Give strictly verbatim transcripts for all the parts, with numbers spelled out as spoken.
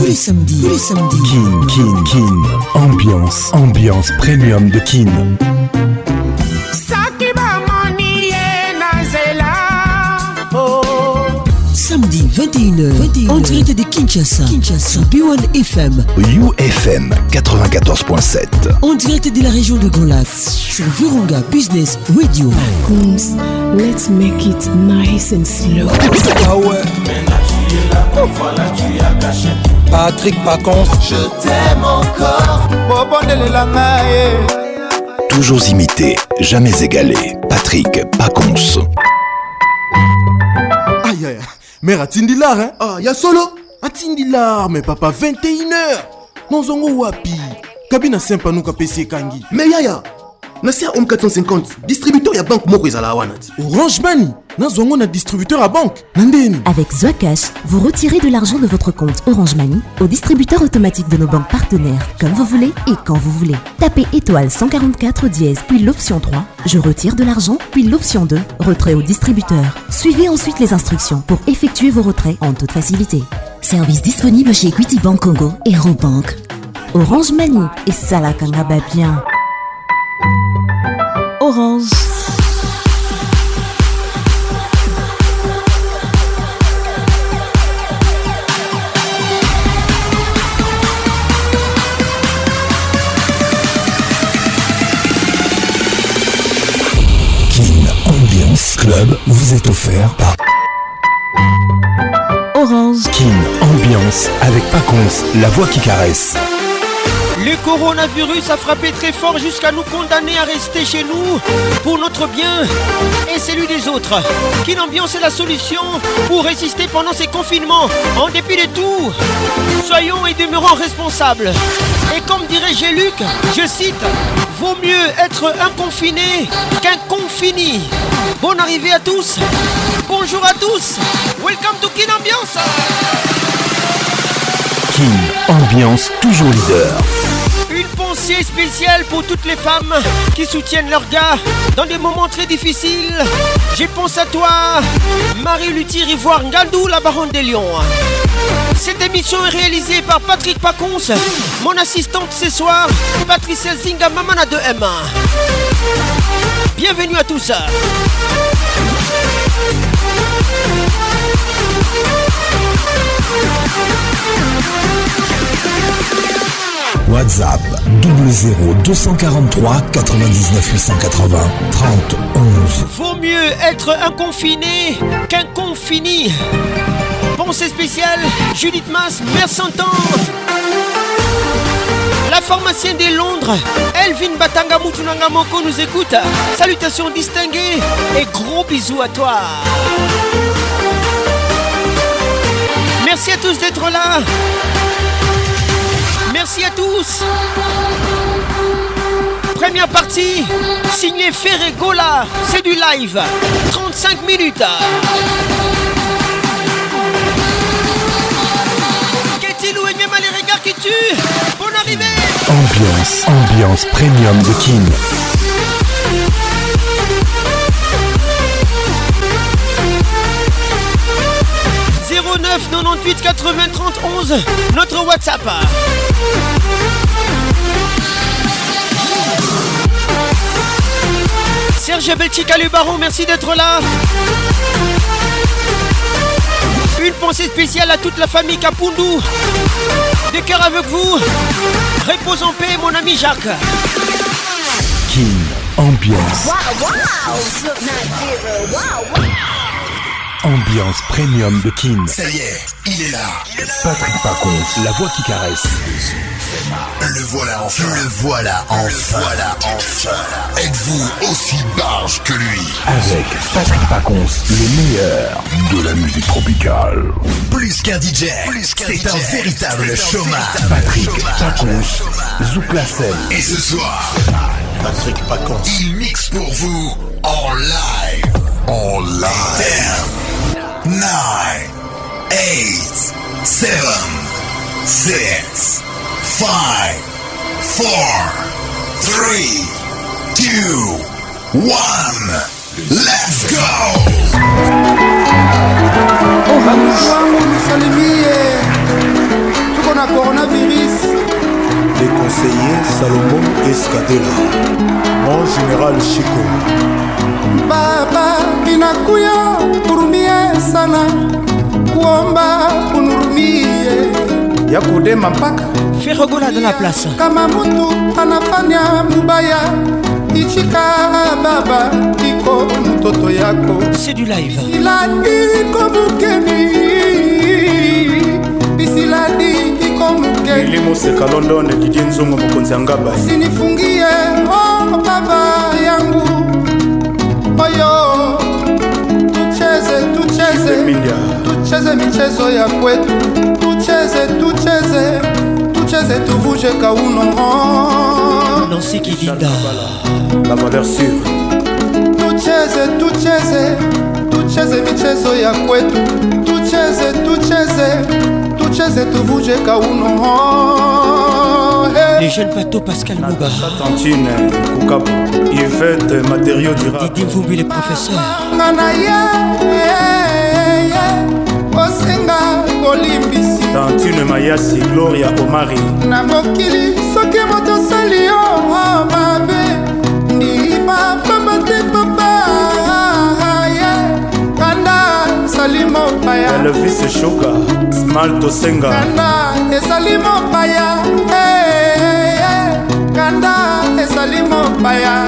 les samedis, tous les samedis. Kin, Kin, Kin. Ambiance, ambiance premium de Kin. Samedi vingt et une heures, vingt et une heures. En direct de Kinshasa, Kinshasa, B un F M, U F M quatre-vingt-quatorze point sept. En direct de la région de Grand Lac, sur Virunga Business Radio. Coons, let's make it nice and slow. Ah ouais. Patrick Pacons, je t'aime encore. Toujours imité, jamais égalé. Patrick Pacons. Aïe aïe, mère Atindilar, hein? Ah, y'a solo? Atindilar, mais papa, vingt et une heures. Non, zongo wapi. Kabina sempa nuka P C Kangi. Mais yaya, Nassia Home quatre cent cinquante, distributeur ya banque moko ezala wanati. Orange Money, Nazongo na distributeur à banque. Nandeni. Avec Zoacash, vous retirez de l'argent de votre compte Orange Money au distributeur automatique de nos banques partenaires, comme vous voulez et quand vous voulez. Tapez étoile cent quarante-quatre dièse, puis l'option trois, je retire de l'argent, puis l'option deux, retrait au distributeur. Suivez ensuite les instructions pour effectuer vos retraits en toute facilité. Service disponible chez Equity Bank Congo et Robank. Orange Money, et ça la kangaba bien. Orange. Kin Ambiance Club vous est offert par Orange. Kin Ambiance avec Pacons, la voix qui caresse. Le coronavirus a frappé très fort jusqu'à nous condamner à rester chez nous pour notre bien et celui des autres. Kin Ambiance est la solution pour résister pendant ces confinements. En dépit de tout, soyons et demeurons responsables. Et comme dirait G-Luc, je cite, vaut mieux être un confiné qu'un confini. Bonne arrivée à tous. Bonjour à tous. Welcome to Kin Ambiance. Kin Ambiance, toujours leader. Une pensée spéciale pour toutes les femmes qui soutiennent leurs gars dans des moments très difficiles. Je pense à toi, Marie-Luthier Ivoire Ngaldou, la baronne des Lions. Cette émission est réalisée par Patrick Pacons, mon assistante ce soir, Patricia Zinga Mamana de M. Bienvenue à tous. WhatsApp double zéro deux cent quarante-trois quatre-vingt-dix-neuf huit cent quatre-vingts trente onze. Vaut mieux être un confiné qu'un confini. Pensée spéciale, Judith Mas, mère Santan. La pharmacienne de Londres, Elvin Batanga Moutunanga Moko nous écoute. Salutations distinguées et gros bisous à toi. Merci à tous d'être là. Merci à tous. Première partie, signé Ferregola, c'est du live, trente-cinq minutes. Qu'est-il ou Enyema les regards qui tuent? Bonne arrivée. Ambiance, ambiance premium de Kin. zéro neuf quatre-vingt-dix-huit quatre-vingts trente onze, notre WhatsApp. Serge Belchica le baron, merci d'être là. Une pensée spéciale à toute la famille Kapundou. De cœur avec vous. Repose en paix mon ami Jacques. Kin Ambiance. Wow, wow. Wow, wow. Ambiance premium de Kin. Ça y est, il est là. Patrick Pacons, la voix qui caresse. Le voilà enfin. Le voilà enfin. Le voilà enfin. Êtes-vous aussi barge que lui? Avec Patrick Pacons, le meilleur de la musique tropicale. Plus qu'un D J, c'est un véritable showman. Patrick Pacons, Zouk la scène. Et ce soir, Patrick Pacons, il mixe pour vous en live. En live. ten, nine, eight, seven, six, five, four, three, two, one. Let's go. Wangu nisalimie, tuko na Salomon Escadela, mon général Chico. Baba minakuya urumie sana, kuomba unurumie ya kudema mpaka Ferrogola dans la place. Kama mtu anafanya mubaya, ichika baba iko mtoto yako. C'est du live. Isiladi iko mukeni, isiladi iko mukeni. Ilimo seka London Didier Nzongo Mokonzi Angaba. Sinifungie oh baba yangu. Oyo tucheze tucheze tucheze michezo ya kwetu, tucheze tucheze tucheze tuvuje kauno. Nancy Kidinda, la valeur sûre. Tucheze tucheze tucheze michezo ya kwetu, tucheze tucheze tucheze tuvuje kauno. Les jeunes bateaux Pascal Mouba, Tantine Koukabou, Yvette Matériaux Durable, Didier Vumbi les professeurs. Tantine Mayasi, Gloria Omari. Na mokili soki moto sali yo mabe, ni papa te papa kanda salimo paya. Elvis Choka, Smalto Senga. Kanda esalimo paya, kanda esalimo paya.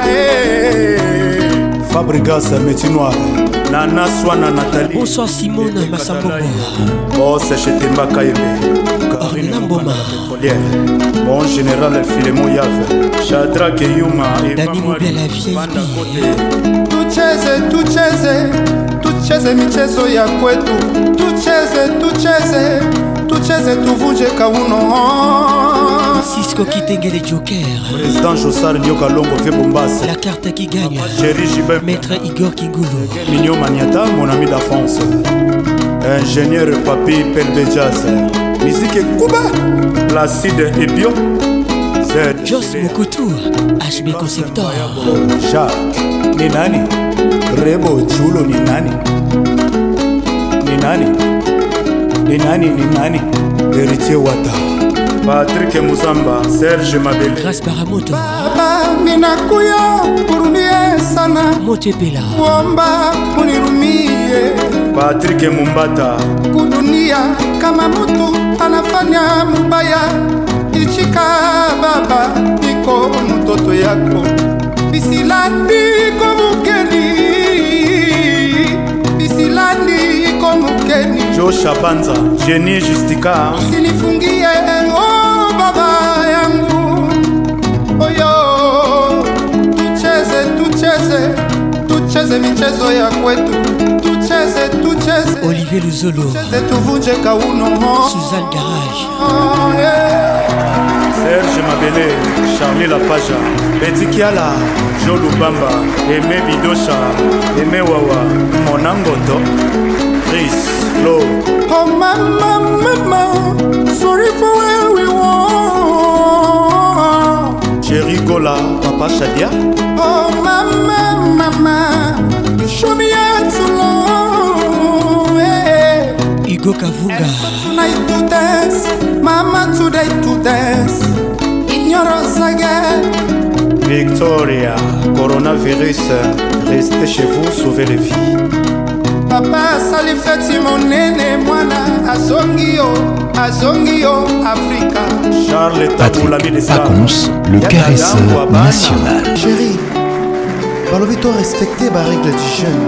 Fabrigas métier noir. Nana Swana Nathalie. Bonsoir Simone Massambombo. Boss Chetemba Kaebe. Karine Mboma pétrolière. Mon général Filemon Yave. Shadrach Yuma et Dani Moubia la vieille. Tucheze tucheze tucheze michezo ya kwetu, tucheze tucheze tucheze tuvuje kauno. Cisco Kitenge les Jokers. Président Jossar Nyoka Longo fait Bombas. La carte qui gagne. Chéri Jibem. Maître Igor Kingoulou. Mignon Maniata, mon ami d'enfance. Ingénieur Papi Pelbejaz. Musique Kuba. Placide et Bio. Joss Mokotou. H B Conceptor. Jacques. Ni nani? Rebo Chulo ni nani? Ni nani? Ni nani? Ni nani? Héritier Wata. Patrick Muzamba, Serge Mabele. Grâce Baramoto. Baba minakuya urumie sana, Motepela. Kuomba unirumie. Patrick Mumbata. Kudunia kama mtu anafanya mubaya, ichika baba iko mtoto yako. Bisilandi iko mukeni, bisilandi iko mukeni. Joe Shabanza, Jenny Justika. Sinifungie oh baba yangu. Oyo tucheze tucheze tucheze michezo ya kwetu, tucheze tucheze Olivier Luzolo. tucheze tuvuje kauno. Suzanne Garage. Oh, yeah. Serge Mabele, Charlie Lapaja, Betty Kiala, Jo Lubamba, Aimé Bidosha, Aimé Wawa, Monangoto, Chris, Lo. Oh mama, mama, sorry for where we were. Jerry Gola, Papa Shadia. Oh mama, mama, you show me how to love. Hey. Hugo Kavunga. Tonight to dance, mama today to dance. Ignorance again. Victoria, coronavirus, restez chez vous, sauvez les vies. Papa sali feti monene mwana azongio azongio Africa. Charles Taboulami des Pacons, le caresseur national. Chérie, balobi to respecter ba règle du jeune.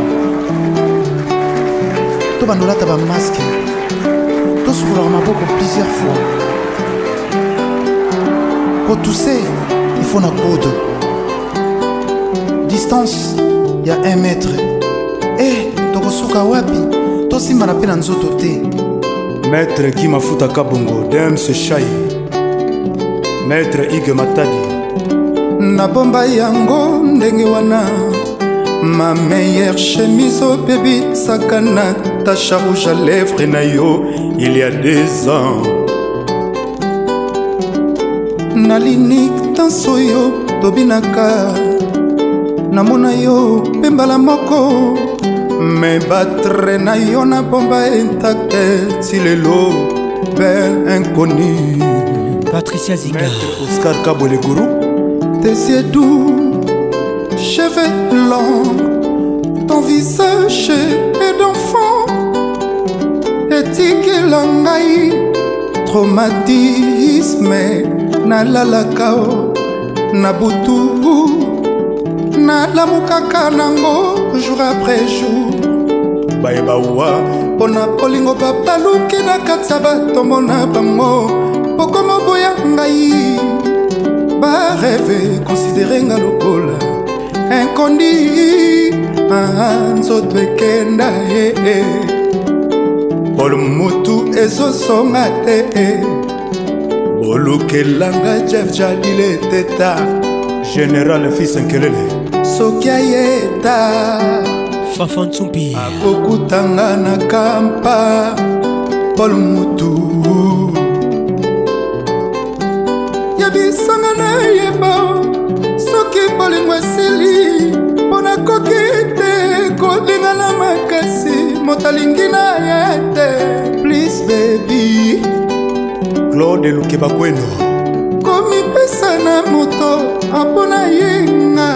To bandola ta ba masque. To souleur maboko plusieurs fois. Quand tu sais, il faut na code. Distance, il y a un mètre. Eh, tokosuka wapi? Tosimba na pe na nzoto te. Maître Guy Mafuta Kabongo, Dem se Chai. Maître Ige Matadi. Na bomba yango ndenge wana. Ma meilleure chemise au baby sakana. Ta rouge à lèvres na yo, il y a deux ans. Na linik tanso yo tobinaka. Namona yo pembala moko. Me battre na yo na bomba intacte. Tilelo, belle inconnue. Patricia Zinga, Maître Oscar Kabolegourou. Tes yeux doux, cheveux longs, ton visage est d'enfant. Éthique langai, traumatisme, na lalakao, na butu, na lamukaka nango, jour après jour. Baebaoua, pona polingo babaluki na katsa batombo na bango, pokomo boya ngai. Ba rêve, considéré nga lokola incondi, nzoto ekenda eh eh. Bolo mutu ezosonga te eh. Bolukelanga Jeff Jadile teta Général Fils Nkelele soki ayeta Fafan Tsumbi akokutanga na kampa Bolo mutu yabisanga na yeba soki bolingo esili mpona koki te kolingana makasi moto alingi na ye te. Please baby Claude Lukeba Kweno komipesa na moto mpona yenga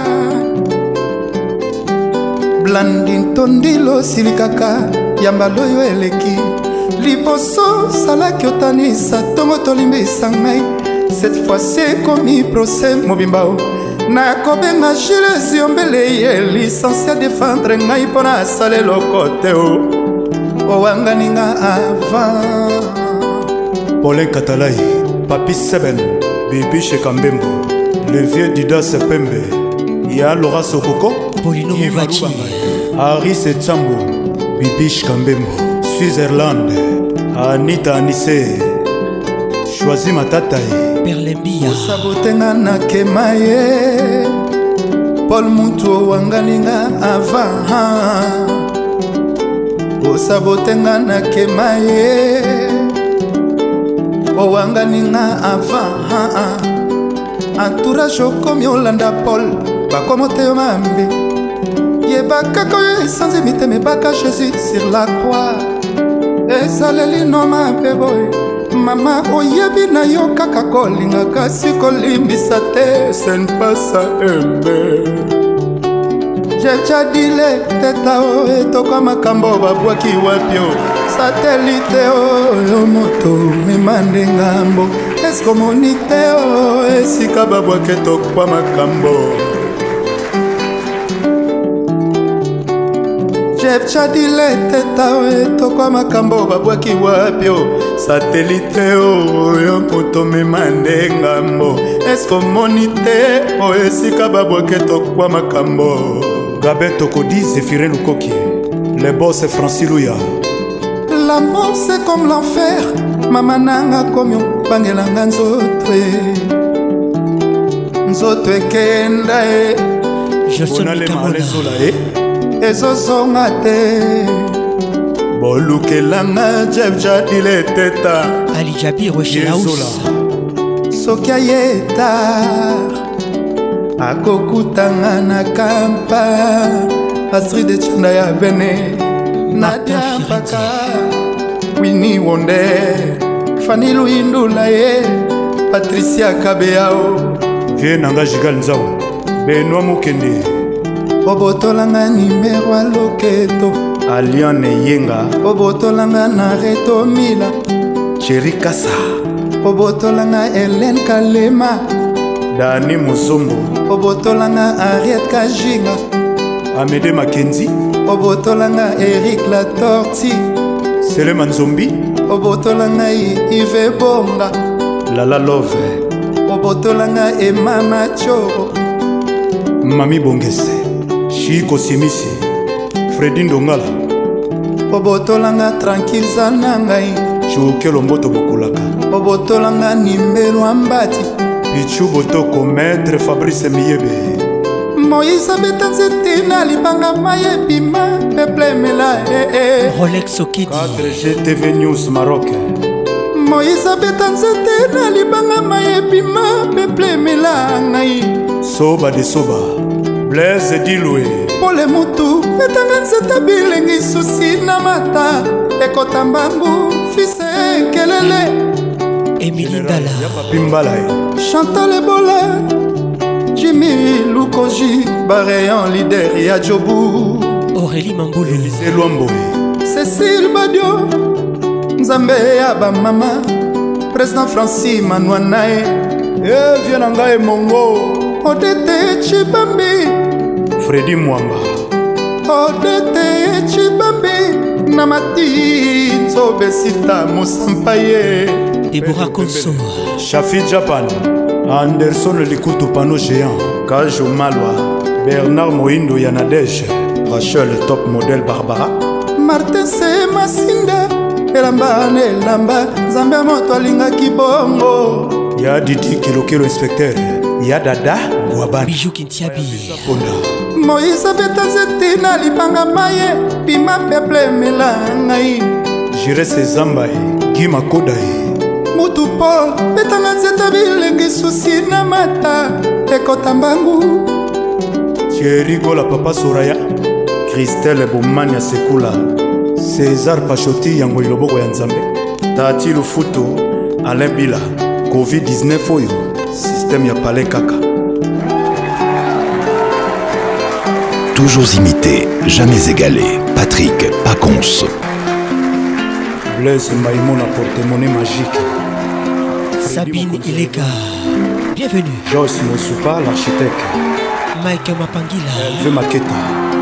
Blandin tondilo silikaka yambala oyo eleki liboso salaki otanisa tongo tolimbisa ngai. Cette fois-ci komi procès mobimbao na kobenga Jules Yombele ye licencié défendre ngai pona asale lokote o owanganinga avant. Paulin Katalai, Papi Seben, Bibi Shekambembo, le vieux Didas Pembe, Ya Laura Sokoko, Paulino Movachi, Aris Etsambo, Bibi Shekambembo, Switzerland, Anita Anissé, Choisi Matataï, Perlembia, Sabotenga na kemaye, Paul Mutu wanganinga avant. Sabotenga na kemaye, owanganinga avant. Entourage okomi olanda Paul, bakomote yo mambe. Yebaka koyo esanzi miteme baka Jésus sur la croix. Ezaleli no mabe boy. Mama oyebi na yo kaka kolinga kasi kolimbisa te sen pasa embe. Jejadile teta o etoka makambo babwaki wapio satelite oyo moto memande ngambo esko monite o esika babwaki etokwa makambo. Jejadile teta o etoka makambo babwaki wapio satelite oyo moto memande ngambo esko monite o esika babwaki etokwa makambo. Gabin Tokodi, Zéphirin Lukoki, les boss Francis Louya. L'amour c'est comme l'enfer, mama nanga komyo bangelanga nzoto nzoto ekenda e ezozonga te bolukelanga Jeff Jadile teta Ali Jabi Rochelaus soki ayeta akokutanga na kampa Astrid Echanda ya bene Nadia Mpaka Winnie Wonde Fanny Luindula ye Patricia Kabeao Vie Nanga Jigal Nzao Benoît Mukende Obotolanga nimero a loketo Aliane Yenga Obotolanga na reto mila Cherry Kassa Obotolanga Hélène Kalema Dani Muzombo Obotolanga Ariette Kajinga Amédée Mackenzie Obotolanga Eric Latorti Seleman Zombi Obotolanga Yves Bonga Lala Love Obotolanga Emma Machoro Mami Bongese Chiko Simisi Freddy Ndongala Obotolanga Tranquille Zanangai Chukelo Mboto Bokulaka Obotolanga Nimbelo Ambati Pichu Botoko Maître Fabrice Miyebe Moïse Betanzete na libanga maye bima Peple Mela eh eh Rolex Okidi quatre G T V News Maroc Moïse Betanzete na libanga maye bima Peple Mela ngai Soba de Soba Blaise Diloué Pole mutu Betanga nzeta bilengi susi na mata Ekota mbangu Fise kelele Émilie Dala Chantal Ebola Jimmy Lukoji Barayan leader ya Jobu Aurélie Mamboulou Élisée Luambo Cécile Badio Nzambe ya ba mama Président Francis Manouanae Eh viens ngai Mongo Odete Chibambi Freddy Mwamba Odete Chibambi Namati Nzobesita Mosampaye Deborah Konso Shafi Japan Anderson Likutu Pano Géant Kajo Malwa Bernard Moindo Yanadej Rachel Top Model Barbara Martin Se Masinda Elamba Nelamba Zambe moto alingaki bongo Ya Didi Kilokilo Inspecteur Ya Dada Guabani Bijou Kintiabi Moïse Betazeti na lipanga maye Pima peple melangai Jire Sezambai Gima Kodai Mutu Paul Betanga nzeta bilengi susi na mata Ekota mbangu Thierry Gola Papa Soraya Christelle Bomania Sekula César Pachoti Yango Iloboko ya Nzambe Tati Lufuto Alain Bila covid dix-neuf oyo Système ya Palais Kaka Toujours imité, jamais égalé. Patrick Pacons. Blaise Maïmon à porte-monnaie magique. Sabine Ileka. Bienvenue. Joyce Mosupa, l'architecte. Mike Mapangila. Elve Maketa.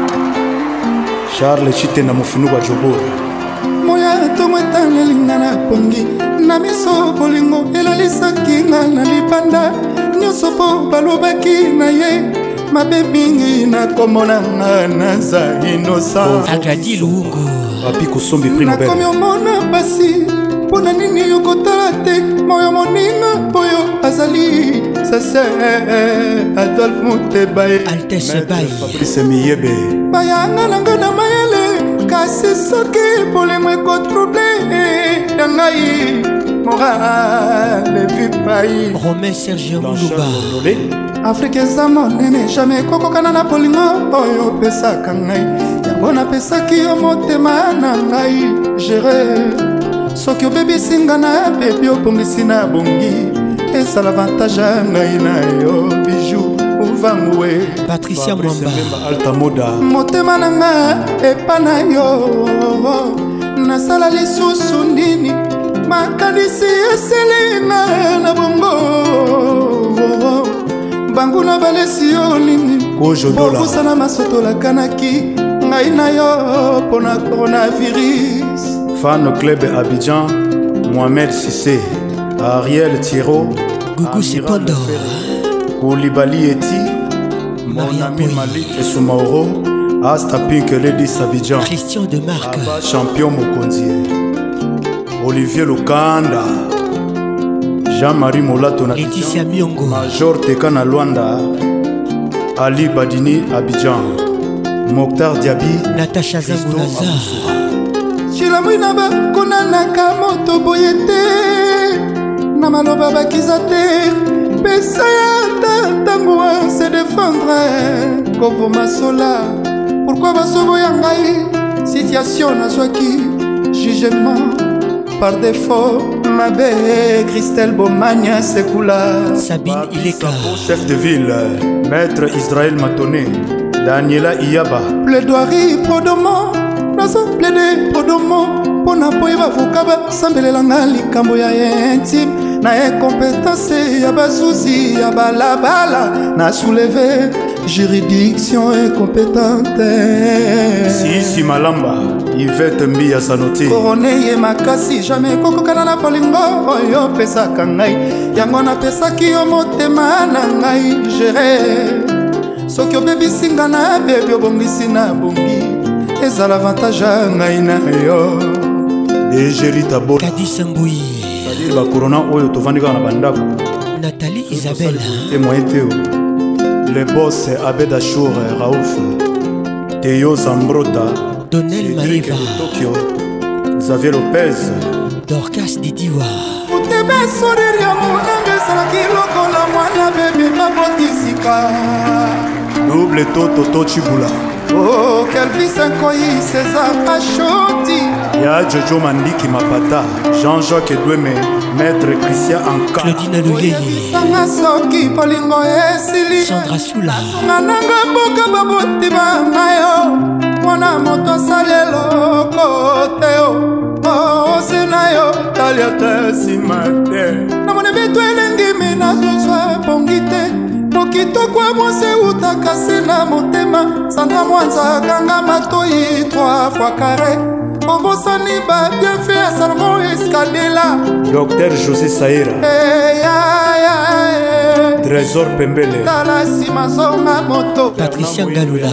Charles Chitena Mofunuba Jobo. Moya tomwetana lingana pongi. Na miso bolingo elalisaki nga na libanda. Nyonso po balobaki na ye. Mabe mingi na komona nga naza innocent. Agadi Luungu. Papi Kosombi prix Nobel. Nakomi omona basi. Pona nini yokotala te. Moyo moninga oyo azali. Sase Adolphe Mutebaye. Altesse Baye. Fabrice Miyebe. Bayanga nanga na mayele. Kasi soki bolingo ekotrouble yangai. Morale vipai. Romain Sergio Moulouba. Afrique eza monene jamais kokokana na bolingo oyo opesaka ngai yango napesaki yo motema na ngai gere soki obebisi nga na bebi obongisi na bongi ezala avantage ya ngai na yo bijou uvangwe Patricia Mwamba Alta Moda motema na nga epa na yo nasala lisusu nini makanisi eselinga na bongo banguna balesi yo nini bokosana masotola kanaki ngai na yo mpona coronavirus Fan Club Abidjan Mohamed Sissé Ariel Thiro Gougou Sepondo Koulibaly Eti Mon ami Malik Soumaoro Asta Pink Ladies Abidjan Christian de Marc Abba Champion Mokonzi Olivier Lukanda Jean-Marie Molato Laetitia Miongo Major Tekana Luanda Ali Badini Abidjan Mokhtar Diaby Natacha Zangoulaza chilamwina bakonanaka moto boye te na maloba bakiza te pesa ya tantango se défendre kovoma sola pourquoi basoboya ngai situation nazwaki jugement par défaut mabe Christelle Bomania Sekula Sabine Ileka chef de ville maître Israël Matoné Daniela Iyaba plaidoirie prodomo nazo plaide prodomo pona poyeba vokaba sambelelanga likambo ya intime na incompétence ya bazuzi ya balabala na soulever juridiction incompétente Sisi Malamba Yvette Mbia Sanoti korone ye makasi jamais kokokana na bolingo oyo pesaka ngai yango napesaki yo motema na ngai gere soki obebisi nga na bebi obongisi na bongi ezala avantage ya ngai na yo Egerita Bo Kadis Mbui c'est-à-dire bakorona oyo tovandi kaka na bandako Nathalie Isabelle témoin teo le boss Abed Achour Raouf Théo Zambrota Donnel Maeva Tokyo Xavier Lopez Dorcas Didiwa utebe sourire ya monanga ezalaki lokola mwana bebe babotisika double toto to chibula Oh, quelle vie s'incoyi, César Pachoti. Ya Jojo Mandiki Mapata, Jean-Jacques Edoueme, Maître Christian Anka, Claudine Louyeye, Sanga Soki, Polingo Esili, Sandra Soula, Nananga Boka Baboti Bangayo, Mwana Moto Salelo Koteo, Oh, Senayo, Taliata Simate, Namone Beto Elengimi Nazuzwa Pongite, Mokitoko Mwase Utakase na Motema, Sandra Mwanza Ganga Matoi, trois fois carré. Obosani ba bien fait à Salomon Escadela. Docteur José Saïra, Hey, ay, ay, Trésor Pembele, Talasi Mazonga Moto, Patricia Galula,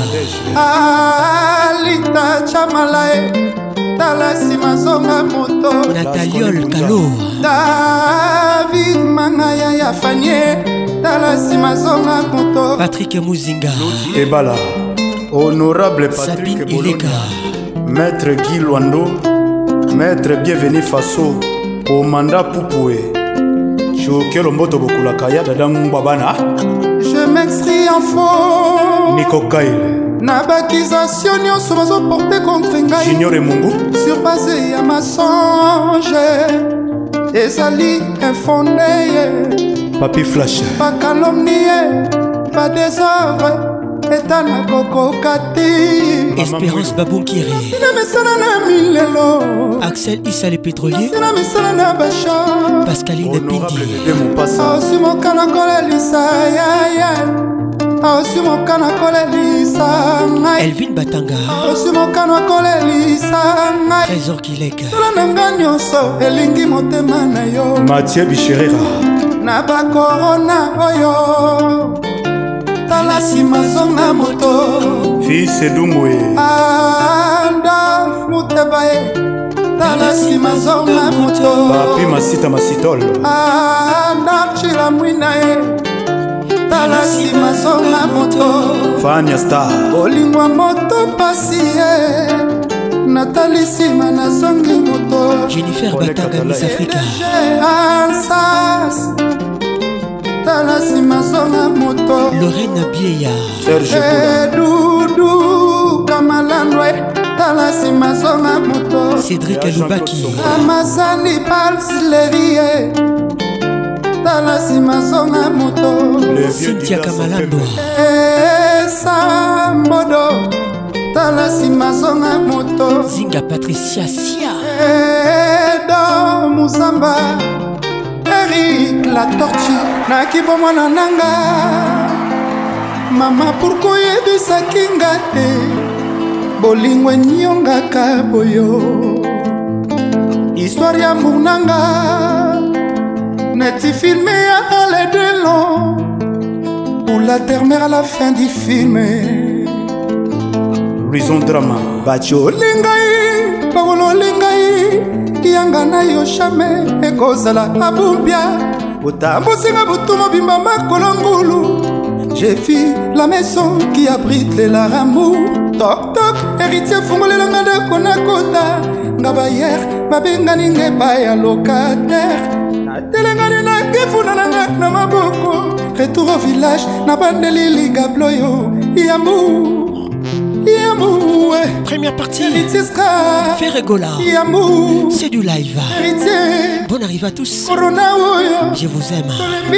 Alita Chamalae, Talasi Mazonga Moto, Nathalie Kalo, David Mangaya Yafanye, Talasi Mazonga Moto, Patrick Mouzinga, Ebala, Honorable Patrick Sabine Bologna, Eleka, Maître Guy Luando, Maître Bienvenu Faso, Omanda Poupoué, Choukelo Mboto Bokulakaya, Dadam Babana, je m'extrie en faux. Nico Kaile, Nabakisation nyonso bazoporte contre ngai Junior Mungu, sur base ya masonge ezali infondé Papi Flash, pas calomnie pas désordre eta na kokokati Espérance Baboukiri, sina mesana na milelo Axel Issa le pétrolier, sina mesana na basha Pascaline Honorable Pindi, de Mopassa, osi mokana kolelisa yaya osi mokana kolelisa ngai Elvin Batanga, osi mokana kolelisa ngai Trésor Kileka, sala na nga nyonso elingi motema na yo Mathieu Bichirera, na bakorona oyo tala nsima zonga moto Fils Edumwe, Adolphe Muteba ye tala nsima zonga moto Papi Masita Masitol, Adolphe Mwina ye tala nsima zonga moto Fania Star, olingwa moto pasi ye natali nsima na zongi moto Jennifer Batanga Miss Africa, ansas tala nsima zonga moto Lorraine Bieya, Serge Boula, Dudu Kamalandwe tala nsima zonga moto Cédric Alubaki, Amazali Balsilerie tala nsima zonga moto le vieux Cynthia Didas Kamalando, Sambodo tala nsima zonga moto Zinga Patricia Sia, Edo Musamba Eric la tortue nakibo mwana nanga mama pourkoi yebisaki nga te bolingo enyongaka boyo histoire ya amour nanga neti filme ya ale de long pour la termère à la fin du film Horizon Drama, bacho olingai bakolo olingai yanga na yo jamais ekozala abumbia otambosinga butu mobimba makolo ngulu j'ai vu la maison qui abrite les lards amour toc toc héritier fungolelanga ndako na kota nga bayer babengani nge baya locataire natelengani na kifuna nanga na maboko retour au village na bandeli ligabloyo yamour Yamour, première partie, Héritier Ferregola, Yamour, c'est du live. Héritier, Bonne arrivée à tous, Corona, je vous aime.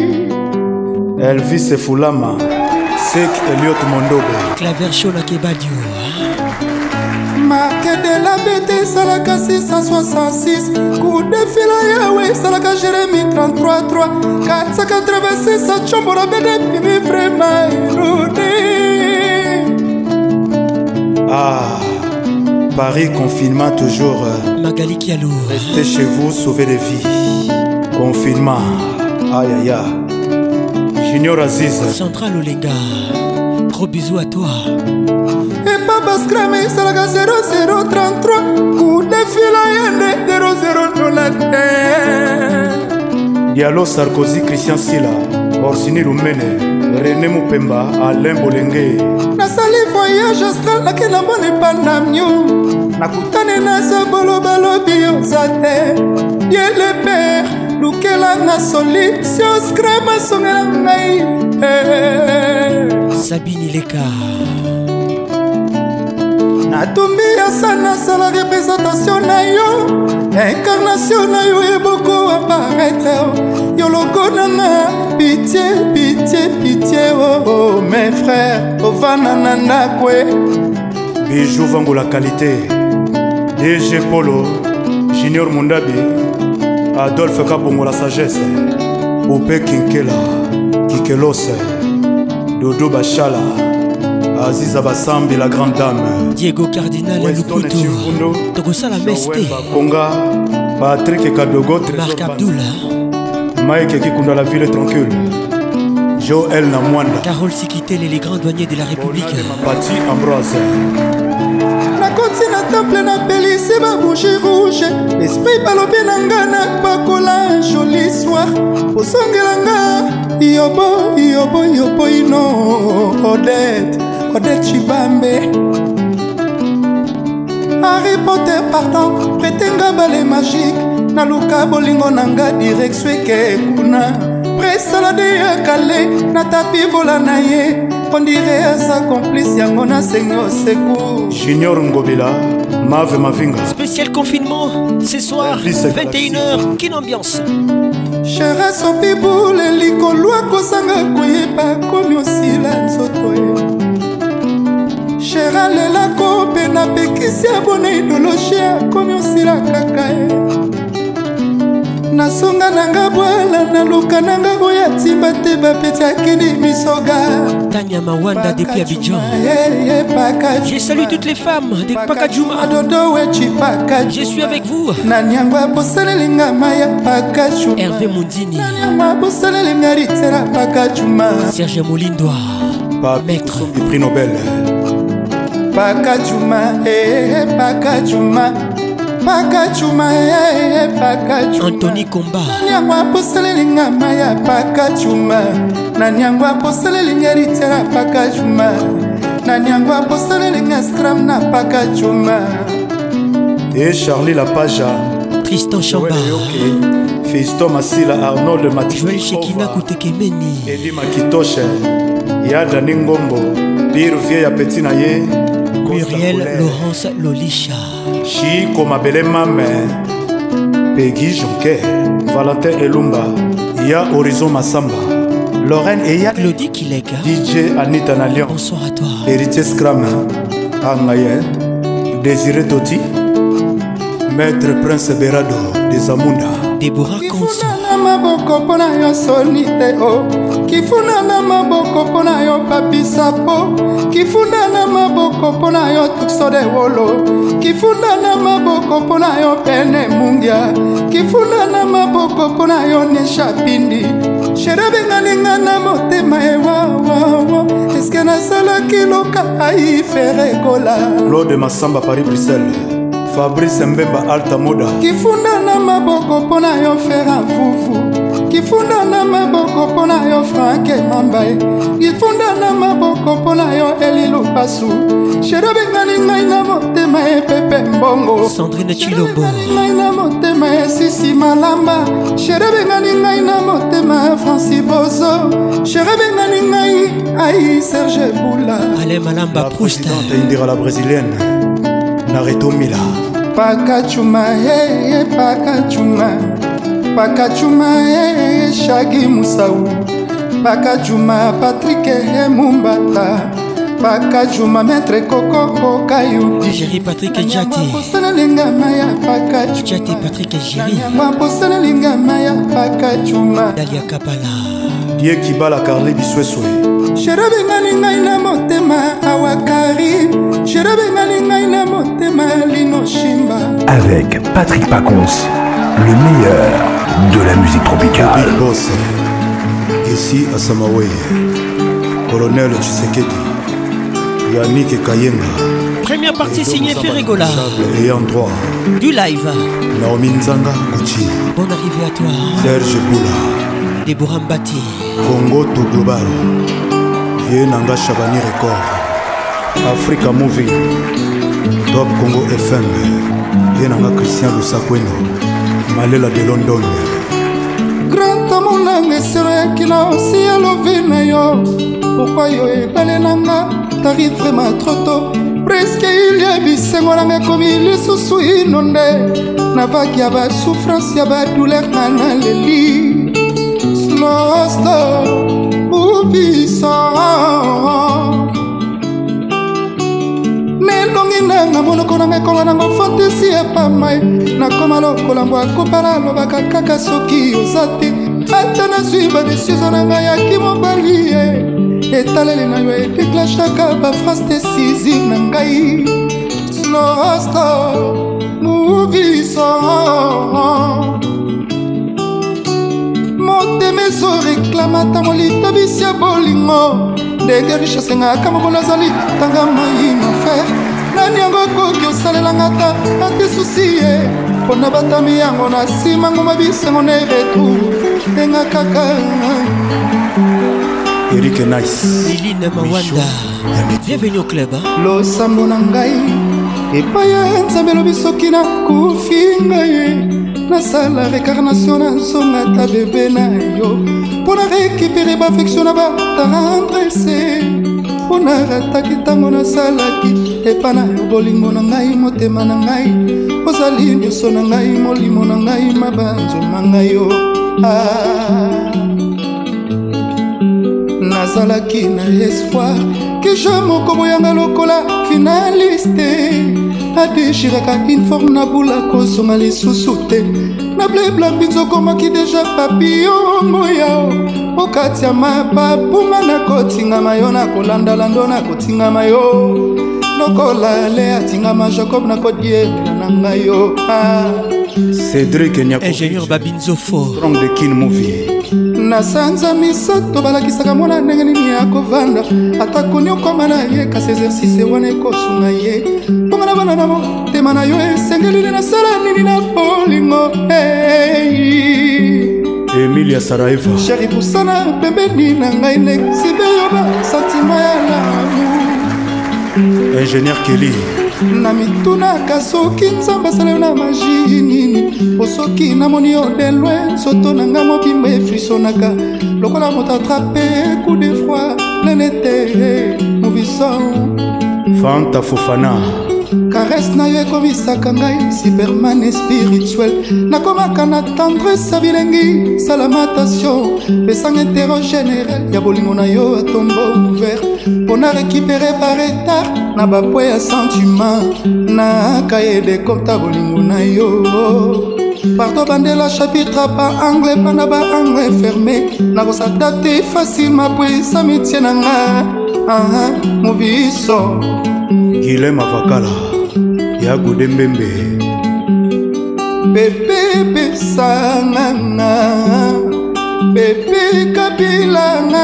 Elvis Fulama, Sek Elliot Mondobe, Claver Shona Kebadio, marque de la bête, Salaka six cent soixante-six, coup de fil à Yahweh, Salaka Jérémie trente-trois trois, quatre cent quatre-vingt-six, Chombo la bête, Bibi vraiment érodé. Ah, Paris confinement toujours. Magali Kialou, restez chez vous, sauvez des vies. Confinement, aïe aïe aïe. Junior Aziz, Central Olega, gros bisous à toi. Et Papa Scramé, Salaka zéro zéro trente-trois, coup de fil à Yahweh, zéro zéro neuf. Diallo Sarkozy, Christian Silla, Orsini Lumene, René Mupemba, Alain Bolenge. Nasali voyage astral nakela mone pandamio nakutane na sabolo balobi ozate Dieu le père lukela na solution screma songela ngai Sabine Leka natumbi asa nasala représentation na yo incarnation na yo eboko apparaître yo logo nanga pitié pitié pitié oh, oh mes frères ovana na ndako Bijou Vango la qualité D G Polo Junior Mundabi Adolphe Kabongo la sagesse Ope Kinkela Kikelos Dodo Bachala Aziza Bassambi la grande dame Diego Cardinal Lukuto Togosa la Meste Konga Patrick Kadogo Marc Abdullah Mike Kikunda la ville tranquille Joël Namwanda Carole Sikitele les grands douaniers de la République Pati Ambroise nakoti na temple na pelisi babougie rouge esprit balobi na nga na bakola joli soir osongela nga yobo yobo yobo ino Odette Odette Chibambe Harry Potter pardon pretenga bale magique naluka bolingo na nga direction eke kuna presalade ya kale na tapi vola na ye on dirait à sa complice yango na sengo secours Junior Ngobila Mave Mavinga spécial confinement ce soir vingt et une heures Kin Ambiance Chéra sopi boule likolwa kosanga koyeba komi osila nzoto ye Chéra lela kope na pekisi abona idéologie komi osila kaka ye nasonga nanga bwala naluka nanga oya timba te bapeti akini misoga Tanya Mawanda depuis Abidjan. Je salue toutes les femmes de Pakadjouma. Je suis avec vous. Hervé Mundini. Serge Molindoa. Maître. Du prix Nobel. Pakadjouma, eh, Pakadjouma. Pakadjouma, eh, Pakadjouma. Anthony Komba. Nanyangwa poselelinga maya Pakadjouma. Nanyangwa poselelinga ritera Pakadjouma. Nanyangwa poselelinga scram na Pakadjouma. Et Charlie Lapaja. Tristan Chamba. Fiston Masila Arnold Mathieu. Joël Shekina Koutekemeni. Eddie Makitoshe. Yada Ningombo. Pire Vie ya Petit Naye. Muriel Laurence Lolisha. Chico Mabele Mame. Peggy Jonker. Valentin Elumba. Ya Horizon Massamba. Lorraine Eya. Claudie Kileka. D J Anita Nalion. Bonsoir à toi. Héritier Scram. Angaye. Désiré Toti. Maître Prince Berado des Amunda. Déborah Konso. Maboko pona yo sonite o kifuna na maboko pona yo papi sapo kifuna na maboko pona yo tukso de wolo kifuna na maboko pona yo pene mungia kifuna na maboko pona yo nesha pindi sherebe nganinga na motema e wa wa wa eske na sala kiloka ai fere kola Claude Massamba Paris Bruxelles. Fabrice Mbemba Alta Moda. Kifunda na maboko pona yo fera fufu Kifunda na maboko pona yo Franke Mambaye Kifunda na maboko pona yo Elilu Pasu Sherobe ngani ngai na motema e Pepe Mbongo Sandrine Chilombo ngai na motema e Sisi Malamba Sherobe ngani ngai na motema e Francis Bozo Sherobe ngani ngai ai Serge Boula Alain Malamba Proust. La présidente Indira la brésilienne. Nareto Mila. Pakadjouma, eh, eh, Pakadjouma. Pakadjouma, eh, eh, Shagi Moussaou. Pakadjouma, Patrick eh, Mumbata. Pakadjouma, Maître Coco Kayou. Jerry Patrick Djati. Djati Patrick Jerry. Dalia Kapala. Die Kibala Carly Bisweswe. Sherabe ngani ngai na motema awakari Sherabe ngani ngai na motema lino shimba. Avec Patrick Pacons, le meilleur de la musique tropicale. Big Boss. Ici à Samawe. Colonel Tshisekedi. Yannick Kayenga. Première partie signée Ferregola. Ayant droit. Du live. Naomi Nzanga Gucci. Bonne arrivée à toi. Serge Boula. Deborah Mbati. Congo to Global. Vie Nanga Chabani Record. Africa Movie. Top Congo F M. Vie Nanga Christian Lusakweno. Malela de London. Grand amonanga sera kila aussi à l'ovine yo. Pourquoi yo ebale nanga t'arrives vraiment trop tôt. Presque il y a bisengo nanga komi lisusu inonde na vaki ya ba souffrance ya ba douleur na leli slow slow movie song nelongi nanga monoko nanga kola nanga fantasy ya pamai na koma lokola mbwa kopala lobaka kaka soki ozate ata nazwi badesizio nanga yaki mobali etaleli na yo edeklashaka baphrase décisive na ngai slow slow movie song motema ezoreklamata molita bisi ya bolingo ndenge richesse ngaka moko nazali tanga mai mafer nani yango koki osalelanga ta ate susi ye mpona batami yango na nsima ngo mabisengo ne retour enga kaka Eric Nice Liline Mawanda bienvenue au club hein? Losambo na ngai epai ya nzambe elobi soki nakufi ngai nasala récarnation na nzonga ta bebe na yo mpo na récupere baaffection na batarendrese mpo na rataki ntango nasalaki epa na yo bolingo na ngai motema na ngai ozali nyonso na ngai molimo na ngai mabanzoma ngai yo ah. Nazalaki na espoir que je moko boyanga lokola finaliste adeshiraka informe na bula kozonga lisusu te na bleblambi nzokomaki deja papillon moya okati ya mapapuma na kotingama yo na kolandalando na kotingama yo lokola le atingama Jacob na kodiela na ngai yo ah. Cédric Nyako ingénieur Babinzofo Strong the King Movie na sanza misato balakisaka mwana ndenge nini ya kovanda atakoni okoma na ye kasi exercice wana ekosunga ye mponga na bana na motema na yo esengelili nasala nini na bolingo hey. Emilia Saraeva sheri pusana pembeni na ngai nexibe yo basentima ya lamu ingénieur Kelly na mitunaka soki nzambe asala yo na magi nini osoki namoni yo de loin soto na nga mobimba efrisonaka lokola moto atrape coup de froid plein été mouvison Fanta Fofana caresse na yo ekomisaka ngai superman spirituel nakomaka na tendresse ya bilengi salamatation pesanga intero général ya bolingo na yo atombo ouvert mpona récupere par retard na bapwe ya sentiment na kaye de kota bolingo na yo parto bandela chapitre pa anglais pana ba anglais fermé nakosadapte facilement poesa métier na nga ah, moviso Guilhem Avakala ya Godembembe bebe besanganga bebe kabilanga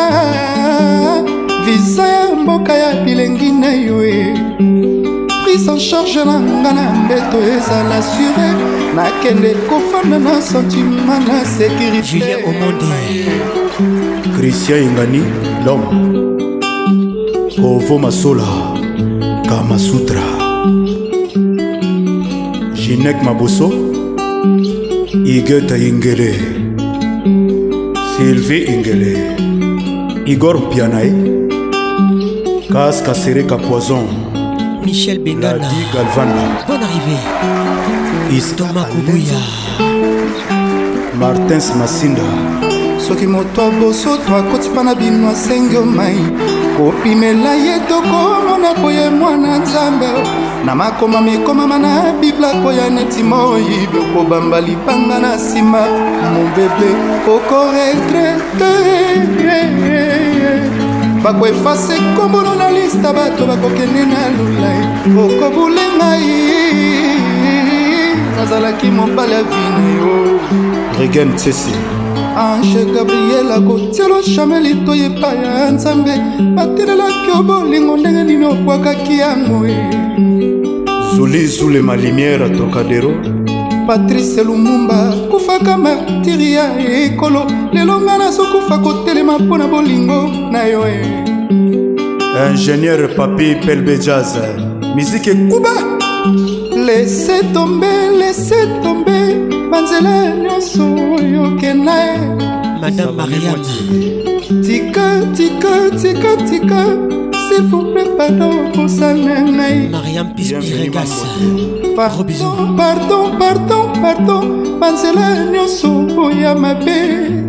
visa ya mboka ya bilengi na yo prise en charge na nga na mbeto ezala sure nakende kofanda na sentiment na sécurité Julien Omonde Christian Ingani l'homme Ovo Masola Kama Sutra Jinek Maboso Igeta Ingele Sylvie Ingele Igor Pianae Kaska Sereka Poison Michel Bengana Ladi Galvana bonne arrivée Thomas Kubuya Martins Masinda soki moto aboso to akoti mpa na bino asengi omai kopimela ye tokomona boye mwana nzambe na makoma mekomama na bibla koya neti moyibi okobamba lipanga na nsima mobebe okoregrete bakoefase kombono na lista bato bakokende na lulai okobule ngai nazalaki mobali ya vino yo Regen Tsesi Ange Gabriel akotielo chameli to epai ya nzambe batelelaki yo bolingo ndenge nini obwakaki yango Zuli Zule ma lumière Trocadéro Patrice Lumumba kufaka martiri ya ekolo lelo nga nazokufa kotelema mpo na bolingo na yo ingénieur Papi Pelbe Jazz musique Kuba laissez tomber laissez tomber banzela nyonso oyo kena Madame Mariam. Tika, tika, tika, tika. S'il vous plaît, pardon pour ça, nanai. Mariam Pispiregas. Pardon, pardon, pardon, pardon. Banzela nyonso ya mabe.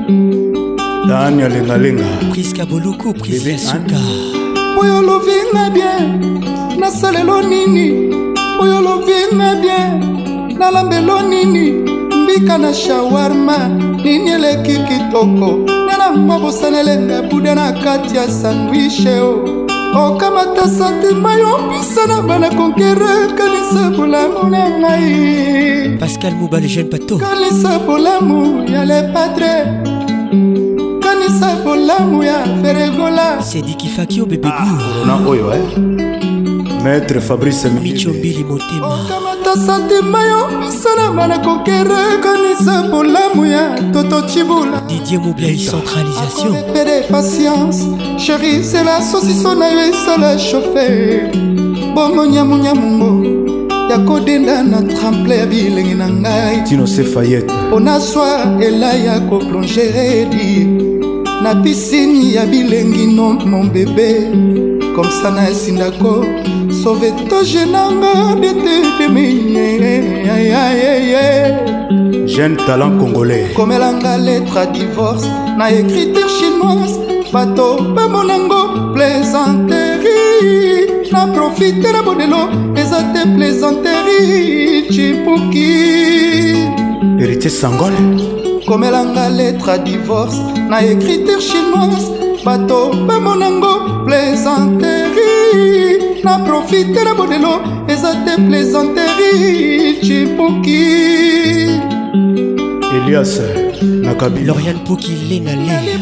Daniel Lenga Lenga. Priska Boluku, Priska Suka. Oyo lovinga bien. Nasalelo nini. Oyo lovinga bien. Nalambelo nini. Mbika na shawarma. Nini eleki kitoko. Nena mwabosanelenga buda na kati ya sandwich o. Okamata santima yo pisana bana konkere. Kanisa bolamu na ngai. Pascal Mouba le jeune pato. Kanisa bolamu ya le padre. Kanisa bolamu ya feregola. C'est dit qu'il fait qui au bébé goût. Corona oyo eh. Maître Fabrice Micho Billy Motema. Okamata santima yo pisana bana konkere. Kanisa bolamu ya Toto Chibula. Didier Moubia centralisation. Père patience, chérie, c'est la saucisson na yo ça la chauffer. Bongo nyamu nyamungo. Ya kodenda na tremple ya bilengi na ngai. Tino se Fayette. Ona soir ela ya ko plonger di. Na piscine ya bilengi non mon bébé. Comme ça na sindako. Sauve to jenanga de te de mine. Aïe aïe aïe. Jeune talent congolais. Comme elanga lettre à divorce. Na écriture chinoise. Bato pa monango plaisanterie. Na profite na bodelo. Ezate plaisanterie. Chipuki. Héritier Sangol. Comme elanga lettre à divorce. Na écriture chinoise. Bato pa monango plaisanterie. Na profite na bodelo. Ezate plaisanterie. Chipuki. Elias Nakabi. Lauriane Pouki Lenale.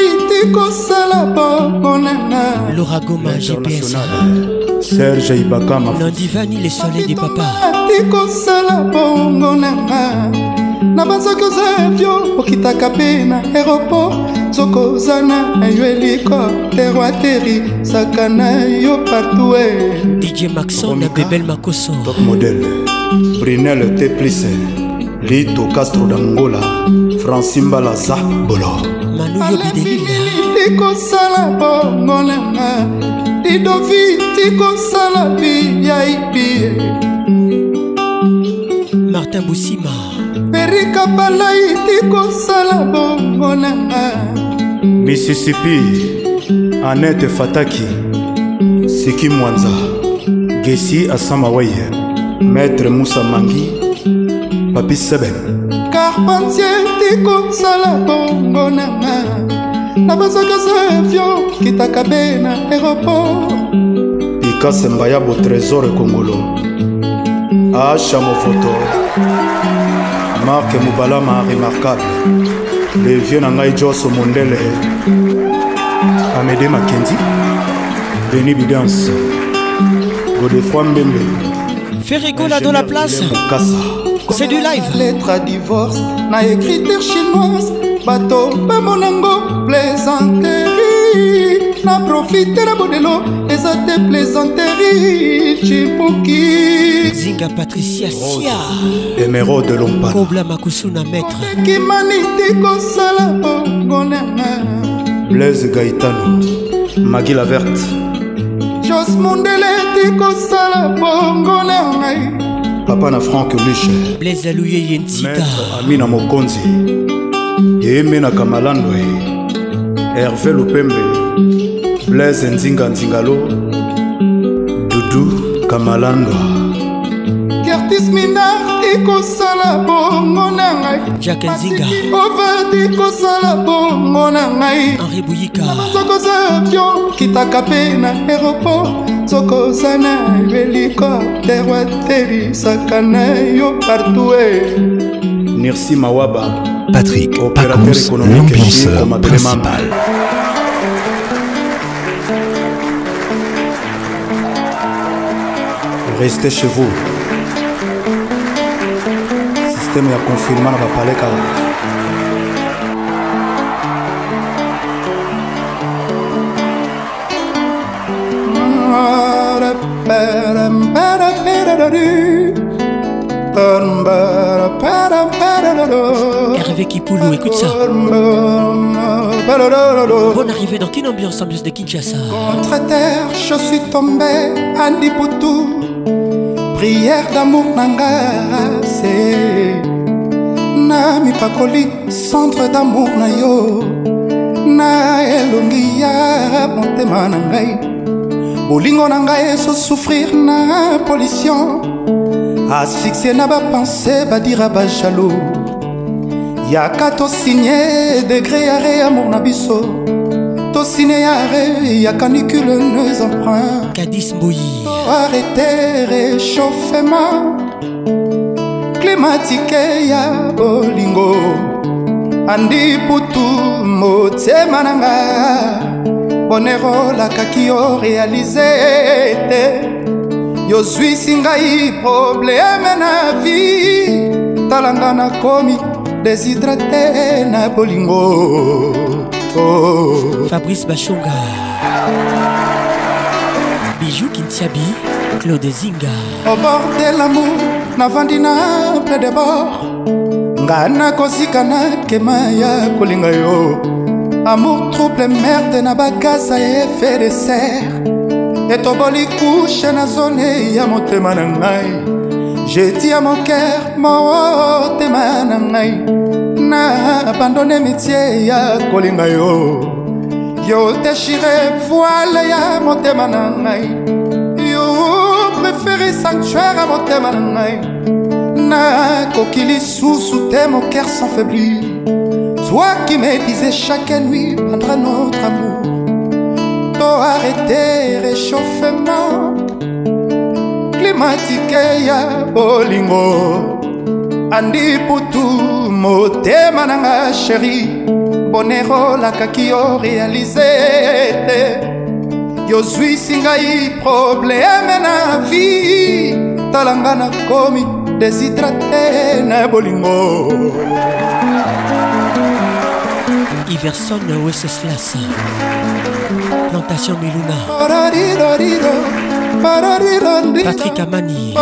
Laura Goma G P S. Serge Ibaka Nandivani le soleil des papas. Tikosala bongo nanga. Na bazoko za avion okitaka pe na aéroport. Zoko zana yo hélicoptère atterri sakana yo partout. D J Maxon na Bebel Makoso. Top modèle. Brunel Teplice. Lito Castro d'Angola. Francimba Laza Bolo. Manu Yobidelila. Tiko sala bongo nanga. Didovi tiko sala vi ya ipi. Martin Boussima. Perika palai tiko sala bongo nanga. Mississippi. Annette Fataki. Siki Mwanza. Gessi Asamawaye. Maître Moussa Mangi. Papi Seben. Carpentier tiko sala bongo nanga. Na bazaka za avion kitaka be na aéroport. Picasso Mbayabo trésor congolo. Acha Mofoto. Marc Moubalama remarquable. Le vieux Nangai Josso Mondele. Amédée Mackenzie. Denis Bidance. Godefroy Mbembe. Ferrigola dans la place. C'est du live. Lettre à divorce. Na écriture chinoise. Bato pa monango plaisanterie. Na profite na bodelo. Ezate plaisanterie. Chipuki. Zinga Patricia Sia. Émeraude de Lompa. Kobla Makusuna maître. Kimani tiko sala bongo nanga. Blaise Gaetano. Magui la verte. Jos Mondele tiko sala bongo nanga. Papa na Franck Luche. Blaise Alouye Yentita. Maître Amina Mokonzi. Yemena Kamalandwe. Hervé Lopembe. Blaise Nzinga Nzingalo. Doudou Kamalandwa. Curtis Minard tiko sala bongo nanga. Jacques Nzinga. Ova tiko sala bongo nanga. Henri Bouyika. Zoko za avion kitaka pe na aéroport. Zoko zana hélicoptère atterri sakana yo partout. Nirsi Mawaba. Patrick opérateur Pacons, économique l'ambianceur principal. Restez chez vous. Système ya confinement na bapale kaka. Hervé Kipoulou, écoute ça. Bonne arrivée dans Kin Ambiance, ambiance de Kinshasa. Contre terre, je suis tombé, Andy Poutou. Prière d'amour nanga, c'est na mi pakoli, centre d'amour na yo. Na elongi ya montema na ngai. Bolingo na ngai so souffrir na pollution. Asphyxié na ba pensée, ba dire ba jaloux. Yaka to signé degré arrêt amour na biso. To signé arrêt ya canicule nos emprunts. Kadis Mbouyi. Arrêter réchauffement climatique ya bolingo. Andi Poutou motema nanga. Bonero la kakio réalisé. Yo suis singai problème na vie. Talanga na komi déshydraté na bolingo. Oh. Fabrice Bachonga, Bijou Kintiabi, Claude Zinga. Au bord de l'amour, na vandina plein de bord. Ngana kozika na kema ya kolinga yo. Amour trouble merde na bagaza effet de serre. Et to boli couche na zone ya motema na ngai. J'ai dit à mon cœur, motema na ngai. Na abandonné métier ya kolinga yo. Yo déchiré voile ya motema na ngai. Yo préféré sanctuaire à motema na ngai. Na kokili sous te mon cœur s'enfaiblit. Toi qui me disais chaque nuit pendant notre amour. To arrêter réchauffement climatique ya bolingo. Andi Poutou motema nanga chéri. Bonero la kakio réalisé. Yo suis singai problème na vie. Talanga na komi déshydraté na bolingo. Iverson Wenceslas, Plantation Miluna. Patrick Amani.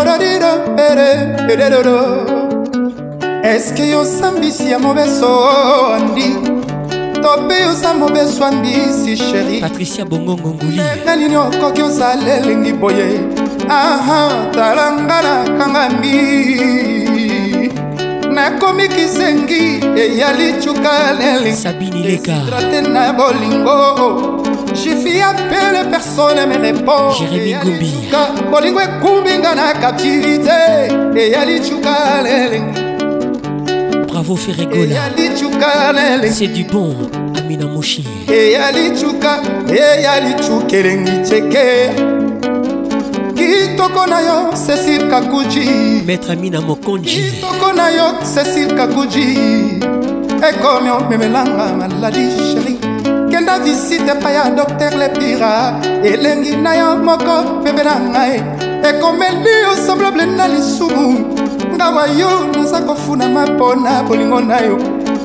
Est-ce que yo sambisi ya mobeso andi? Tope yo sa mobeso andi si chéri. Patricia Bongongo Nguli. Nani okoki ozale lingi boye. Aha, talanga na kangami. Nakomi kizengi eyali chukaleli. Sabini Leka. Traté na bolingo. J'ai fait appel, personne me répond. Jérémy Gombi. Bolingo kumbinga na captivité. Eyali chukaleli. Bravo Ferregola. C'est du bon, Amina Mouchi. Eyali chuka, eyali chukelengi cheke. Kitoko na yo, Cécile Kakuji. Maître Amina Mokonji. Kitoko na yo, Cécile Kakuji. Et comme on me melanga maladi chérie. Kenda visite pa ya docteur le pira. Elengi na yo moko bebe na ngai. Et comme lui semblable na lisumu. Ngawa yo naza kofuna mapona bolingo na yo.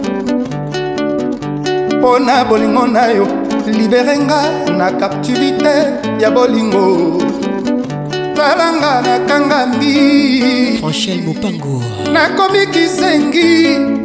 Pona bolingo na yo. Liberenga na captivité ya bolingo. Talanga na kangami. Franchel Mopango. Nakomi kizengi.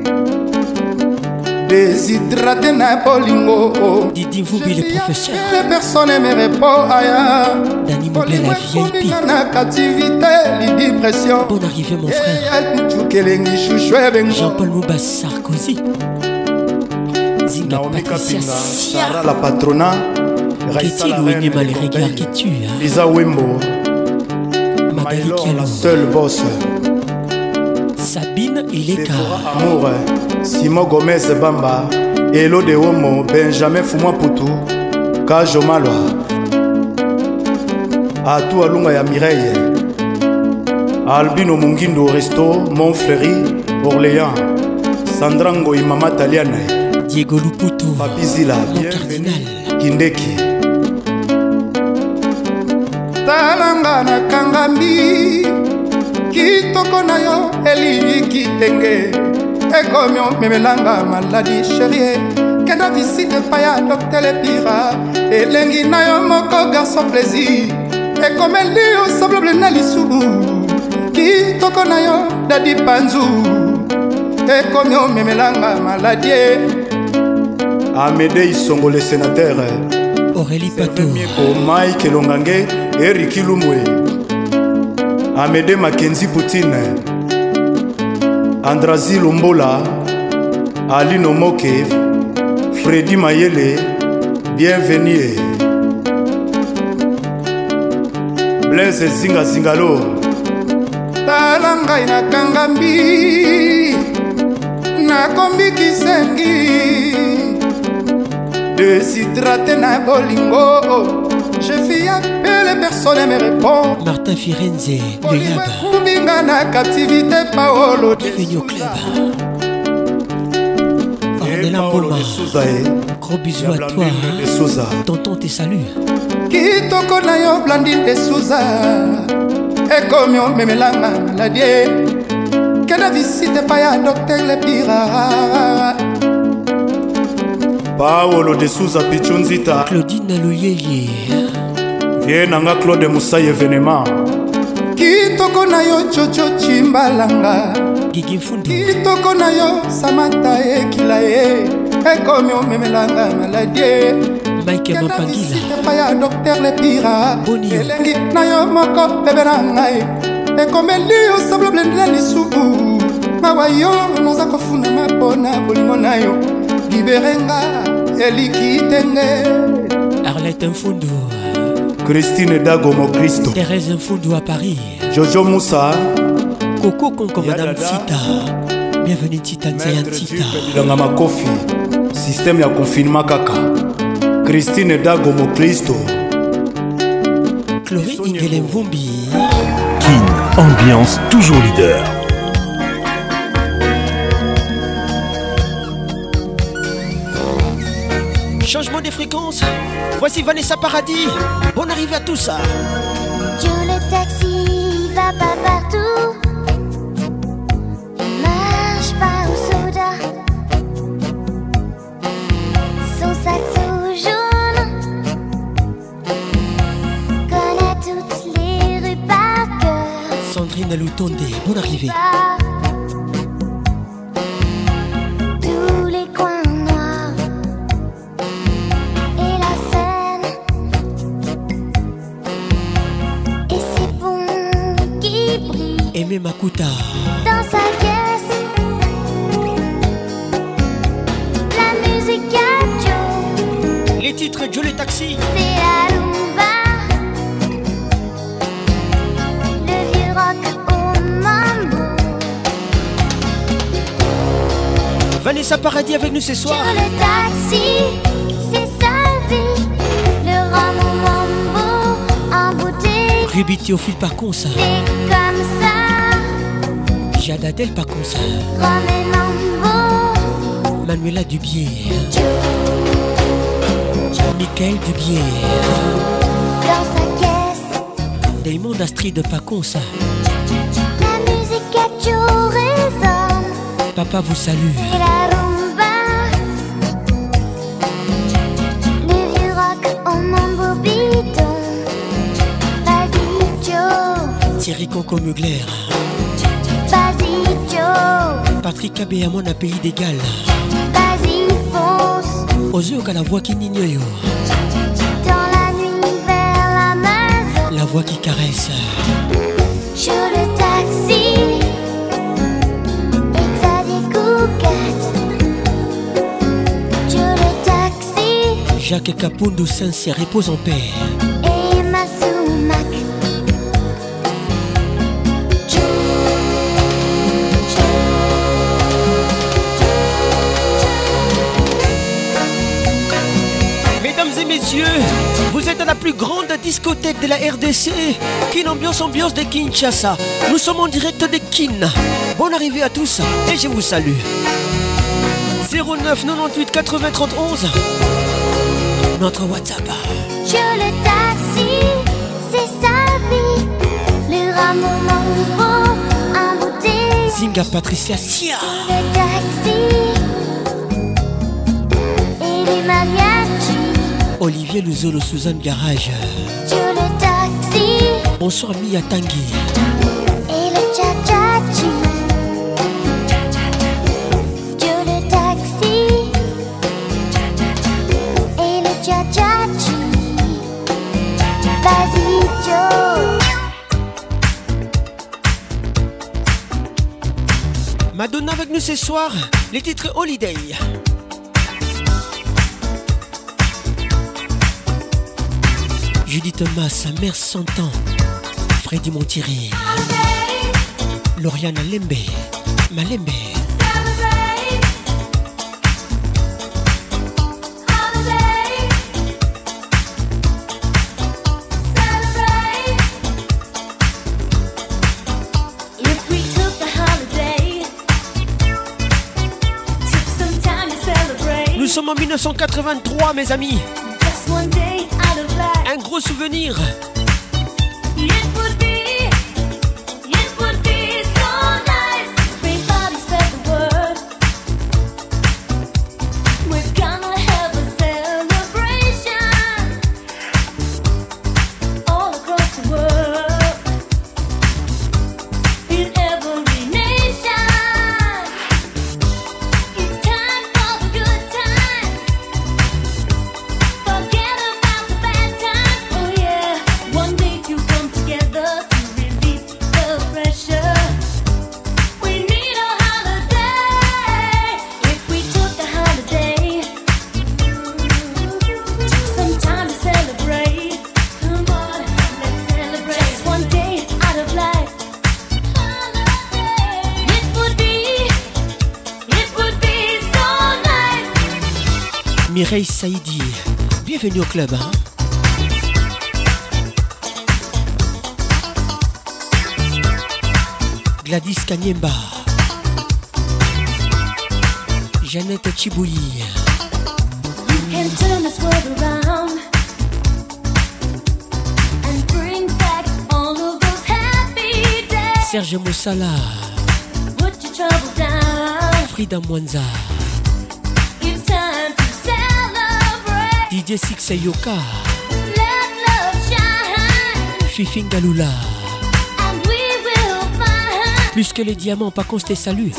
Déshydraté na bolingo. Didi Voubi le professeur. Les personnes me répondent aya. Dani Moubé la V I P. Na captivité, li dépression. Bonne arrivée mon frère. Jean-Paul Moubas Sarkozy. Zinga Patricia Sarah la patrona. Qu'est-il ou mal les regards qui tuent. Lisa Wimbo. Magali Kialou. La seule boss. Sabine Ileka. Amour. Simon Gomez Bamba. Elo de Homo. Benjamin Fumwa Poutou. Kajo Malwa. Atou Alunga ya Mireille. Albino Mungindo Resto. Montfleury. Orléans. Sandrango Imama Taliana. Diego Luputo. Papizila. Cardinal. Kindeki. Talanga na kangami. Kitoko na yo eli kitenge. Ekomyo memelanga maladi chérie. Kenda visite pa ya docteur le pira. Elengi na yo moko garçon plaisir. Ekomeli yo semblable na lisubu. kitoko na yo dadi panzu ekomi omemelanga maladie. Amédée Isongo le sénateur, Aurélie Pato, Mike Longange, Eric Lumwe, Amédée Mackenzie Poutine, Andrazi Lombola, Ali Nomoke, Freddy Mayele, bienvenue. Blaise Zinga Zingalo, talangai na kangambi na kombi kisengi déshydraté na bolingo. Je fais appeler, personne ne me répond. Martin Firenze, le Yaba. Kumbinga na captivité Paolo. Bienvenue au club. Ornella Mboma. Gros bisous à toi. Tonton te salue. Kitoko na yo Blandine de Souza. Ekomi omemelanga maladie. Kena visite pa ya docteur le pira. Paolo de Souza Pichunzita, Claudine Louyeye, Vienanga Claude Moussa événement. Kitoko na yo Jojo Chimbalanga, Gigi Fundu, Kitoko na yo Samantha Ekilaye, ekomi omemelanga maladie. Mike Mapangila, pa ya docteur le pira. Boni, elengi na yo moko bebe na ngai. Ekomeli yo sablo blendela lisuku. Mawa yo noza kofuna mapona bolingo na yo. Liberenga, Elikitenge, Arlette Mfundu, Christine Dagomo Christo, Thérèse Mfundu à Paris, Jojo Moussa, Coco Conco Madame Tita, bienvenue Tita Nzayan Tita, Langama Kofi, système ya confinement kaka, Christine Dagomo Christo, Chloé Ingele Mvumbi, Kin, ambiance toujours leader. Changement des fréquences. Voici Vanessa Paradis. Bonne arrivée à tous. Joe le taxi va pas partout. Il marche pas au soda. Son sac sous jaune connaît toutes les rues par cœur. Sandrine Loutonde, bonne arrivée. Aimé Makuta dans sa caisse. La musique à Joe. Les titres Joe le taxi. C'est la rumba. Le vieux rock au mambo. Vanessa Paradis avec nous ce soir. Joe le taxi, c'est sa vie. Le rhum au mambo en bouteille. Ruby Théophile par contre. C'est comme ça. Jadadel par contre. Mambo. Manuela Dubier. Michael Dubier. Dans sa caisse. Damon Astrid par contre. La musique à Joe résonne. Papa vous salue. C'est la rumba. Le vieux rock au mambo bidon. Vas-y Joe. Thierry Conco Mugler. Vas-y Joe. Patrick Abéamon à Pays d'Égal. Vas-y fonce. Ozio à la voix qui n'ignore. Dans la nuit vers l'Amazon. La voix qui caresse. Joe le taxi. Xavier Coucate. Joe le taxi. Jacques Capondo Saint-Cyr repose en paix. Et Masumak. Messieurs, vous êtes à la plus grande discothèque de la R D C, Kin Ambiance Ambiance de Kinshasa. Nous sommes en direct de Kin. Bonne arrivée à tous et je vous salue. zéro neuf quatre-vingt-huit quatre-vingts trente onze, notre WhatsApp. Joe le taxi, c'est sa vie. Le rameau mambo, un bouteille. Zinga Patricia Sia. Le taxi et les mariachis. Olivier Luzolo, Suzanne Garage. Joe le taxi. Bonsoir Mia Tanguy. Et le Madonna avec nous ce soir, les titres Holiday. Judith Thomas, Mère Santan, Freddy Montiré, Lauriane Lembe, Malembe. Nous sommes en mille neuf cent quatre-vingt-trois, mes amis. Un gros souvenir. Mireille Saïdi, bienvenue au club. Hein? Gladys Kanyemba, Jeannette Chibouyi, Serge Moussala, Frida Mwanza, D J Six Yoka, Fifi Galula. Plus que les diamants, pas qu'on se salue.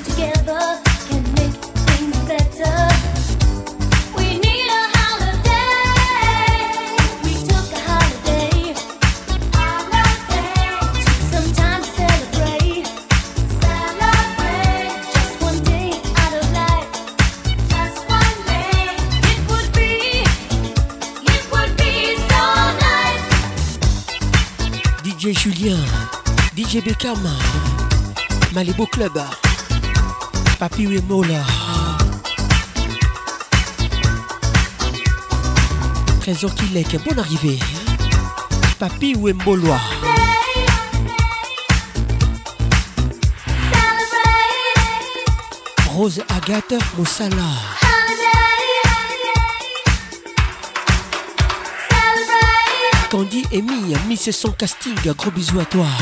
D J Julien, D J Beckham, Malibu Club, Papi Wemola, Trésor Kilek, bonne arrivée, Papi Wemboloa, Rose Agathe Moussala, Candy Amy, Miss son casting, gros bisous à toi.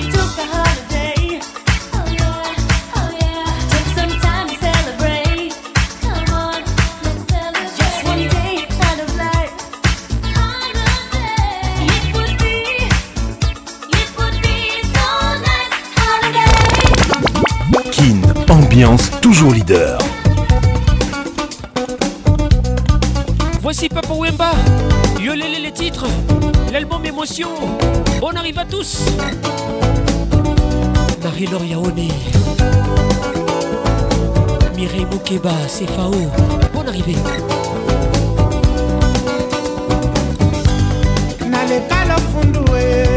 Kin, ambiance toujours leader. Voici Papa Wemba, Yolele les titres, l'album Émotion. Bonne arrive à tous. Marie-Laure Yaoné, Mireille Moukeba, C F A O. Bonne arrivée. Nalekalo fundue,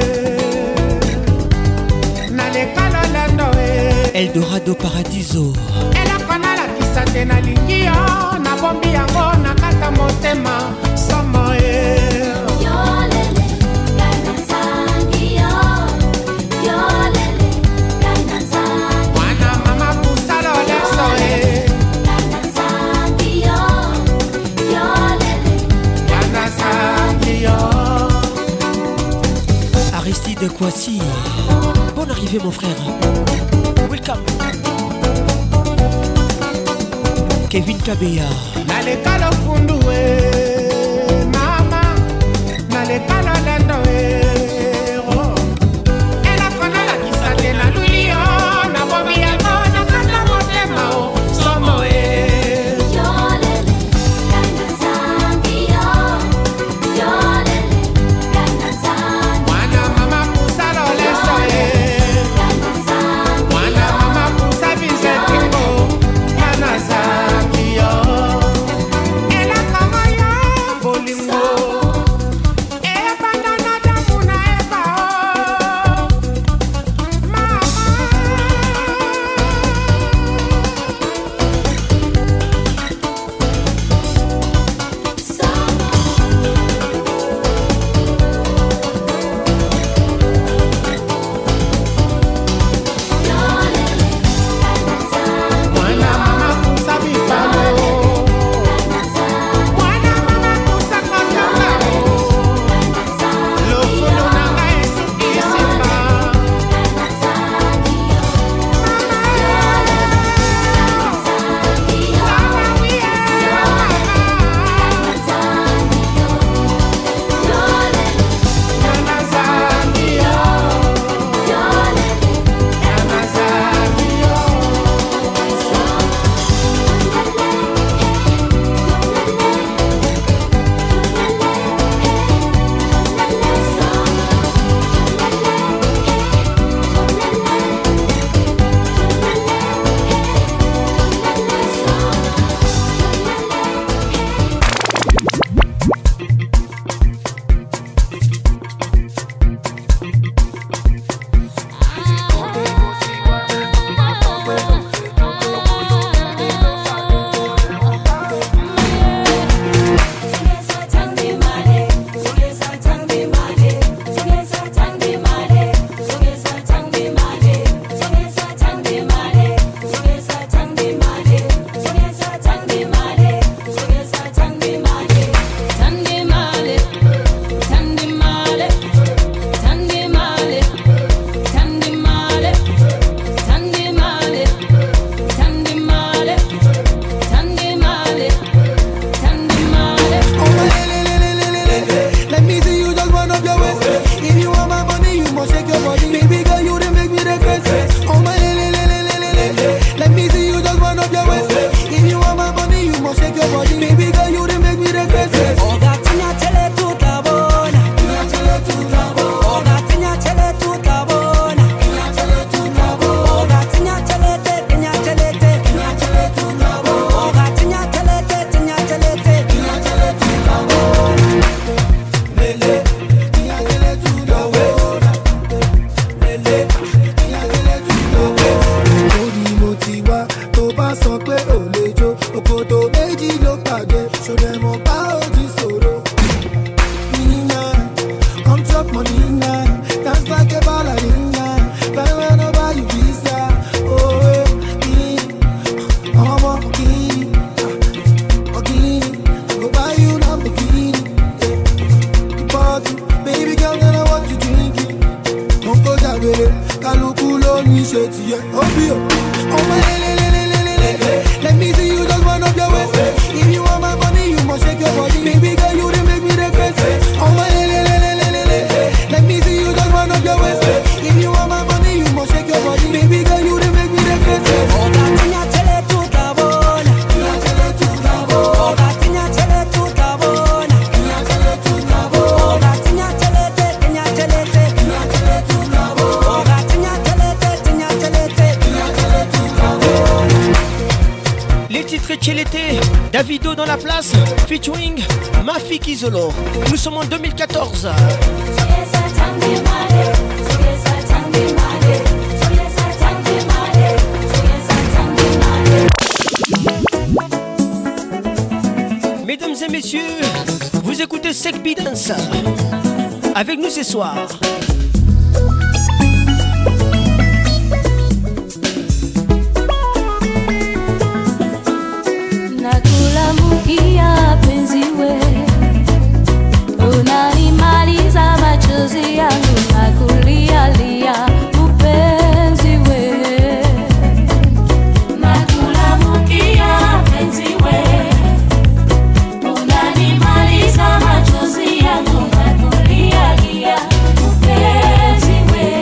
nalekalo landoe. Eldorado Paradiso. Elakona la kisate na lingio, na bombi yango na kata motema somo e. Yolele, gaina sangio. Yolele, gaina sangio. Wana mama pusalo leso e. Gaina sangio. Yolele, gaina sangio. Aristide Kouassi. Bonne arrivée mon frère. Welcome. Kevin Kabeya. Nalekalo fundue, mama. Nalekalo landoe. Oh. Elakona la kisate na lulio, na bombi yango na kata motema o somo e. Yolele, gaina sangio. Yolele, gaina sangio. Wana mama pusalo leso e. Gaina sangio. Wana mama pusa bizete. appreciate you, oh be oh. Oh my le le le le le le. Let me see you just run up your waist. If you want my money, you must shake your body. Baby girl, you dey make me regret. Oh my le le le le le le. Let me see you just run up your waist. If you want my money, you must shake your body. Baby girl, you dey make me regret. Oh gatinya chele tuta bona, tinya chele tuta bona. Oh gatinya chele tuta bona, tinya chele tuta bona. Oh gatinya chele te, tinya chele te, tinya chele tuta bona. Oh gatinya chele te, tinya chele te, tinya chele tuta bona. Les titres Chelete, Davido dans la place, featuring Mafik Izolo. Nous sommes en deux mille quatorze. Mesdames et messieurs, vous écoutez Sekbi Dance. Avec nous ce soir. Nakulamukia penzi we, unanimaliza machozi yangu, nakulialia upenzi we. Nakulamukia penzi we, unanimaliza machozi yangu, nakulialia upenzi we.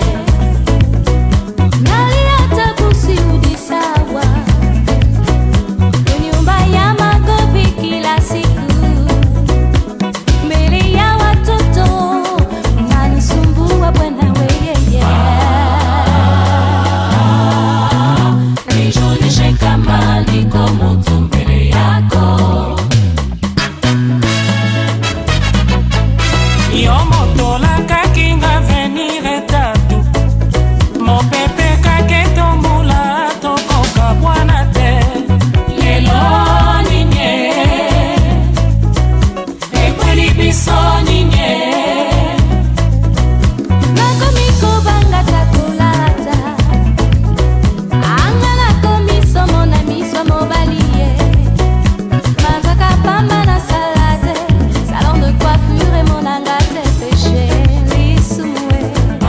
Nalia tabusi udisawa nyumba ya magovi kila siku, mbele ya watoto nanisumbua bwana weyeye. Nijulishe kama niko mtu mbele yako. Yo motola kakinga venire tatu, mopepe kaketomula tokoka bwana te. Lelo ninye, ekweli biso ninye. Nakomiko banga takulata, anga nakomiso mona miso mobalie. Mazaka pamba na salade, salon de coiffure et mon angate péché lisoué.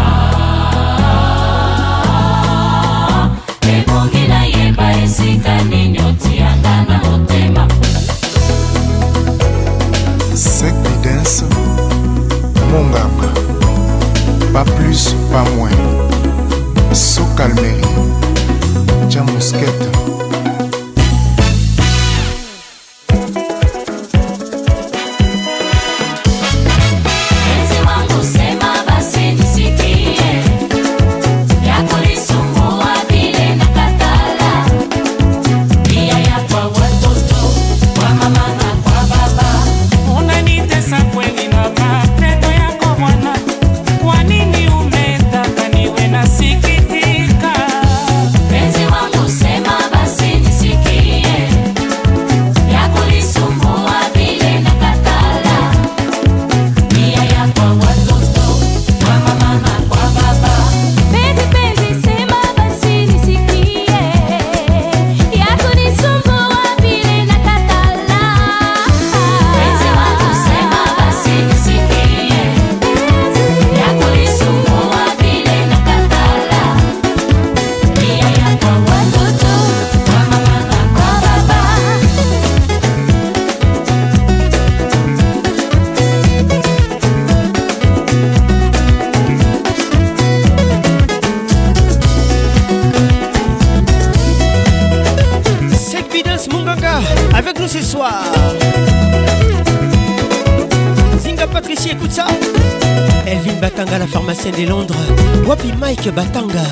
Ebongi na yeba esika ninyoti anga na motema. Sekbi Dance, Monganga, pas plus, pas moins. Socalmerie, Jamousquette. Penzi wangu sema basi nisikie, yako lisumbua vile nakatala. Pia ya kwa watoto, kwa mama na kwa baba. Unanitesa kweli na matendo yako mwana. Kwa nini umetaka niwe nasikitika? Penzi wangu sema basi nisikie, yako lisumbua vile nakatala. Pia ya kwa watoto, kwa mama na kwa baba. Penzi penzi sema basi nisikie, yako nisumbua vile nakatala. Penzi wangu sema basi nisikie, yako lisumbua vile nakatala. Pia ya kwa watoto, kwa mama na kwa baba. Sekbi Dance Munganga avec nous ce soir. Zinga Patricia, écoute ça. Elvin Batanga, la pharmacienne de Londres. Wapi Mike Batanga.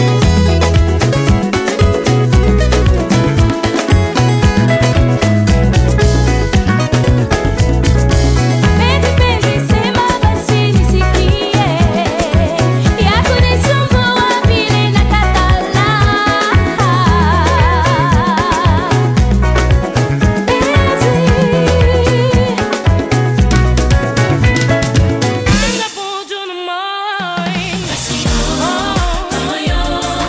Penzi penzi sema basi nisikie, yako nisumbua vile nakatala. Oh, yo.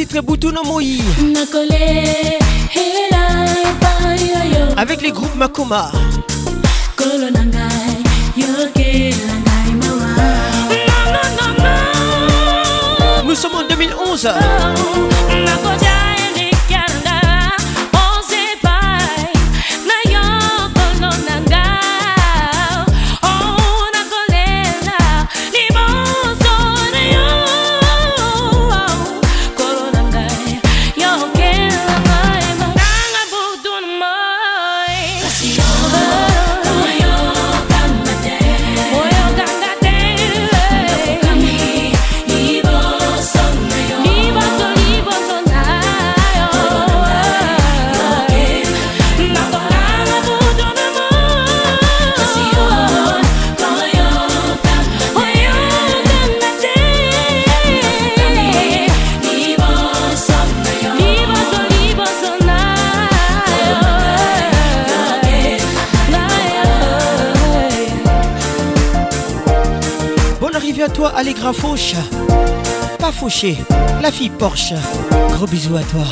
titre Boutouna Moi. Avec les groupes Makoma. Nous sommes en deux mille onze. À toi Allegra Fauche, pas Fauché, la fille Porsche. Gros bisous à toi.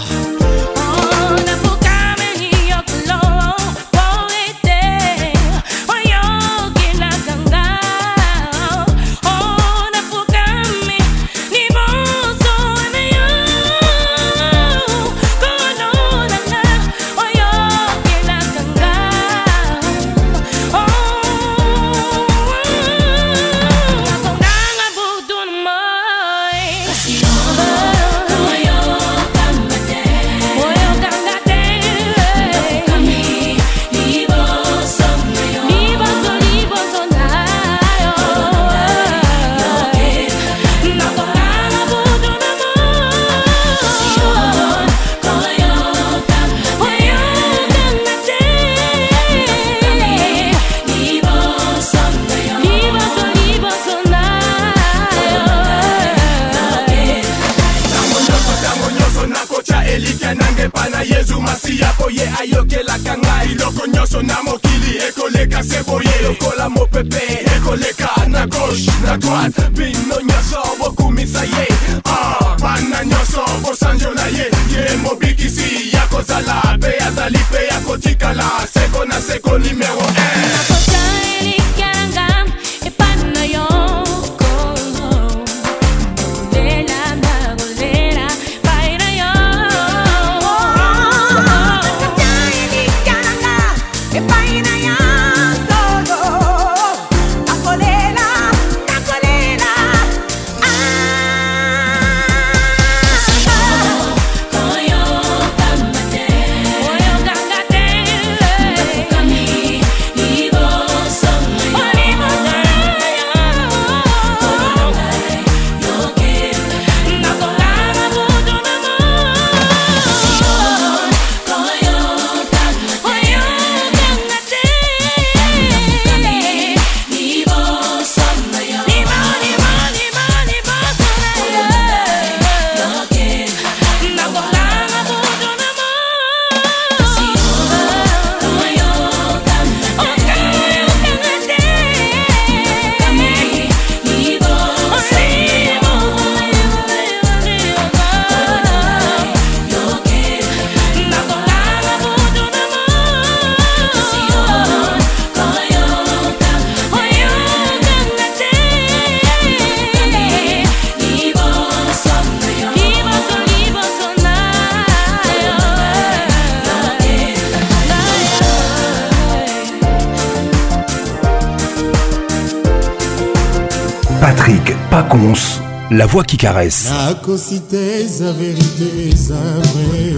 Patrick Pacons, la voix qui caresse. nakosite za verite za vrai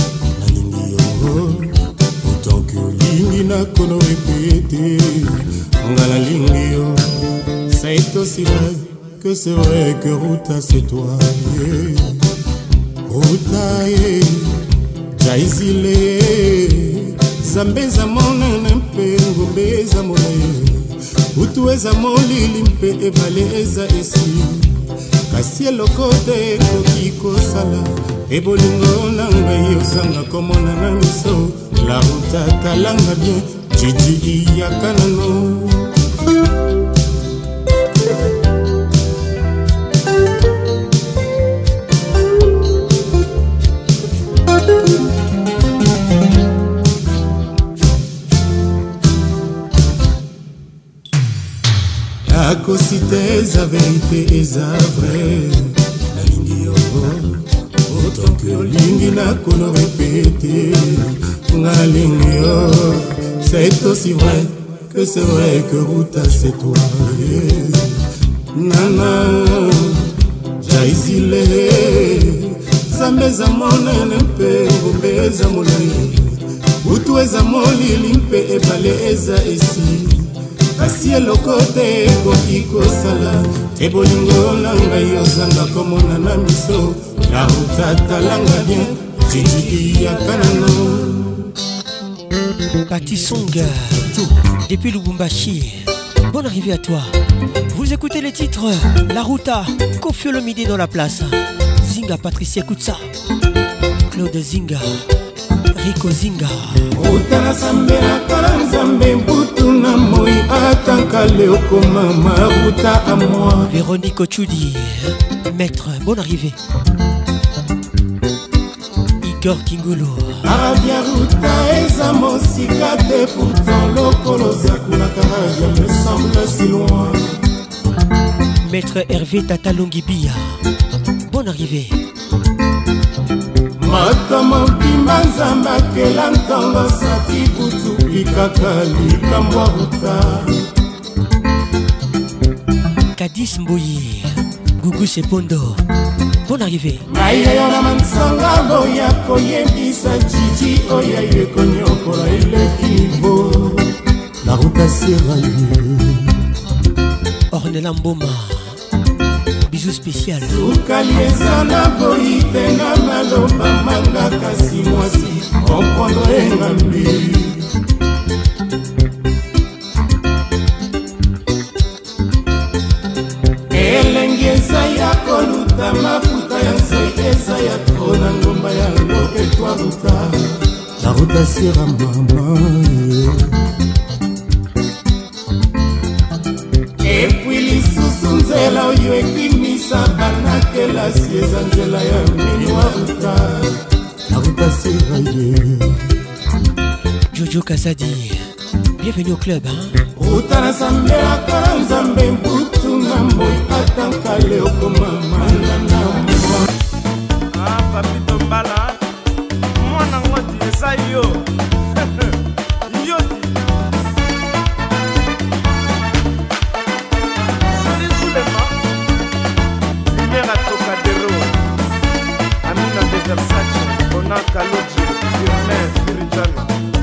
nalingi yango autant que lingi nakono répéter nga nalingi yo ça est aussi vrai que c'est vrai que Ruta c'est toi yeah. Ruta yeah. Jaizile zambeza mona mpe ngobeza mona utu eza molili mpe ebale eza esi kasi eloko te ekoki kosala ebolingo na ngai osanga komona na miso la Ruta talanga bien jiji iyaka nano nakosi te eza verite eza vrai nalingi yo autant que olingi nakono répéter nalingi yo c'est aussi vrai que c'est vrai que Ruta c'est toi nana jaisile zambe za monene mpe ngombe eza molai butu eza molili mpe ebale eza esi kasi eloko te ekoki kosala te bolingo na ngai ozanga komona na miso na utatalanga bien jijiki ya kanano Patti Song depuis Lubumbashi. Bonne arrivée à toi. Vous écoutez les titres La Ruta, Koffi Olomide dans la place, Zinga Patricia Kutsa, Claude Zinga, Rico Zinga. Ruta na sambela kala nzambe mbutu na moi atanka leo koma Ruta à moi. Véronique Ochudi, maître, bonne arrivée. Igor Kingulu. Arabia Ruta eza mosika te pourtant lokolo zakulaka je me semble si loin. Maître Hervé Tatalongibia, bonne arrivée. Makama bima nzamba kela ntango sati kutu likaka likambwa Ruta. Kadis Mboyi, Gugu Sepondo, bonne arrivée. Maïa na mansanga boya koyebisa jiji oya yekonyokola elekivo. La Ruta seraye. Ornella Mboma, bisous spécial. Ukalieza na boite na maloba manga kasi mwasi comprendre ngambi. Elengeza ya koluta mafuta ya nzoi eza ya trona ngomba ya loke twa Ruta. La Ruta sera mama. Et puis lisusu nzela oyo ekimisa banakela sieza nzela ya minwa Ruta. La Ruta sera ye. Jojo Kazadi, bienvenue au club, hein? Ruta na sambela kala nzambe mbutu na moi atanka leo koma malana mwa. Ah, Papito Mbala, mwana ngoti eza yo. Yoti. Soli Sulema, Lumera Tocadero, Amina de Versace, Ona Kaloji, Firmin Firijana.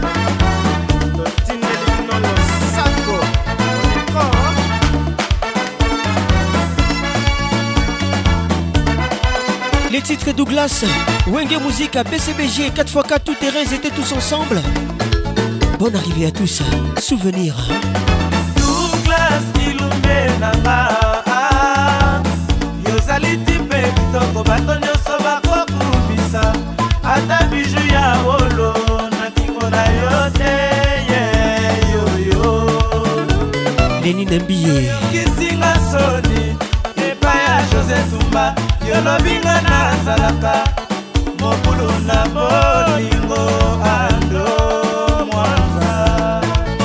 Les titres Douglas, Wenge Musique, B C B G, quatre fois quatre, tout terrain, ils étaient tous ensemble. Bonne arrivée à tous, souvenir. Douglas, Ilumbe Nanga, Yozali Tipe, Kitoko, Batonyo Soba, Kokubisa, Ata Biju ya Olo, Natingo na Yote, Yo Yo. Lénine Mbie, Kisinga Soni, Epaya José Tumba. Yolobinga na zalaka mokulu na bolingo ando mwanza.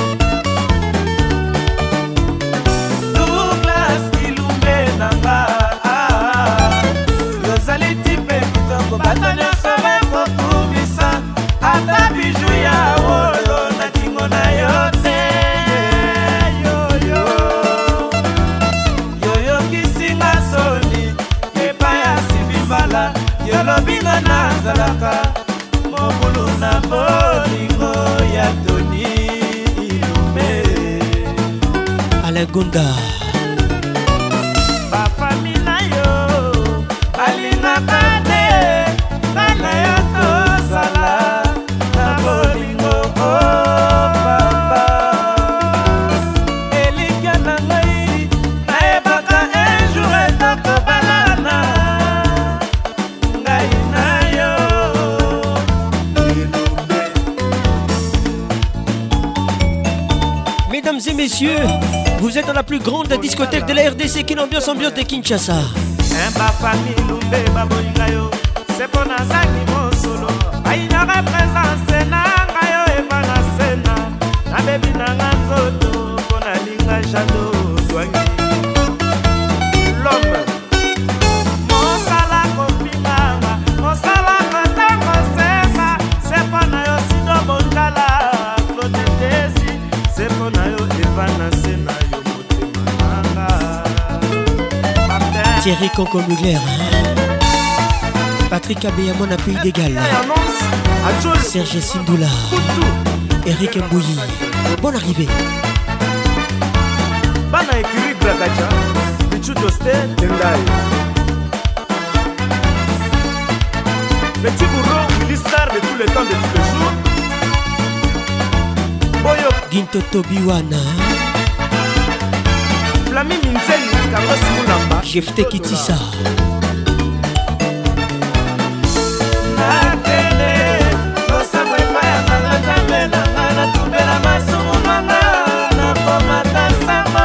Douglas Ilumbe nanga yozali tipe kitoko bato nyonso bekokubisa ata biju ya wolo na kingo na yo te. Yoyo yoyo kisinga soni yolobinga na zalaka mokulu na bolingo ya Tony Ilumbe. Alain Gonda, bafami na yo balingaka te bana yo tozala na bolingo o papa. Elikya na ngai nayebaka un jour etokobalana. Mesdames et messieurs, vous êtes dans la plus grande discothèque de la R D C qui l'ambiance ambiance de Kinshasa. Thierry Conco Mugler, Patrick Abeyamon à Pays d'Égal, Serge Sindoula, Eric Mbouyi. Bonne arrivée. Bana écurie Grakacha, Bichou Dosté, Tendai. Petit bourreau, ministère de tous les temps, de tous les jours. Boyo Gintoto Biwana, Flami Minzeni, Carlos Moulamba, Jefte Kitissa. Nakele, Osama Ipaya, Nangazame, Nangana, Tubela, Masumu, Manga, Nakomata, Samo.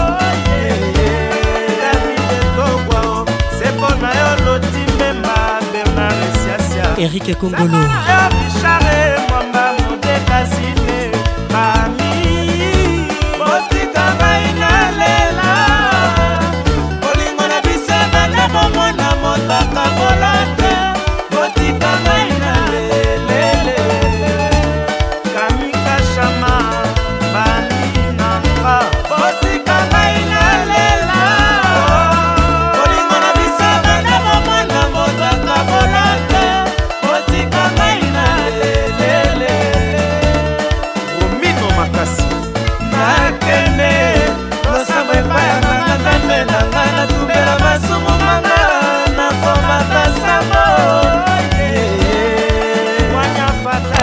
David Togwao, Sepona, Yolo, Timbemba, Bernard, Siasia. Eric Kongolo. Bichare, Mwamba, Modeka, Sine, Mami, Botika, Baina, Lela. Olingo na bisana, Nabo, Mwana, Motaka, Molante. Botika, Baina, Lele. Kamika, Shama, Bani, Namba. Botika, Baina, Lela. Olingo na bisana, Nabo, Mwana, Motaka, Molante. Botika, Baina, Lele. Romino Makasi. Nakene, Losamo Ipaya, Nangazambe, Nangana, Tubela, Masumu, Manga, Nakomata, Samo. Wanya Fata.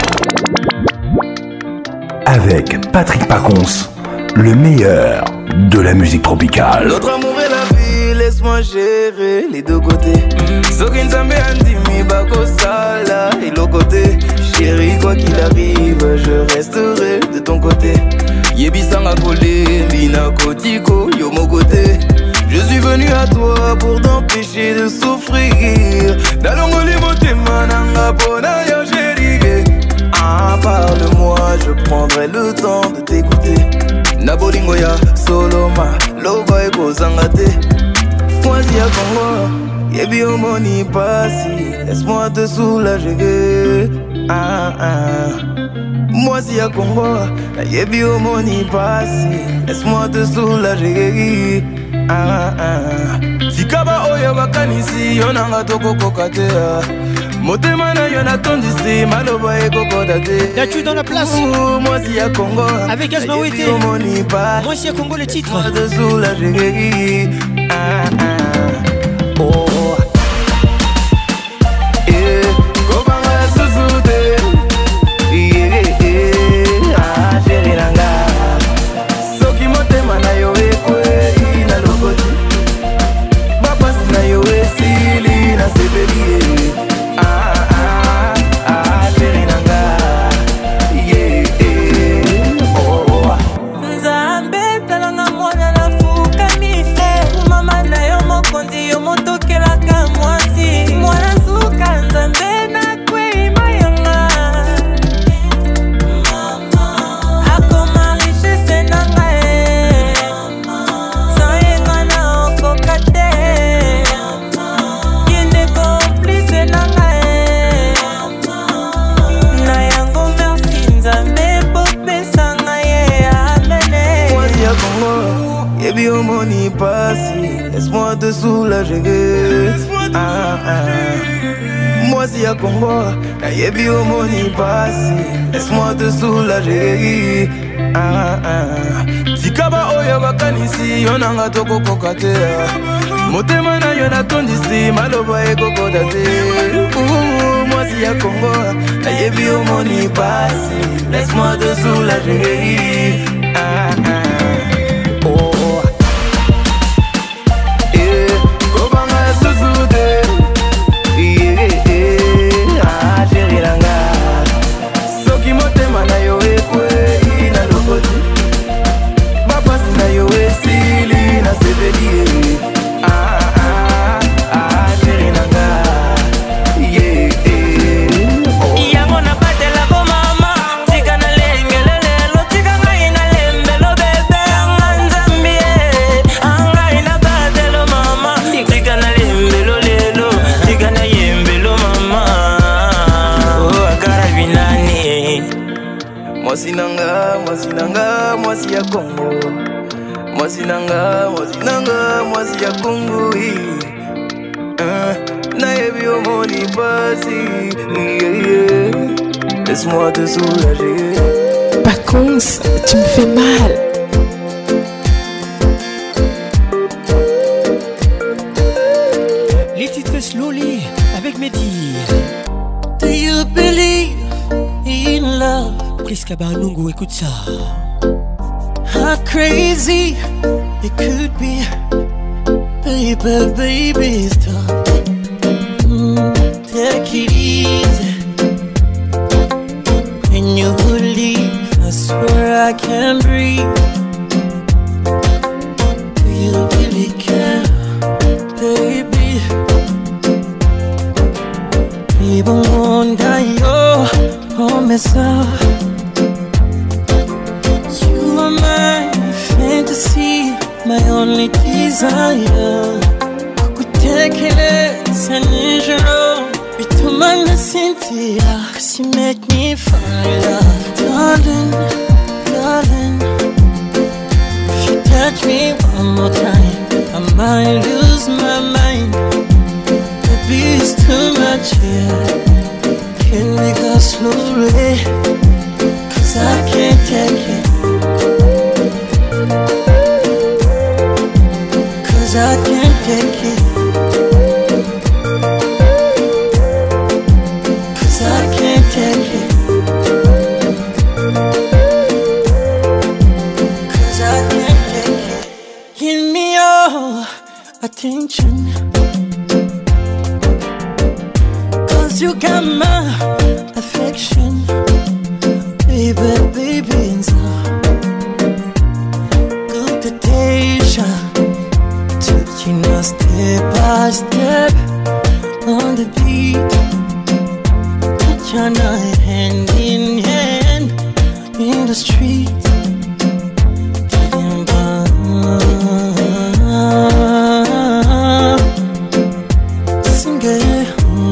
Avec Patrick Pacons, le meilleur de la musique tropicale. Notre amour est la vie, laisse-moi gérer les deux côtés. Soki Nzambe andimi bako sala et l'autre côté. Chérie, quoi qu'il arrive, je resterai de ton côté. Yebisanga kolé, bina kotiko, yo mon côté. Je suis venu à toi pour t'empêcher de souffrir. Dalongoli motema nanga pona yo chérie. Ah, parle-moi, je prendrai le temps de t'écouter. Nabolingo ya soloma, loba eko zangate. Moi si à Congo, yebi omoni pasi. Laisse-moi te soulager. Ah ah. Moi si à Congo, yebi omoni pasi. Laisse-moi te soulager. Ah ah. Sikaba oyo bakanisi yonanga toko kokatea. Motema na yo natondisi maloba ekokoda te. Là-tu dans la place. Moi si à Congo, avec Asma Ouete. Moi si à Congo le titre. De soulager. Ah ah. Oh. Eh, kobanga susute. Eh eh. Ah chérie nanga. Soki motema na yo ekwe na lokoti. Babasi na yo esili na sebeli. Ah ah ah chérie nanga. Yeah eh. Oh. Nzambe talanga mwana na fukami. Mama na yo mokonzi yo motokelaka mwasi. Mwana suka Nzambe na kwe mayanga. Akoma richesse nanga e. Sayenga na okokate. Yende complice nanga e. Na yango merci Nzambe popesanga ye amene. Moi si à Congo, yebi omoni pasi. Laisse-moi te soulager. Ah ah. Moi si à Congo, yebi omoni pasi. Laisse-moi te soulager. Ah ah. Sikaba oyo bakanisi yonanga toko kokatea. Motema na yo natondisi maloba ekokoda te. Moi si à Congo, yebi omoni pasi. Laisse-moi te soulager. Ah ah. Oh. Eh, kobanga susute. Eh eh. Ah chérie nanga. Soki motema na yo ekwe na lokoti. Babasi na yo esili na sebeli. Ah ah ah chérie nanga. Yeah eh. Oh. Yango na batela ko mama. Tika na lengelele lo tika ngai na lembelo bebe. Anga Nzambi anga ina batelo mama. Tika na lembelo lelo. Tika na yembelo mama. Oh akara binani. Mwasi nanga, mwasi nanga, mwasi ya Congo. Mwasi nanga, mwasi nanga, mwasi ya kongoi nayebi omoni pasi yeah, yeah. Laisse-moi te soulager. Paconce, tu me fais mal. Les titres Slowly avec Mehdi. Do you believe in love? Priska Barnungu, écoute ça. How crazy it could be. Baby, baby, stop. Mm, take it easy. When you leave, I swear I can't breathe. Do you really care, baby? Even wonder your promise. You are my fantasy, my only desire. Kukutekeleza nijoro bituma nasinzira. Cause you make me fall in love. Darling, darling, if you touch me one more time, I might lose my mind. Baby, it's too much here. Can we go slowly? Cause I can't take it. Cause I can't take it. Cause I can't take it. Cause I can't take it. Give me your attention. Cause you got my affection. Baby, baby, and so good to Deja. Taking us step by step on the beat. Put your night hand in hand in the street. Getting by. Sing it.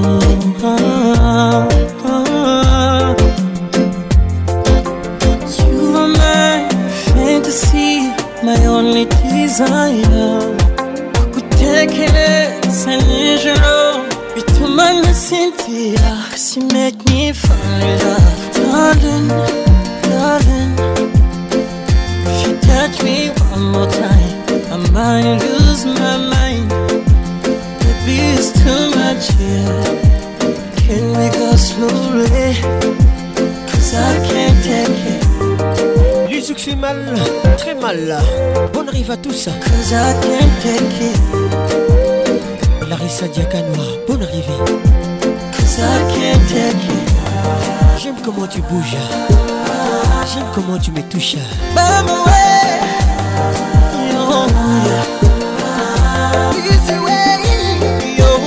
You are my fantasy, my only desire. Kukutekeleza nijoro bituma nasinzira. Cause you make me fall in love. Darling, darling, if you touch me one more time, I might lose my mind. Baby, it's too much here. Can we go slowly? Cause I can't take it. Luzouk fait mal, très mal. Bonne arrive à tous. Cause I can't take it. Larissa Diakanoa, bonne arrivée. Cause I can't take it. J'aime comment tu bouges. J'aime comment tu me touches. By my way, yo, yeah. Easy way, yo.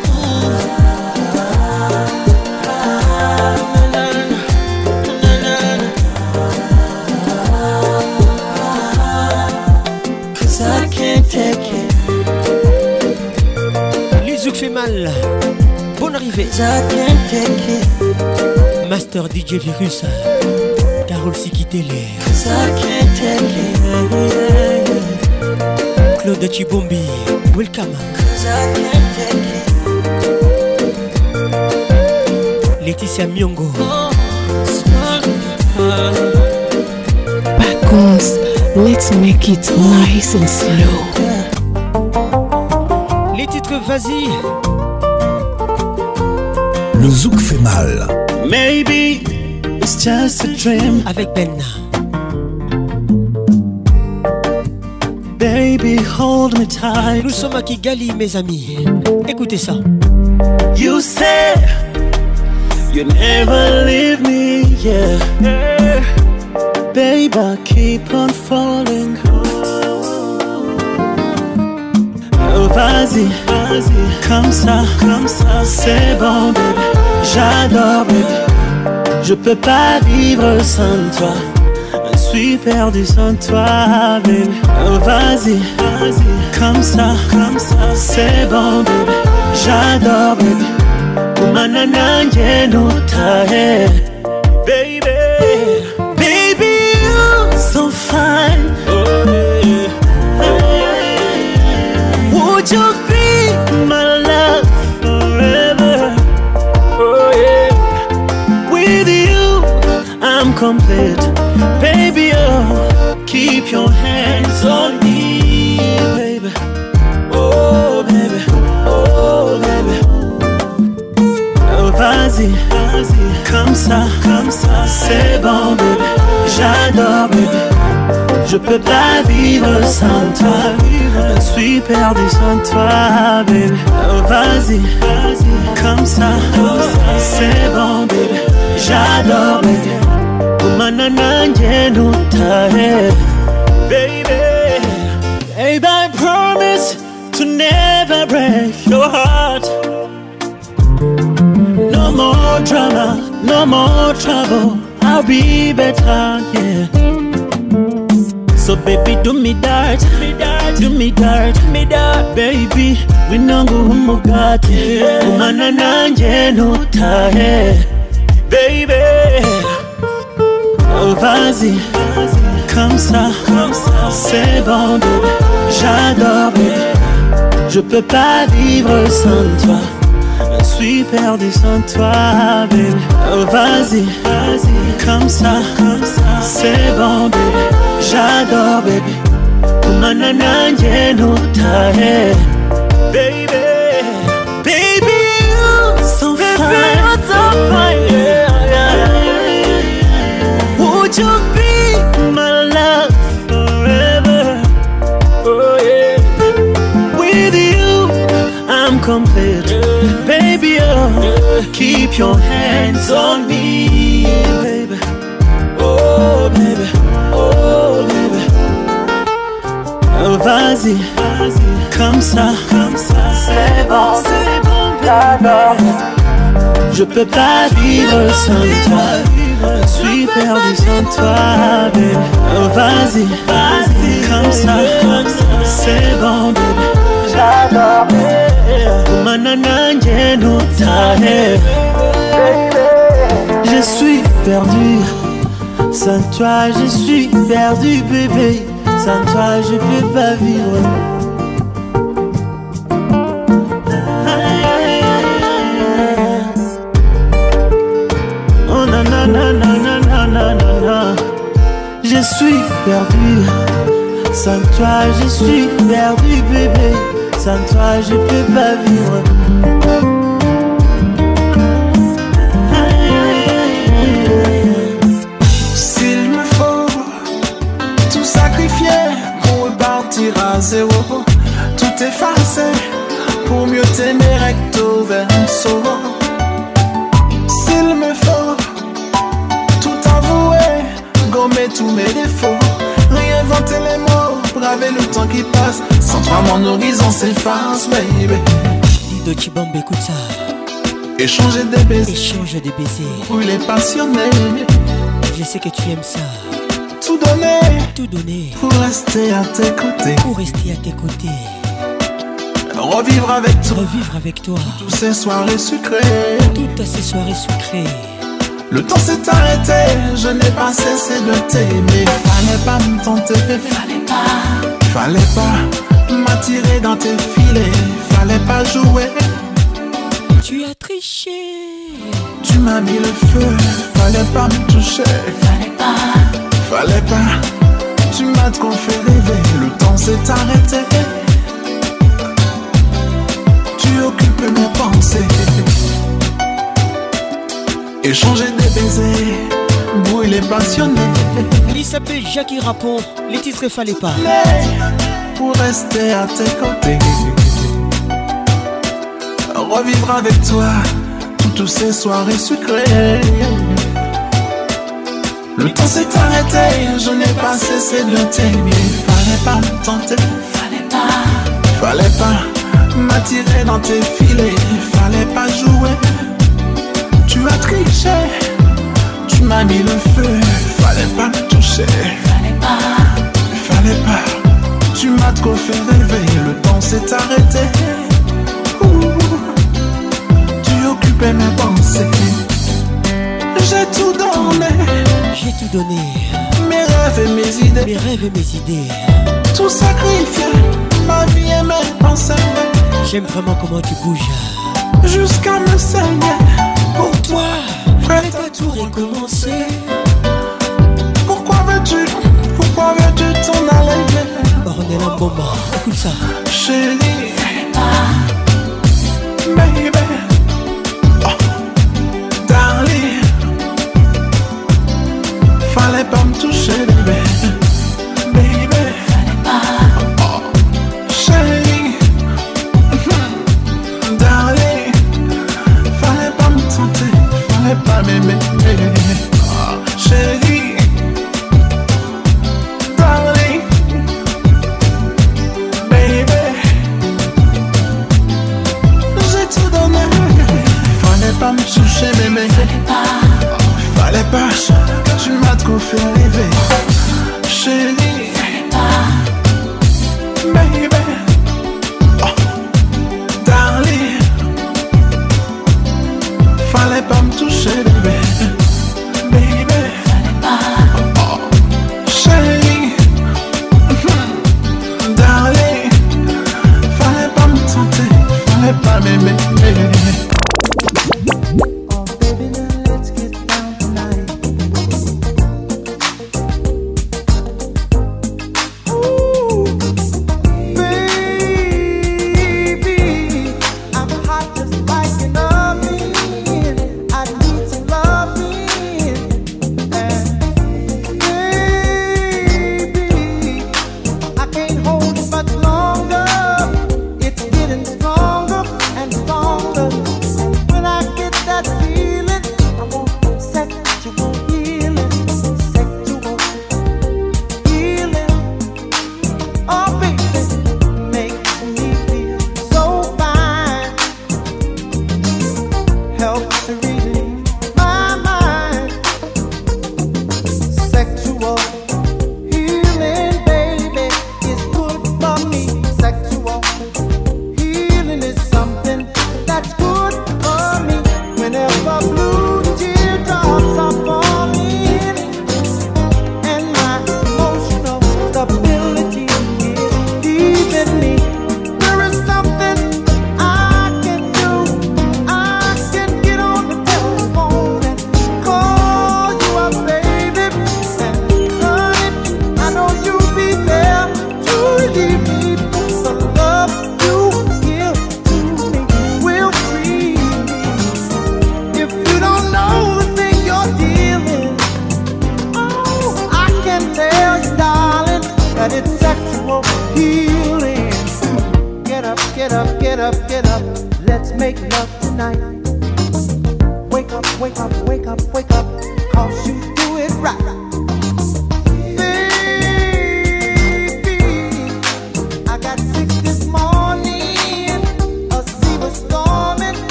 Cause I can't take it. Luzouk fait mal. Bonne arrivée. Cause I can't take it. Master D J Virus. Carole Sikitele. Cause I can't take it. Claude Chibombi. Welcome. Cause I can't take it. Laetitia Miongo. Paconce, let's make it nice and slow. Les titres, vas-y. Le zouk fait mal. Maybe it's just a dream. Avec Ben. Baby, hold me tight. Nous sommes à Kigali, mes amis. Écoutez ça. You said you never leave me, yeah. yeah. Babe, I keep on falling. Oh, vas-y, vas-y, comme ça, comme ça, c'est bon, baby. J'adore, baby. Je peux pas vivre sans toi. Je suis perdu sans toi, baby. Oh, vas-y, vas-y, comme ça, comme ça, c'est bon, baby. J'adore, baby. Kumana nanje no tahe, baby. Baby, you're so fine. Oh, yeah. Would you be my love forever? Oh yeah. With you, I'm complete. Baby, oh, keep your hands on me, baby. Oh, baby, oh, baby. Oh, vas-y, vas-y, comme ça, comme ça, c'est bon, baby. J'adore, baby. Je peux pas vivre sans toi. Je suis perdu sans toi, baby. Oh, vas-y, vas-y, comme ça, comme ça, c'est bon, baby. J'adore, baby. Kumana nanje nutahe, baby. Baby, I promise to never break your heart. No more drama, no more trouble. I'll be better, yeah. So baby, do me dirt, me dirt, do me dirt, me dirt, baby. We nangu umugati, kumana nanje nutahe, baby. Oh vas-y, comme ça, comme ça, c'est bon, baby. J'adore, baby. Je peux pas vivre sans toi. Je suis perdu sans toi, baby. Oh vas-y, vas-y, comme ça, comme ça, c'est bon, baby. J'adore, baby. Kumana nanje nutahe, baby. Baby, you so fine, so fine, yeah, yeah. Would you be my love forever? Oh yeah. With you, I'm complete. Baby, oh, keep your hands on me, baby. Oh, baby, oh, baby. Oh, vas-y, vas-y, comme ça, comme ça, c'est bon, c'est bon, j'adore. Je peux pas vivre sans toi. Je suis perdu sans toi, baby. Oh, vas-y, vas-y, comme ça, comme ça, c'est bon, baby. J'adore, baby. Kumana nanje nutahe, je suis perdu. Sans toi, je suis perdu, bébé. Sans toi, je peux pas vivre. Oh na na na na na na na na. Je suis perdu. Sans toi, je suis perdu, bébé. Sans toi, je peux pas vivre. S'il me faut tout sacrifier pour repartir à zéro, tout effacer pour mieux t'aimer recto verso. S'il me faut tout avouer, gommer tous mes défauts, réinventer les mots, braver le temps qui passe. Sans toi mon horizon s'efface, baby. Lido Chibambe, écoute ça. Échanger des baisers, échanger des baisers, brûler passionné. Je sais que tu aimes ça. Tout donner, tout donner pour rester à tes côtés, pour rester à tes côtés. Revivre avec toi, revivre avec toi. Toutes ces soirées sucrées, toutes ces soirées sucrées. Le temps s'est arrêté, je n'ai pas cessé de t'aimer. Fallait pas me tenter, fallait pas, fallait pas m'attirer dans tes filets, fallait pas jouer. Tu as triché, tu m'as mis le feu, fallait pas me toucher, fallait pas, fallait pas. Tu m'as trop fait rêver, le temps s'est arrêté. Tu occupes mes pensées. Échanger des baisers, brûler passionné. Il s'appelle Jackie Rapon, les titres fallait pas. Pour rester à tes côtés, revivre avec toi toutes ces soirées sucrées. Le temps s'est arrêté, je n'ai pas cessé de t'aimer. Fallait pas me tenter, fallait pas, fallait pas m'attirer dans tes filets, fallait pas jouer. Tu as triché, tu m'as mis le feu, fallait pas me toucher, fallait pas, fallait pas. Tu m'as trop fait rêver, le temps s'est arrêté. Ouh, tu occupais mes pensées. J'ai tout donné, j'ai tout donné. Mes rêves et mes idées, mes rêves et mes idées. Tout sacrifié, ma vie et mes pensées. J'aime vraiment comment tu bouges. Jusqu'à me saigner. Pour toi, prête à tout recommencer. Pourquoi veux-tu, pourquoi veux-tu t'en aller? Ornella Mboma, écoute ça. Chérie, baby, oh, darling, fallait pas me toucher, baby, baby, fallait pas, oh, chérie, darling, fallait pas me tenter, fallait pas m'aimer, oh, chérie, darling, baby, j'ai tout donné, fallait pas me toucher, bébé, fallait pas, fallait pas, tu m'as trop fait rêver, chérie, fallait pas, baby, oh, darling, fallait pas me toucher, bébé, baby, fallait pas, oh, chérie, darling, fallait pas me tenter, fallait pas m'aimer.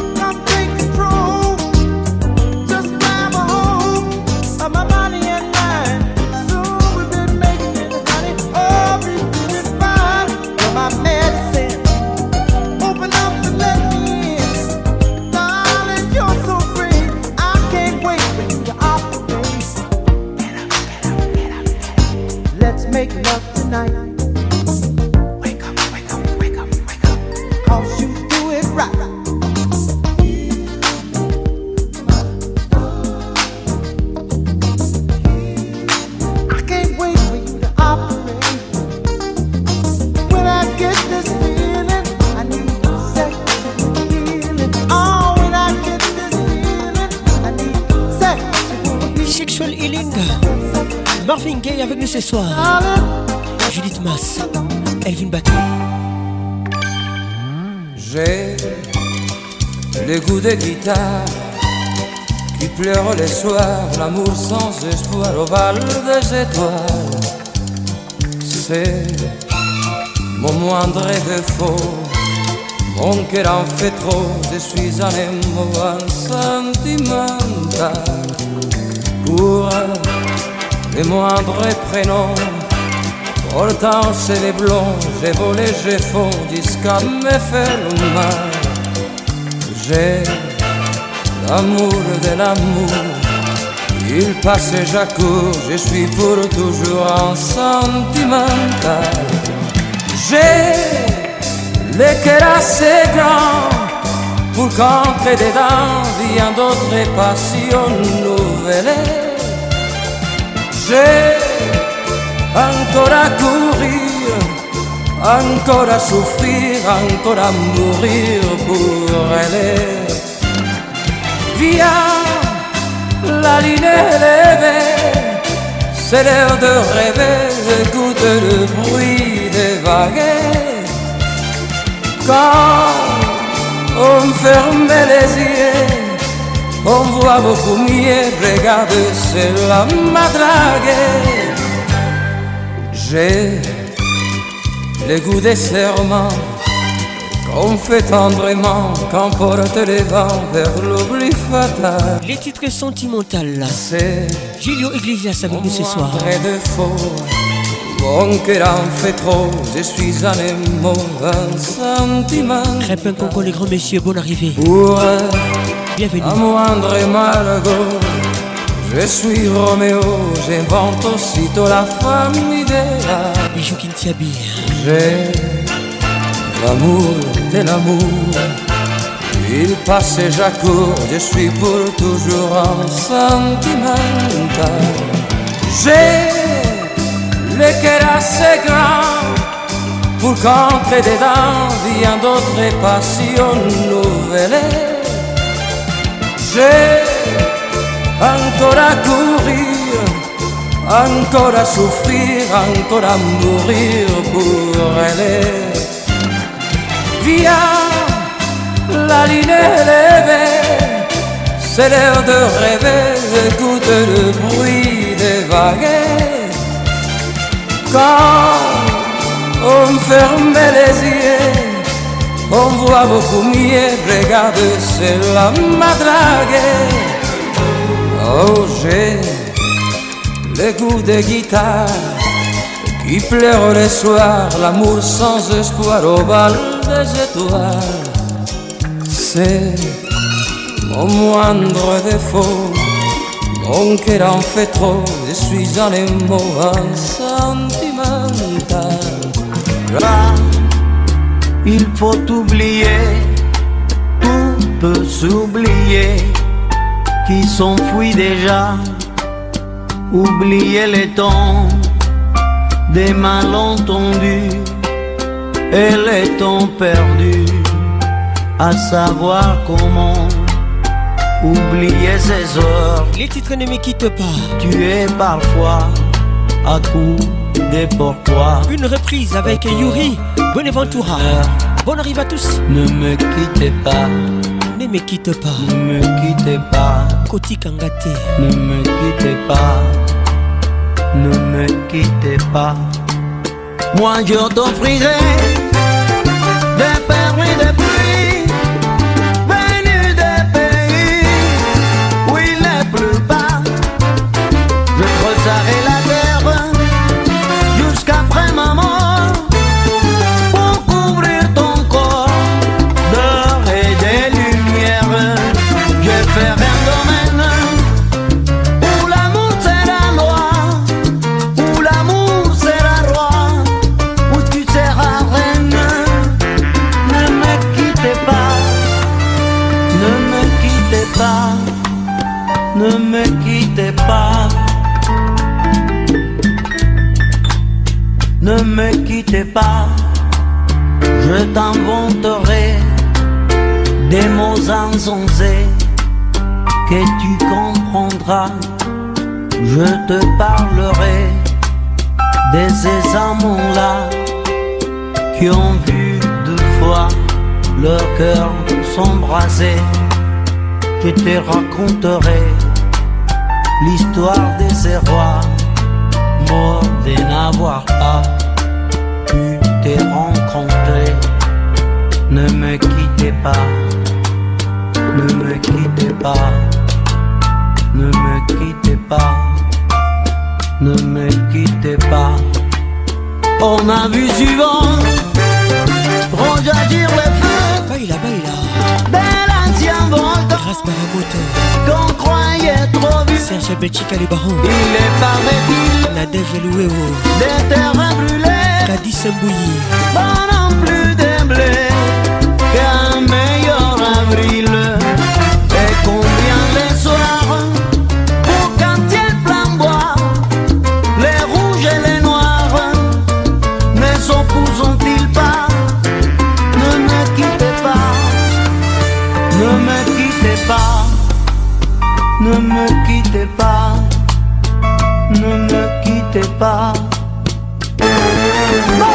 My body and my Sexual Healing. Marvin Gaye avec nous ce soir. Judith Mass, Elvin Bateau. J'ai le goût de guitare qui pleure les soirs, l'amour sans espoir au bal des étoiles. C'est mon moindre défaut, mon cœur en fait trop, je suis un émouvant sentimental. Pour les moindres prénoms, pourtant c'est les blonds, j'ai volé, j'ai faux, jusqu'à me faire mal. J'ai l'amour de l'amour, il passe et j'accours, je suis pour toujours un sentimental. J'ai le cœur assez grand pour qu'entre dedans bien d'autres passions nouvelles. J'ai encore à courir, encore à souffrir, encore à mourir pour elle. Viens, la ligne est levée, c'est l'heure de rêver, écoute le bruit des vagues. Quand on ferme les yeux, on voit beaucoup mieux, regarde, c'est la madrague. J'ai le goût des serments qu'on fait tendrement, qu'emporte les vents vers l'oubli fatal. Les titres sentimentaux. C'est Julio Iglesias avec nous ce soir. De faux, mon cœur en fait trop, je suis un émo, un sentiment. Crépin Conco, les grands messieurs, bonne arrivée. Pour bienvenue. À moindre Margot, je suis Roméo, j'invente aussitôt la femme idéale. Bijou Kintiabi. J'ai l'amour de l'amour, il passe et j'accours, je suis pour toujours un sentimental. J'ai le cœur assez grand pour qu'entre dedans bien d'autres passions nouvelles. J'ai encore à courir, encore à souffrir, encore à mourir pour elle. Viens, la ligne est levée, c'est l'heure de rêver, écoute le bruit des vagues. Quand on ferme les yeux, on voit beaucoup mieux, regarde, c'est la madrague. Oh, j'ai le goût de guitare qui pleure le soir, l'amour sans espoir au bal des étoiles. C'est mon moindre défaut, mon cœur en fait trop, je suis un émo, un sentimental. Là, il faut oublier, tout peut s'oublier, qui s'enfuit déjà, oublier les temps des malentendus et les temps perdus, à savoir comment oublier ces heures. Les titres ne me quittent pas. Tu es parfois à coup de pourquoi. Une reprise avec Yuri Bonaventura. Bonne arrive à tous. Ne me quittez pas. Ne me quitte pas. Ne me quittez pas. Koti Kangate. Ne me quittez pas. Ne me quittez pas. Moi je t'offrirai des perles et des pluies venues des pays où il n'est plus bas. Je creuserai la terre jusqu'après ma mort pour couvrir ton corps d'or et de lumière. Je ferai un domaine où l'amour sera loi, où l'amour sera roi, où tu seras reine. Ne me quittez pas, ne me quittez pas, ne me quittez pas. Ne me quittez pas, je t'inventerai des mots insensés que tu comprendras je te parlerai de ces amants-là qui ont vu deux fois leur cœur s'embraser. Je te raconterai l'histoire de ces rois morts de n'avoir pas pu te rencontrer. Ne me quittez pas, ne me quittez pas, ne me quittez pas, ne me quittez pas. On a vu suivant rejaillir le feu. Baila, baila. De l'ancien volcan. Grâce Baramoto. Qu'on croyait trop vu. Serge Belchica les barons. Il est paraît-il. Nadège Louéo. Des terrains brûlés. Cadis Sambouilly. Pas non plus de blé qu'un meilleur avril. Et combien les soirs pour quand il flamboie, les rouges et les noirs ne s'opposent-ils pas? Ne me quittez pas, ne me quittez pas, ne me quittez pas, ne me quittez pas. Oh!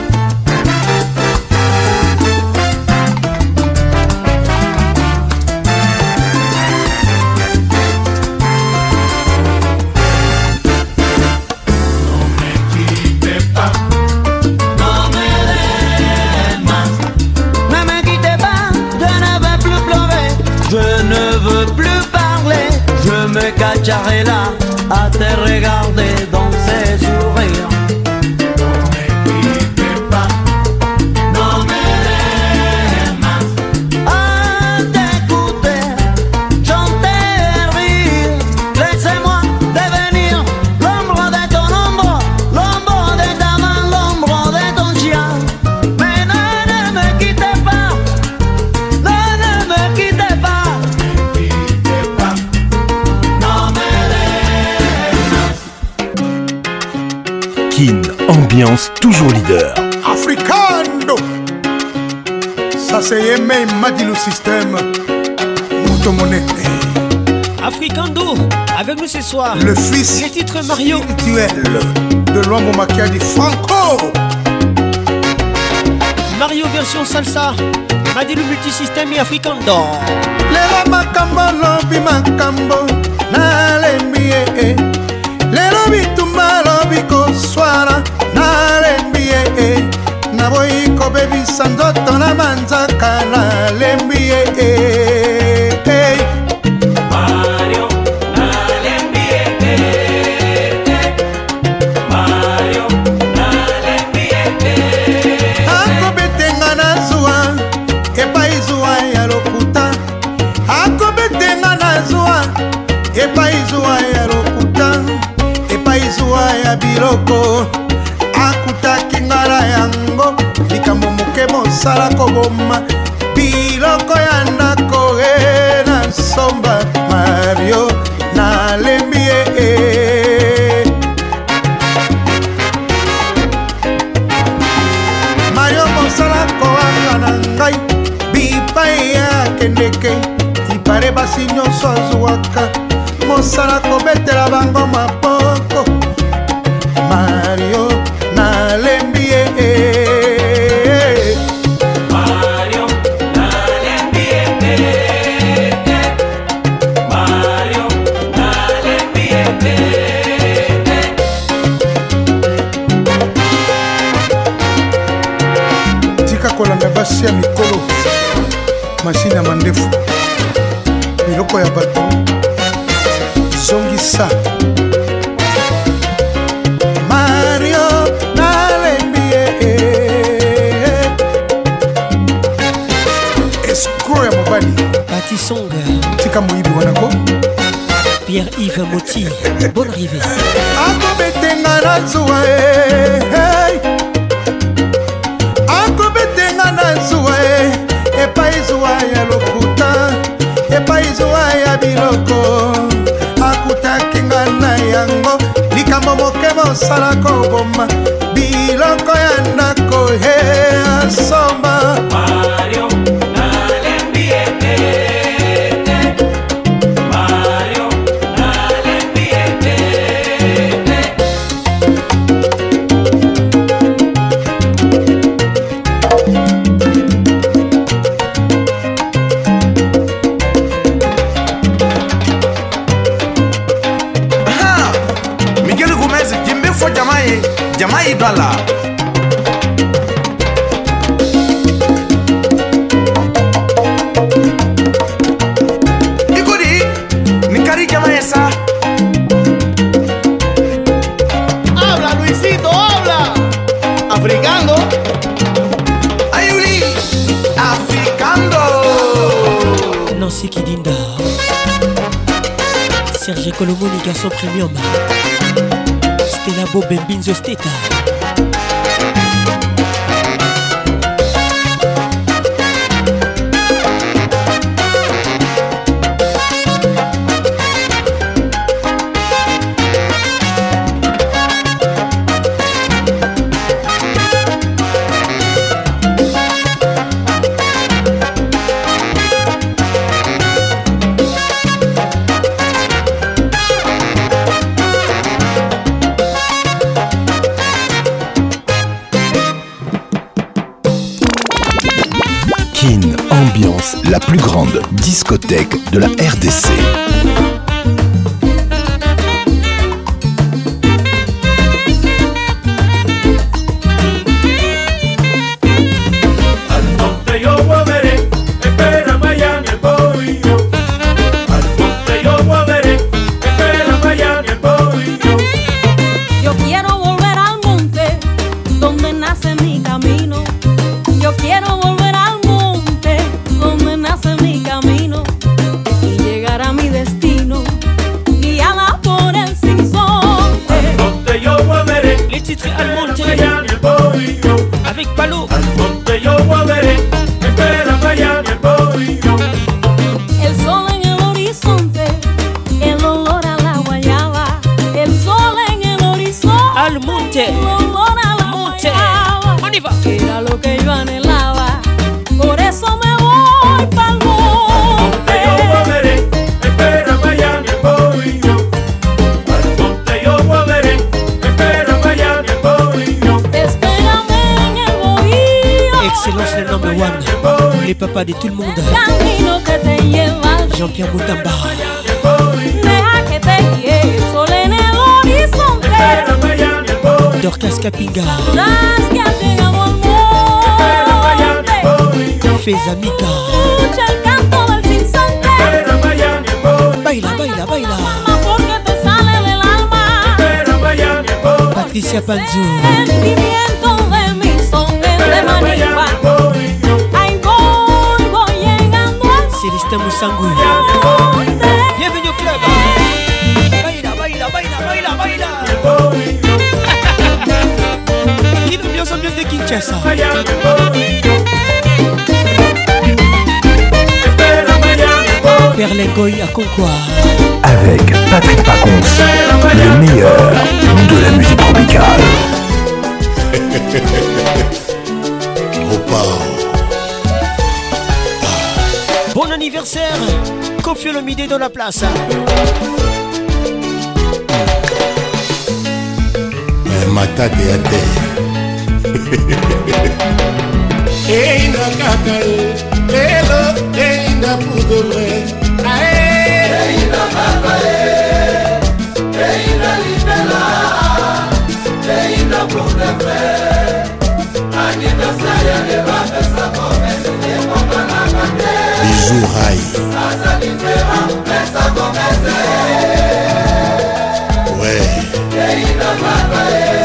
Cacharela à te regarder dans ses sourires. Non me quittez pas, non me demas. À t'écouter, chanter et rire. Laissez-moi devenir l'ombre de ton ombre, l'ombre de ta main, l'ombre de ton chien. Mais ne, ne me quittez pas, non, ne me quittez pas. Kin, ambiance toujours leader. Africano. Ça c'est Yemei Madilu Système. Mouto Monete. Africando, avec nous ce soir. Le fils les titres Mario spirituel de l'homme Macchiadi Franco. Mario version salsa. Madilu multisystème et Africando. Lelo makambo lobi makambo na lembie. Lelo bitumba lobi koswara na lembie. Na boy ko baby sandoto na manzaka na lembie. Mario na lembie. Mario na lembie. Ako betenga na zuwa epa izuwa ya lokuta. Ako betenga na zuwa epa izuwa ya lokuta. Epa izuwa ya biloko. Akutaki ngala yango likambo moke mosala koboma biloko ya ndako e na somba Mario na lembie. Mario mosala koanga na ngai bipai ya kendeke ipare basi nyonso azwaka mosala kobetela bango maboko Mario na lembie. Mario na lembie. Mario na lembie. Tika kolanda basi ya mikolo mashine ya mandefu biloko ya bato zongisa Mario na lembie. Escrow ya mobali Pati Songa tika moyibi wanako Pierre-Yves Moti. Bonne arrivée. Ako betenga na zuwa hey. Ako betenga na zuwa epa izuwa ya lokuta. Epa izuwa ya biloko. Akutaki nga na yango likambo moke mosala koboma biloko ya ndako he asomba Mario na lembie. Mario na lembie. Kidala. Ikudi, Nikari Jamaesa. Habla, Luisito, habla. Africando. Ayuli, Africando. Nancy Kidinda. Serge Colomoni, garçon premium. Stella Bobembinzo Steta. Ambiance, la plus grande discothèque de la R D C. Yo quiero volver al monte donde nace mi camino. Yo quiero volver al monte donde nace mi camino y llegar a mi destino guiada por el sinsonte. Al monte yo volveré. Les titres Al monte avec Palo. Al monte yo volveré. Espera Miami el pollo. El sol en el horizonte, el olor a la guayaba. El sol en el horizonte, Al monte. el olor a la Monte. guayaba. On y va. Era lo que yo anhelaba, por eso me voy pa'l monte. Yo volveré. Espera Miami el pollo. Al monte yo volveré. Espera Miami el pollo. Espérame en el bohío. Excellence le number one. Les papas de tout le monde. Camino que te lleva, Jean-Pierre Moutamba. deja que te guíe el sol en el horizonte. Dorcas Capinga. Las que has llegado al monte. Fez Amica. Escucha el canto del sinsonte. Baila, baila, baila. Porque te sale del alma. Patricia Panzo. Sentimiento de mi son de Manigua. Ahí voy, voy llegando al Célestin Moussangou. Bienvenue au club. Baila, baila, baila, baila, baila. Une ambiance, ambiance de Kinshasa. Perlengoy à Concours. Avec Patrick Pacons, le meilleur de la musique tropicale. Bon anniversaire, Kofi Olomide dans la place. matate ya te einda kaka lelo einda pour de vrai einda kaka einda libela einda pour de vrai anniversaire de bapesa komese de mokana kate bijou rai asa différent pesa komese ouais einda kaka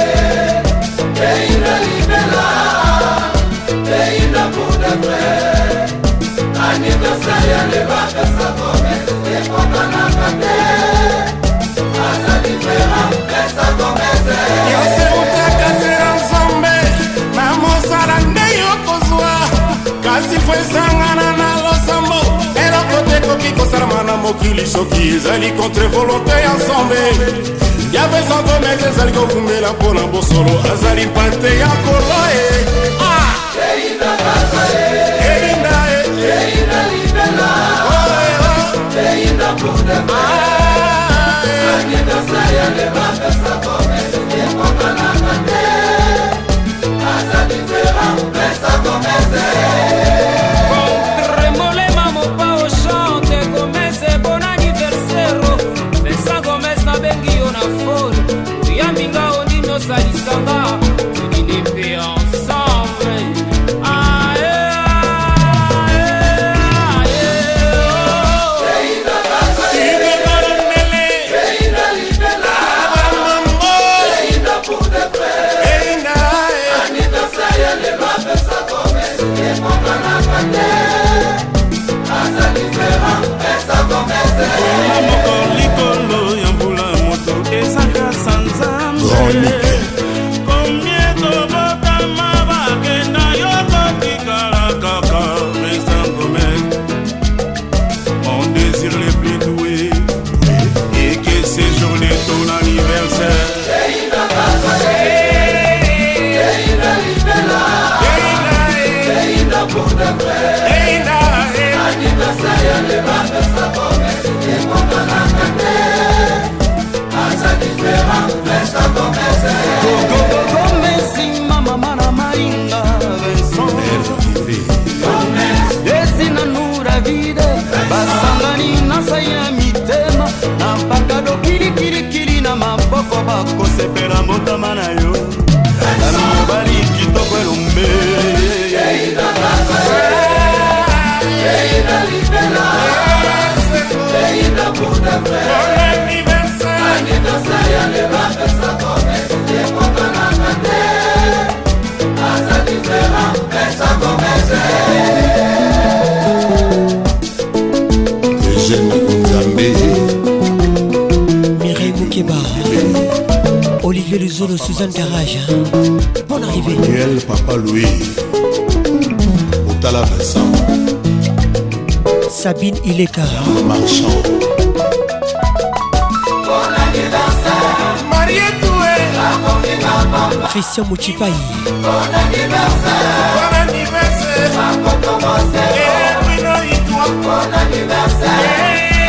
einda libela einda pour de vrai anniversaire de bapesa komese de mokana kate asa différent pesa komese yose utakasera nzombe namosala nde yokozwa kasi fo esangana na losambo eloko te koki kosalama na mokili soki ezali contre volonté ya nzombe yabe sangomese ezali kokumela mpo na bosolo azali mpate ya kolo e einda kaka e einda e einda libela einda pour de vrai anniversaire de bapesa komese de mokana kate asa différent pesa komese Remole mamo pa o chante komese bon anniversaire pesa komese na bengi yo na phone ya minga ondino salisanga Gomezima mama na maringa Desina nura vide Basangani na saya mitema Na bakado kili kili kili na maboko bako sepera motama na yo Na mobali kitoko elombe Yeida bakose Yeida libela Yeida buda vre Anniversaire ya leba pesa kome Yepo kanakate Asa diferent pesa kome Eugène Nzambe Mireille Moukeba Olivier Luzolo, Suzanne Garage. Bonne arrivée. Manuel Papa Louis Otala Vincent Sabine Ileka Marchand. Bon anniversaire Marie Toué Christian Mouchipaï. Bon anniversaire Bon anniversaire Makoto Mosero Bon anniversaire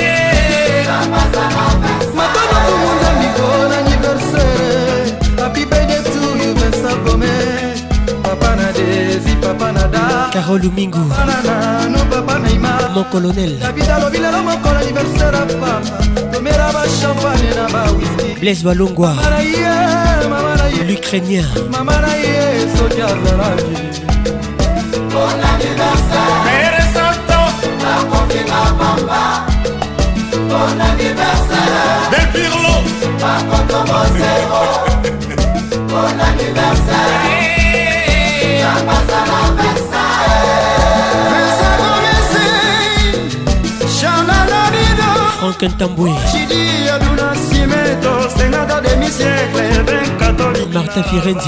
Matana kumunda miko Bon anniversaire Happy birthday to you Vincent Gomez Papa na Desi Papa na Da Carole Mingu no Papa Neymar Mon colonel David Alobila no mon anniversaire Papa Tomera ba champagne na ba whisky Blaise Walongwa Mama ye Mama ye l'Ukrainien Mama ye Sodia Zaraji Bon anniversaire Mere Santo La confirma Bamba Bon anniversaire Del Pirlo Makoto Mosero Bon anniversaire Chapasa la Versailles Vincent Gomez Chana Lorido Franck Ntamboué Chidi Aduna Simeto Senado demi-siècle Ben catholique Martin Firenze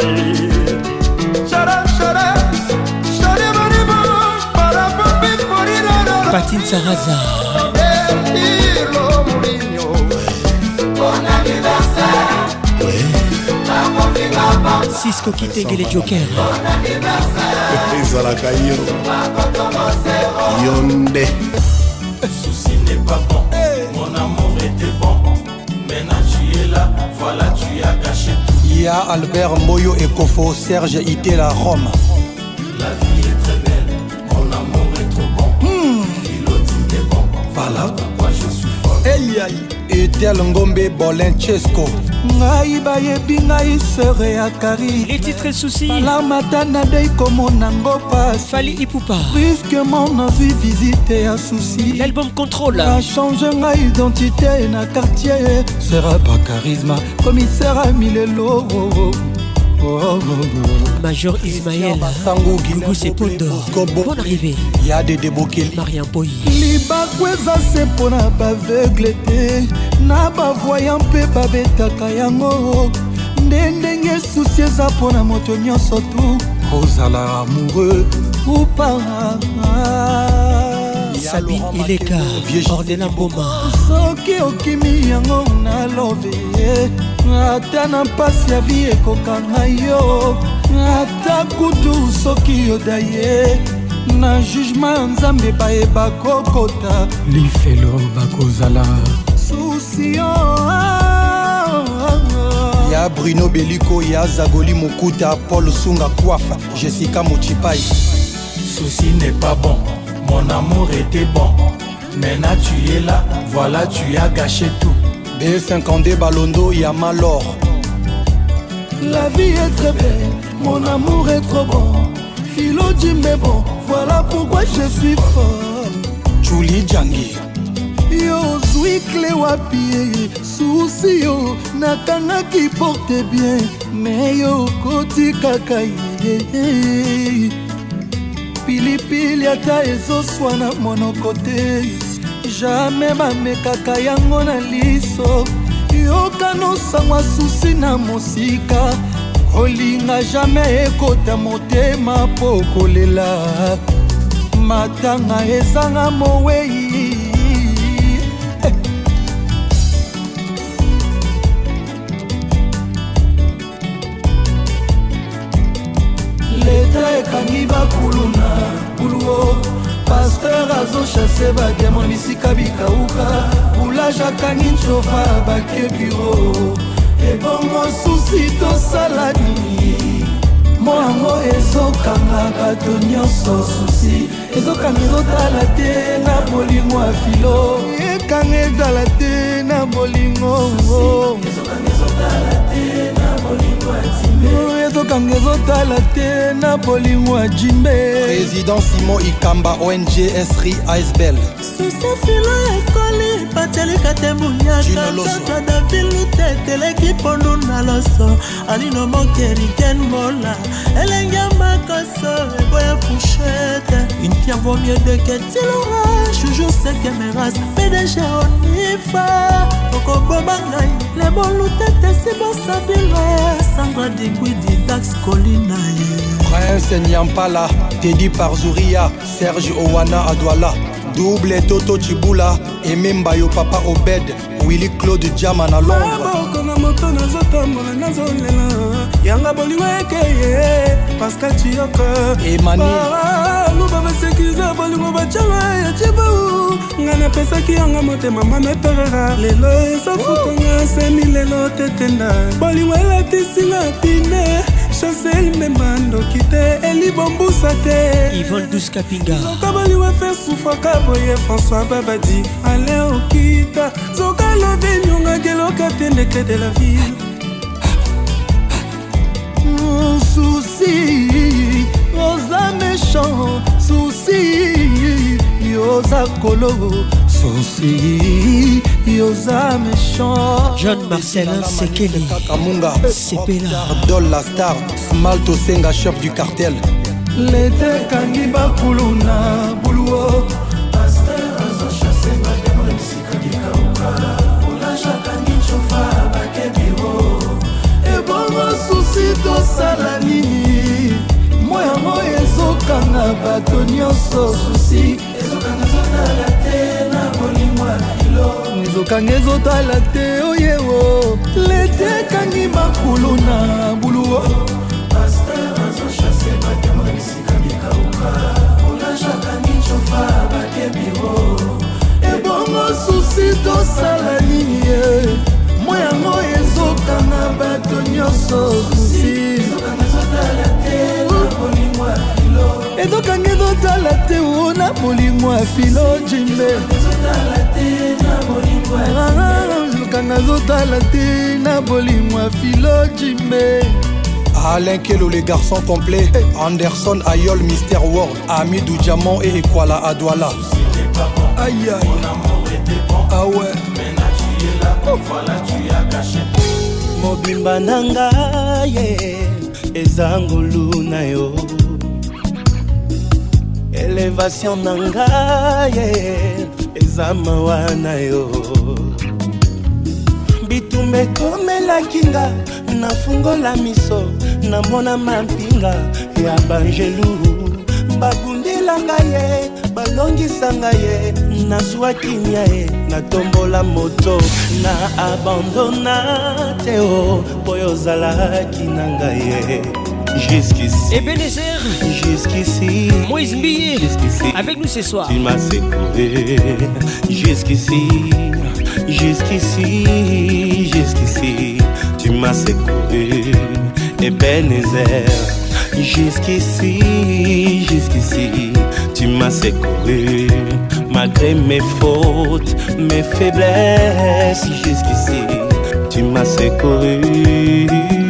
Chara Chara Chara Maribo Para Papi Porino Patine Saraza Bon anniversaire Cisco Kitenge les Jokers. Bon anniversaire Ezalaka yo Yonde. Souci n'est pas bon, mon amour était bon. Maintenant tu es là, voilà tu as gâché tout. Ya Albert Moyo et Kofo Serge Itela Rome. La vie est très belle, mon amour est trop bon. Philotine est bon, voilà pourquoi je suis folle. Hey aïe. Etel Ngombe Bolenchesco. Ngai bayebi ngai sere ya Kari. Les titres et soucis. La matana dei komo nango pas. Fali Ipupa. Puisque mon envie visiter un souci. L'album Contrôle. A changé ma identité na quartier. Sera pas charisme, commissaire à Milelo. Oh, oh, oh. Major Ismaël Gougou Sepondo. Bonne arrivée. Yade Debokeli Marian Poyi. Libakweza se pona baveugle te. Na bavoyant mpe babetaka yango. Nde ndenge susi eza mpona moto nyonso tu. Ozala amoureux ou pas. Sabine Ileka Ordena Mboma. Soki okimi yango na love ata na mpasi ya vi ekokanga yo. Ata kutu soki yoda ye na jugement ya nzambe bayeba kokota. Lifelo bakozala susio. Ya Bruno Beliko, ya Zagoli Mokuta, Paul Sunga Kouafa, Jessica Mochipai. Souci n'est pas bon, mon amour était bon. Maintenant tu es là, voilà tu as gâché tout. B cinquante Balondo, ya Malor. La vie est très belle, mon amour est trop bon. Philo dit mais bon, voilà pourquoi je suis folle. Julie Djangi. Yo zwi clé wapi souci yo nakangaki porte bien mais yo koti kaka ye. Pilipili ata ezoswa na monoko te. Jamais bamekaka yango na liso. Yokanosangwa susi na mosika. Kolinga jamais ekota motema po kolela. Matanga ezanga mowei. Leta ekangi bakulu na kuluo. Pasteur azochase bademon bisika bikauka. Boulage akangi nsofa bake biro. susi tosala nini moyango ezokanga bato nyonso susi ezokanga ezotala te na bolingo ya filo ekanga ezala te na bolingo ezokanga ezotala te na bolingo ya timbe ezokanga ezotala te na bolingo ya jimbe. Président Simon Ikamba O N G S R I A S B L susi filo ekoli patelika te muyaka tata davilu te teleki pondu na loso alino mokeriken mola elenge makoso eboya fouchette une pierre vaut mieux de que tu l'auras toujours c'est que mes races P D G onifa okoboma ngai le bolu tete si bosabilo Sandra Digwidi Dax Colina Prince Nyampala Teddy Parzouria Serge Owana Adwala Double Toto Chibula et Memba yo papa Obed Willy Claude Diama na Londres Kona moto nazotambola nazolela yanga bolingo ekeye Pascal Chiyoko Emani luba basekiza bolingo bachala ya chibu ngana pesaki yanga motema mama perera lelo esafukanga seni lelo tetenda bolingo elatisinga pine Chancel Memando kite Eli Bambusa te Yvonne Douce Kapinga Zoka bolingo fe souffra kaboye François Babadi Ale okita Zoka love nyonga geloka tendeke de la ville Souci Osa méchant Souci Yosa kolo Souci Yosa méchant John Marcelin Sekeli Kamunga Sepela Dol la star Smalto Senga chef du cartel L'été kangi bakuluna buluo Pasteur azo chasse madame Mexica di Kauka Ola jakangi chofa bakebiro Ebongo souci tosala nini Moya moya ezokanga bato nyonso souci Ezokanga zotala te na bolingo ya filo Ezokanga ezotala te oyewo L'été kangi bakuluna buluo Pasteur azo chasse madame Mexica di Kauka Ola jakangi chofa bakebiro Ebongo souci tosala nini moyango ezokanga bato nyonso susi ezokanga ezotala te na bolingo ya filo ezokanga ezotala te na bolingo ya filo jimbe ezotala te na bolingo ya ezokanga ezotala te na bolingo ya filo jimbe. Alain Kelo, les garçons complets. Anderson Ayol, Mister World, Amidou Diamant et Ekwala Adwala. Aïe aïe. Ah ouais. Voilà, tu as caché. Mobimba nanga ye ezangulu na yo. Elevation nanga ye ezamawa na yo. Bitumbe komela kinga nafungola miso namona mampinga ya banjelu babundelanga ye balongisanga ye nazwaki nya ye natombola moto na abandona te o boyo ozalaki na ngai ye jusqu'ici Ebenezer jusqu'ici Moïse Mbiye jusqu'ici avec nous ce soir tu m'as secoué jusqu'ici jusqu'ici jusqu'ici tu m'as secoué Ebenezer jusqu'ici jusqu'ici tu m'as secouru malgré mes fautes mes faiblesses jusqu'ici tu m'as secouru.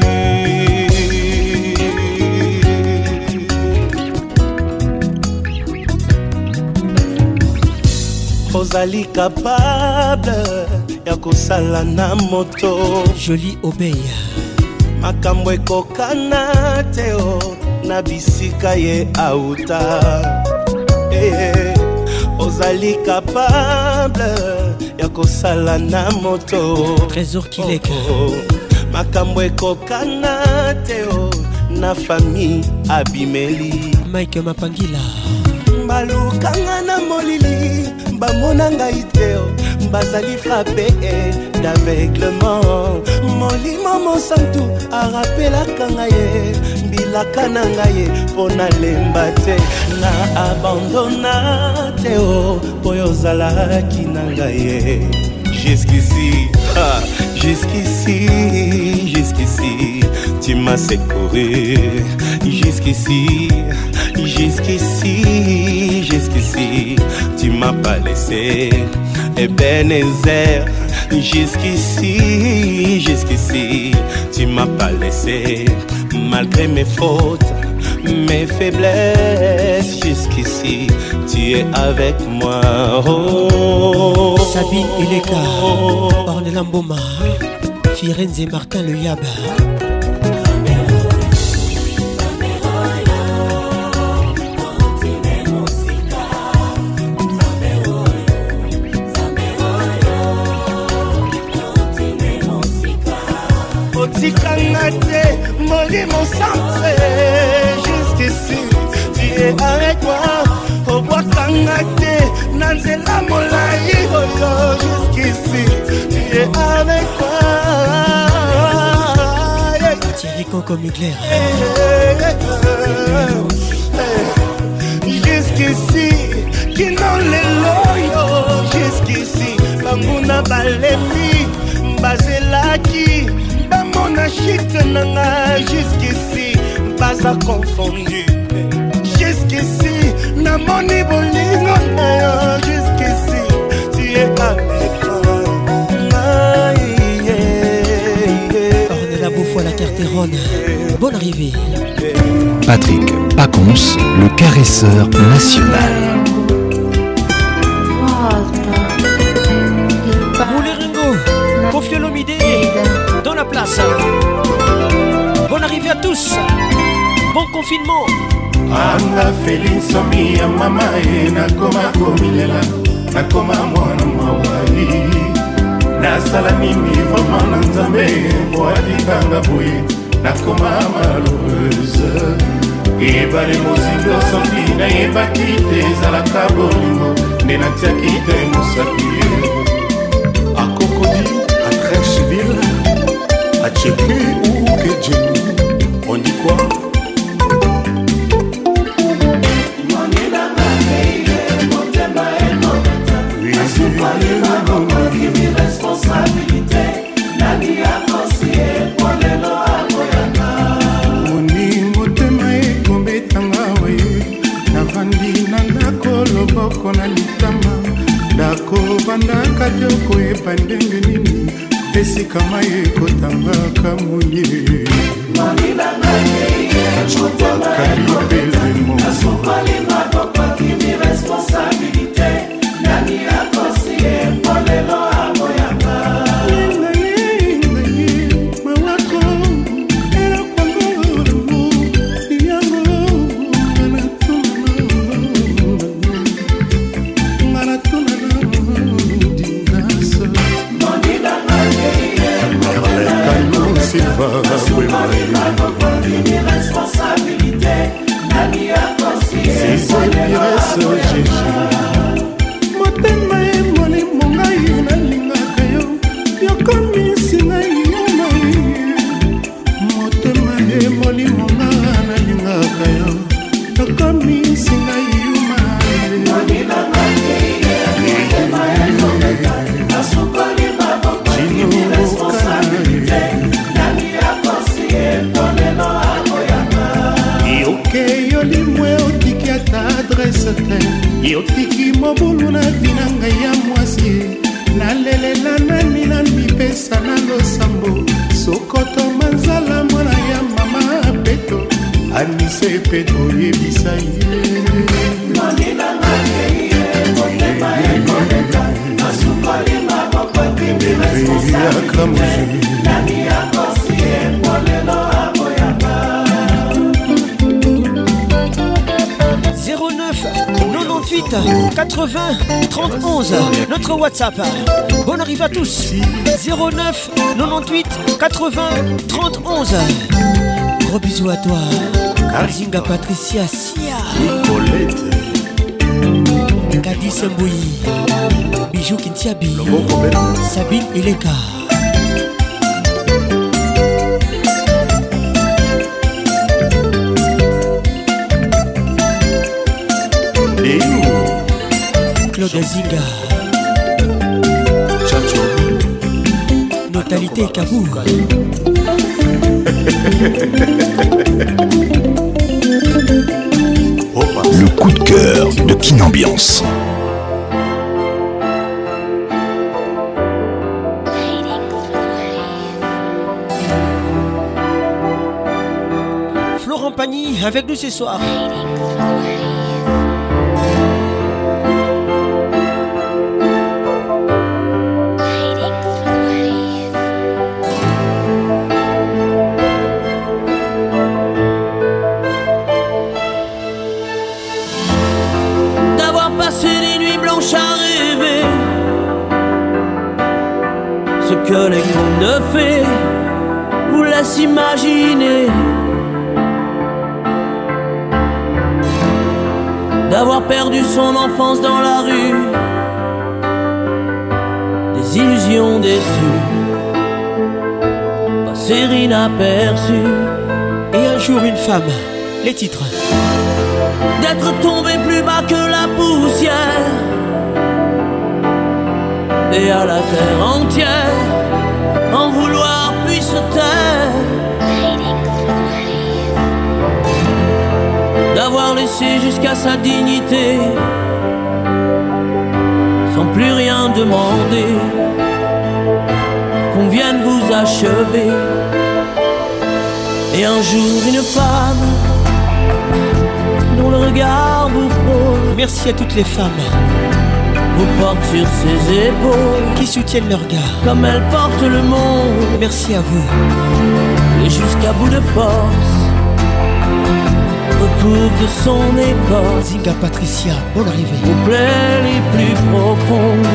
Ozali capable ya kosala na moto Joli Obey makambo ekokana te o na bisika ye auta eh, ozali capable ya kosala na moto Trésor Kileka oh, oh. makambo ekokana te o na famille abimeli Mike Mapangila balukanga na molili bamona ngai te bazali frappé d'aveuglement molimo mosantu arapelaka ngai mbilaka na ngai mpo nalemba te na abandona te o mpo yo ozalaki na ngai jusqu'ici ah, jusqu'ici jusqu'ici m'as secouru jusqu'ici, jusqu'ici, jusqu'ici. Tu m'as pas laissé, Ebenezer. Jusqu'ici, jusqu'ici, tu m'as pas laissé, malgré mes fautes, mes faiblesses. Jusqu'ici, tu es avec moi. Oh, Sabine Ileka, Ornella Mboma, Firenze Martin Le Yaba. Otikangate, molimo centré. Jusqu'ici, tu es avec moi. Obwakangate, nanzela molai. Jusqu'ici, tu es avec moi. Thierry Coco Mugler. Jusqu'ici, qui n'en les loyo. Jusqu'ici, bamuna balemi, bazelaki. Mon achite nanga jusqu'ici, pas à confondu. Jusqu'ici, na moni bolingo nayo. Jusqu'ici, tu es avec moi. Ornella Beaufoy, la Carterone. Bonne arrivée. Patrick Pacons, le caresseur national. Mouleringo, Kofi Olomide, dans la place. Bonne arrivée à tous. Bon confinement. Anga Félix Mia mama e nakoma komilela nakoma mwana mawali nasala nini vraiment na nzambe boatikanga boye nakoma malheureuse ebale mozindo soki nayebaki te ezalaka bolingo nde natiaki te mosaki à Cocody, à Trècheville, à Tchéké ou Kedjeni. On dit quoi? Dako bandaka joko epandenge nini esika mai ekotangaka munye motema emoni mongai nalingaka yo yokomisi ngai yomai motema emoni monga nalingaka yo yokomisi ngai yoke yolimwe otiki ata adrese te yotiki mobulu na vina ngai ya mwasi nalelela nani na mipesa na losambo sokoto manzala mwana ya mama peto anise peto yebisa ye zéro neuf quatre-vingt-huit quatre-vingts trente onze. Notre WhatsApp. Bonne arrivée à tous. zéro neuf quatre-vingt-huit quatre-vingts trente onze. Gros bisous à toi. Arzinga Patricia Sia. Colette. Kadi Sembouyi. Bijou Kintiabi. Sabine Ileka. Claude Zinga. Chacho. Notalité Kabou. Le coup de cœur de Kin Ambiance. Florent Pagny avec nous ce soir. Que les contes de fées vous laissent imaginer, d'avoir perdu son enfance dans la rue, des illusions déçues, passer inaperçues. Et un jour une femme, les titres. D'être tombé plus bas que la poussière, et à la terre entière en vouloir puis se taire, d'avoir laissé jusqu'à sa dignité sans plus rien demander, qu'on vienne vous achever. Et un jour une femme dont le regard vous frôle. Merci à toutes les femmes vous porte sur ses épaules, qui soutiennent leur gars comme elle porte le monde. Merci à vous. Et jusqu'à bout de force recouvre de son écorce Zinga Patricia, bonne arrivée. Aux plaies les plus profondes.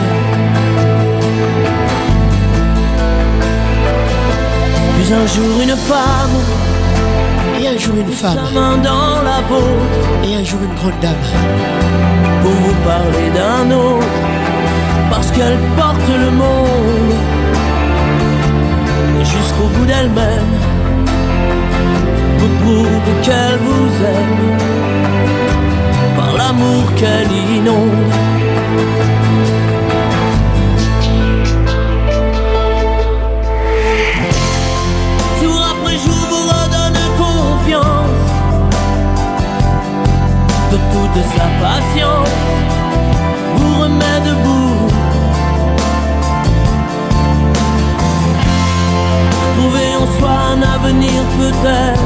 Puis un jour une femme, et un jour une femme, sa main dans la vôtre, et un jour une grande dame, pour vous parler d'un autre, parce qu'elle porte le monde. Et jusqu'au bout d'elle-même vous prouve qu'elle vous aime, par l'amour qu'elle inonde. Jour après jour vous redonne confiance, de toute sa patience vous remet debout. Trouver en soi un avenir peut-être,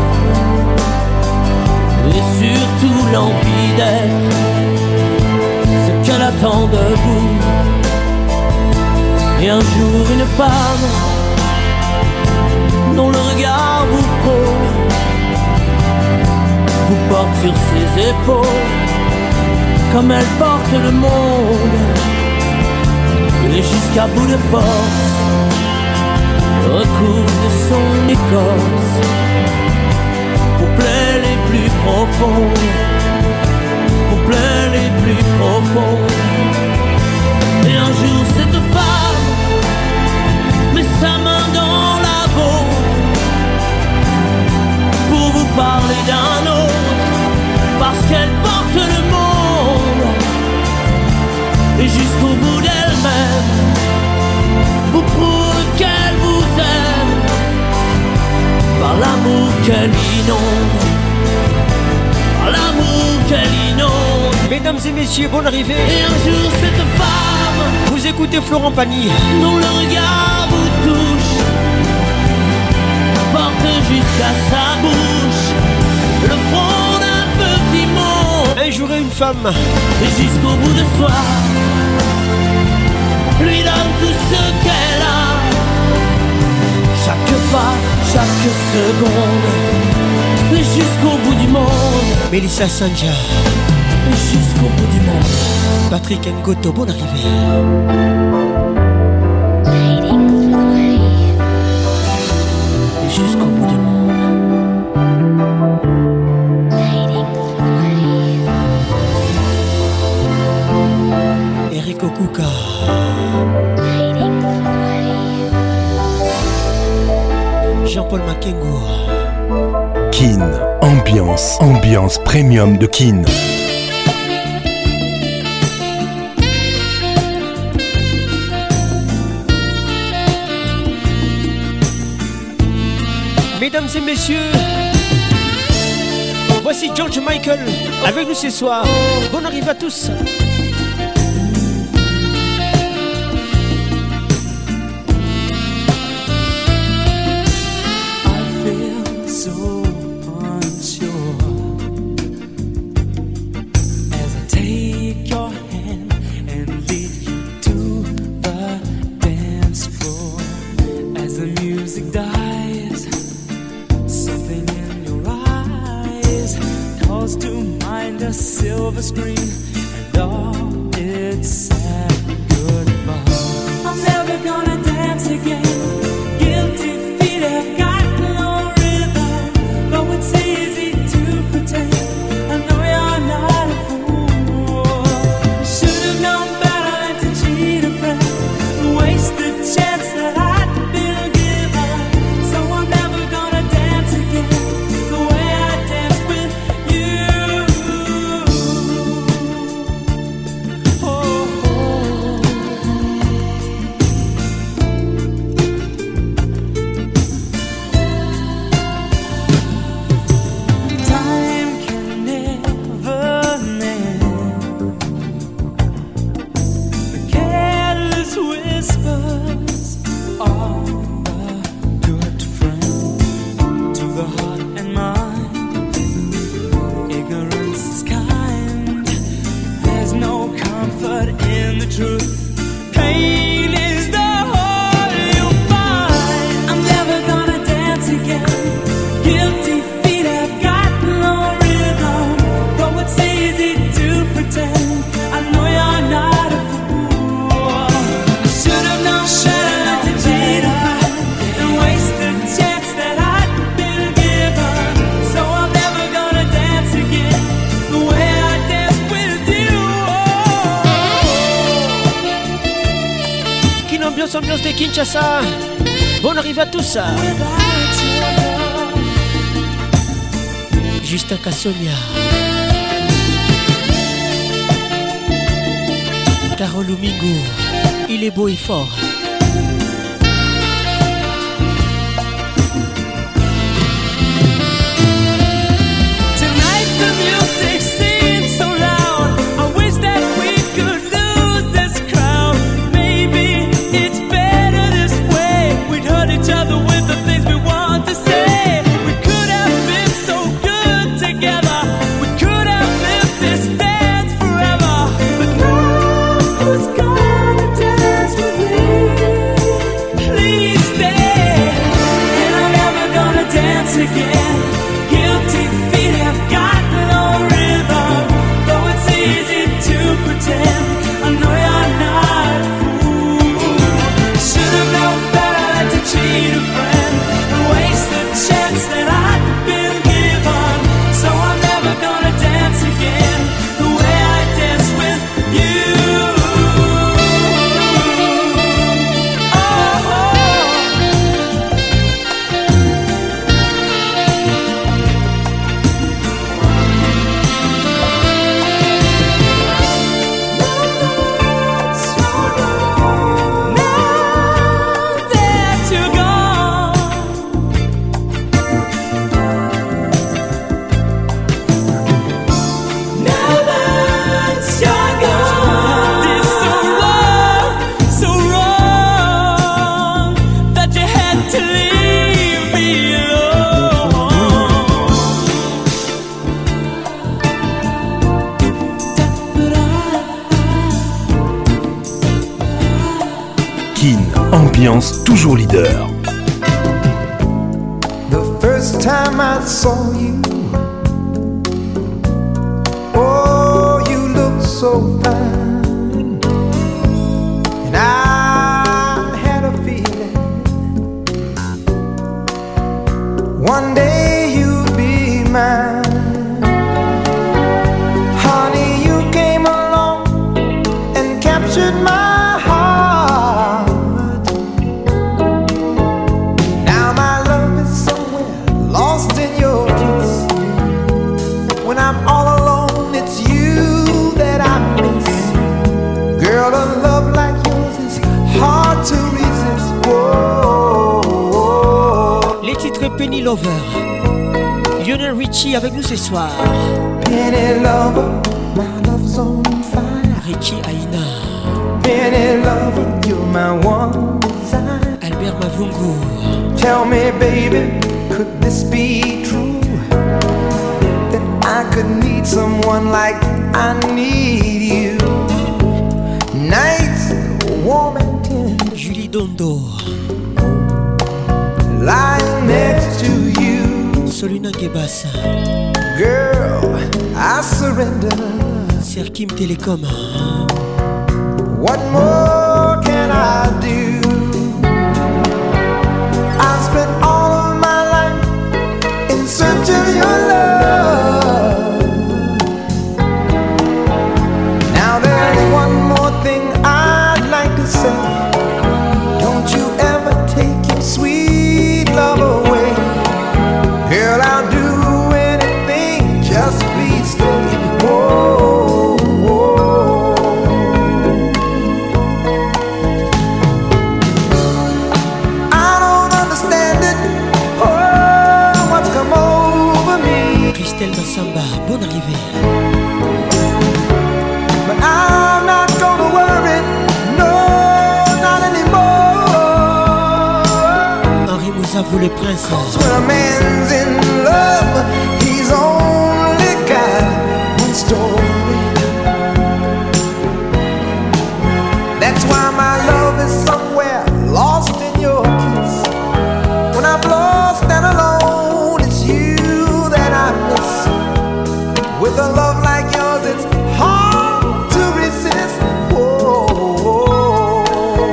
et surtout l'envie d'être ce qu'elle attend de vous. Et un jour une femme dont le regard vous frôle, vous porte sur ses épaules comme elle porte le monde, et jusqu'à bout de force recouvre de son écorce aux plaies les plus profondes, aux plaies les plus profondes. Et un jour cette femme met sa main dans la vôtre pour vous parler d'un autre, parce qu'elle porte le monde. Et jusqu'au bout d'elle-même vous prouve qu'elle vous aime, par l'amour qu'elle inonde, par l'amour qu'elle inonde. Mesdames et messieurs, bonne arrivée. Et un jour cette femme, vous écoutez Florent Pagny, dont le regard vous touche, porte jusqu'à sa bouche le front d'un petit mot. Un jour et une femme, et jusqu'au bout de soi lui donne tout ce qu'elle a, chaque pas, chaque seconde, et jusqu'au bout du monde. Mélissa Sanja, et jusqu'au bout du monde. Patrick Ngoto, bonne arrivée. Et jusqu'au bout du monde. Eric Okuka, Jean-Paul Makengo. Kin, ambiance, ambiance premium de Kin. Mesdames et messieurs, voici George Michael avec nous ce soir. Bonne arrivée à tous. Silver screen and all its sad goodbye. I'm never gonna dance again. Guilty feet have got no rhythm, though it's easy to pretend. I know you're not a fool. Should have known better than to cheat a friend, waste the chance that I'd been given. So I'm never gonna dance again the way I danced with you. Ambiance de Kinshasa. Bonne arrivée à tous. Justin Kassonia, Carole Mingo, il est beau et fort. Ambiance toujours leader. The first time I saw you, oh, you look so fine, and I had a feeling one day you'd be mine. Honey, you came along and captured my titre Penny Lover. Lionel Richie avec nous ce soir. Penny Lover, my love's on fire. Richie Aina. Penny Lover, you're my one desire. Albert Mavungu. Tell me, baby, could this be true? That I could need someone like I need you. Nights warm and tender. Julie Dondo. Lying next to you. Solina Gebassa. Girl, I surrender. Serkim Telecom. What more can I do? I spent all of my life in search of your love. Now there's one more thing I'd like to say. Don't you ever take your sweet love away. Girl, I'll do anything, just please stay. Whoa, whoa. I don't understand it. Oh, what's come over me? Christelle Massamba, bonne arrivée. But I'm not gonna worry, no, not anymore. Henri Mouzavou le prince. When a man's in love, he's only got one story. That's why my love is somewhere lost in your kiss. When I'm lost and alone, it's you that I miss. With a love like yours, it's hard to resist. Whoa, whoa.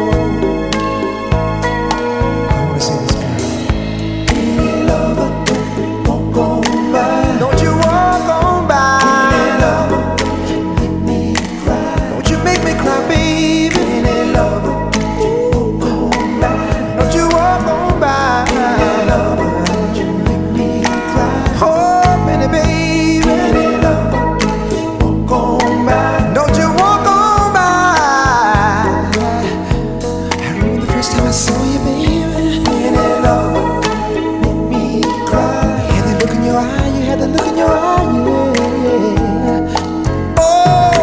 I wanna say this, girl. Hey, lover, walk on by. Don't you walk on by. Hey, lover, make me cry. Don't you make me cry, baby. Hey, lover, walk on by. Don't you walk on by. Hey, lover, don't you make me cry. Oh, Penny, baby. Hey, lover, walk on by. Don't you walk on by. I remember the first time I saw you, baby. Penny, lover, make me cry. You had that look in your eye, you had that look in your eye, yeah. Oh,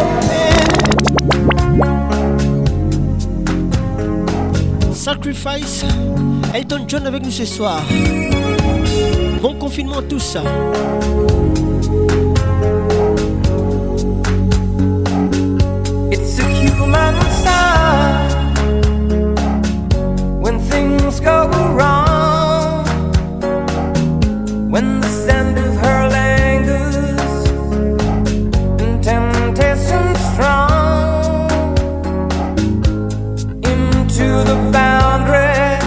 man. Sacrifice. Elton John avec nous ce soir. Bon confinement tous. It's a human sign when things go wrong, when the scent of her lingers and temptation strong into the boundary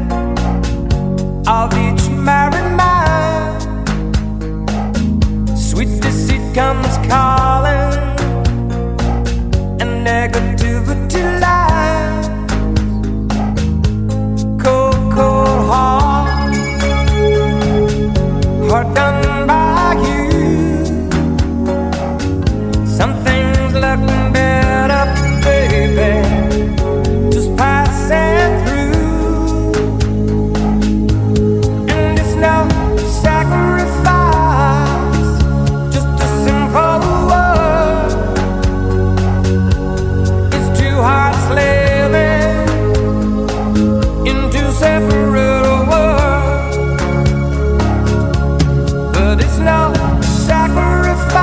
of each married man. Sweet deceit comes calling, and negativity lies. Cold, cold heart, heart done by you. Some things left better, baby, just passing through. And it's no sacrifice, just a simple word. It's two hearts living in two separate worlds, but it's no sacrifice,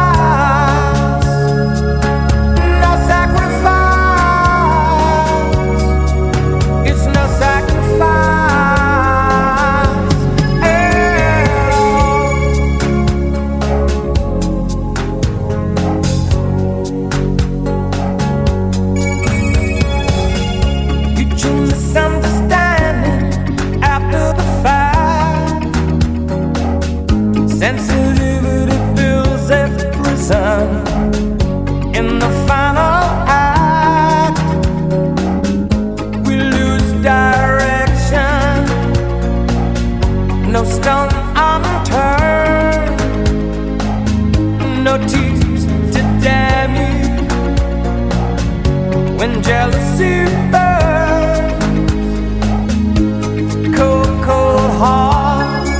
no sacrifice. It's no sacrifice at all. Mutual misunderstanding after the fact. Sensitivity builds a prison. In the final act, we lose direction. No stone unturned, no tears to damn you. When jealousy burns, cold, cold heart,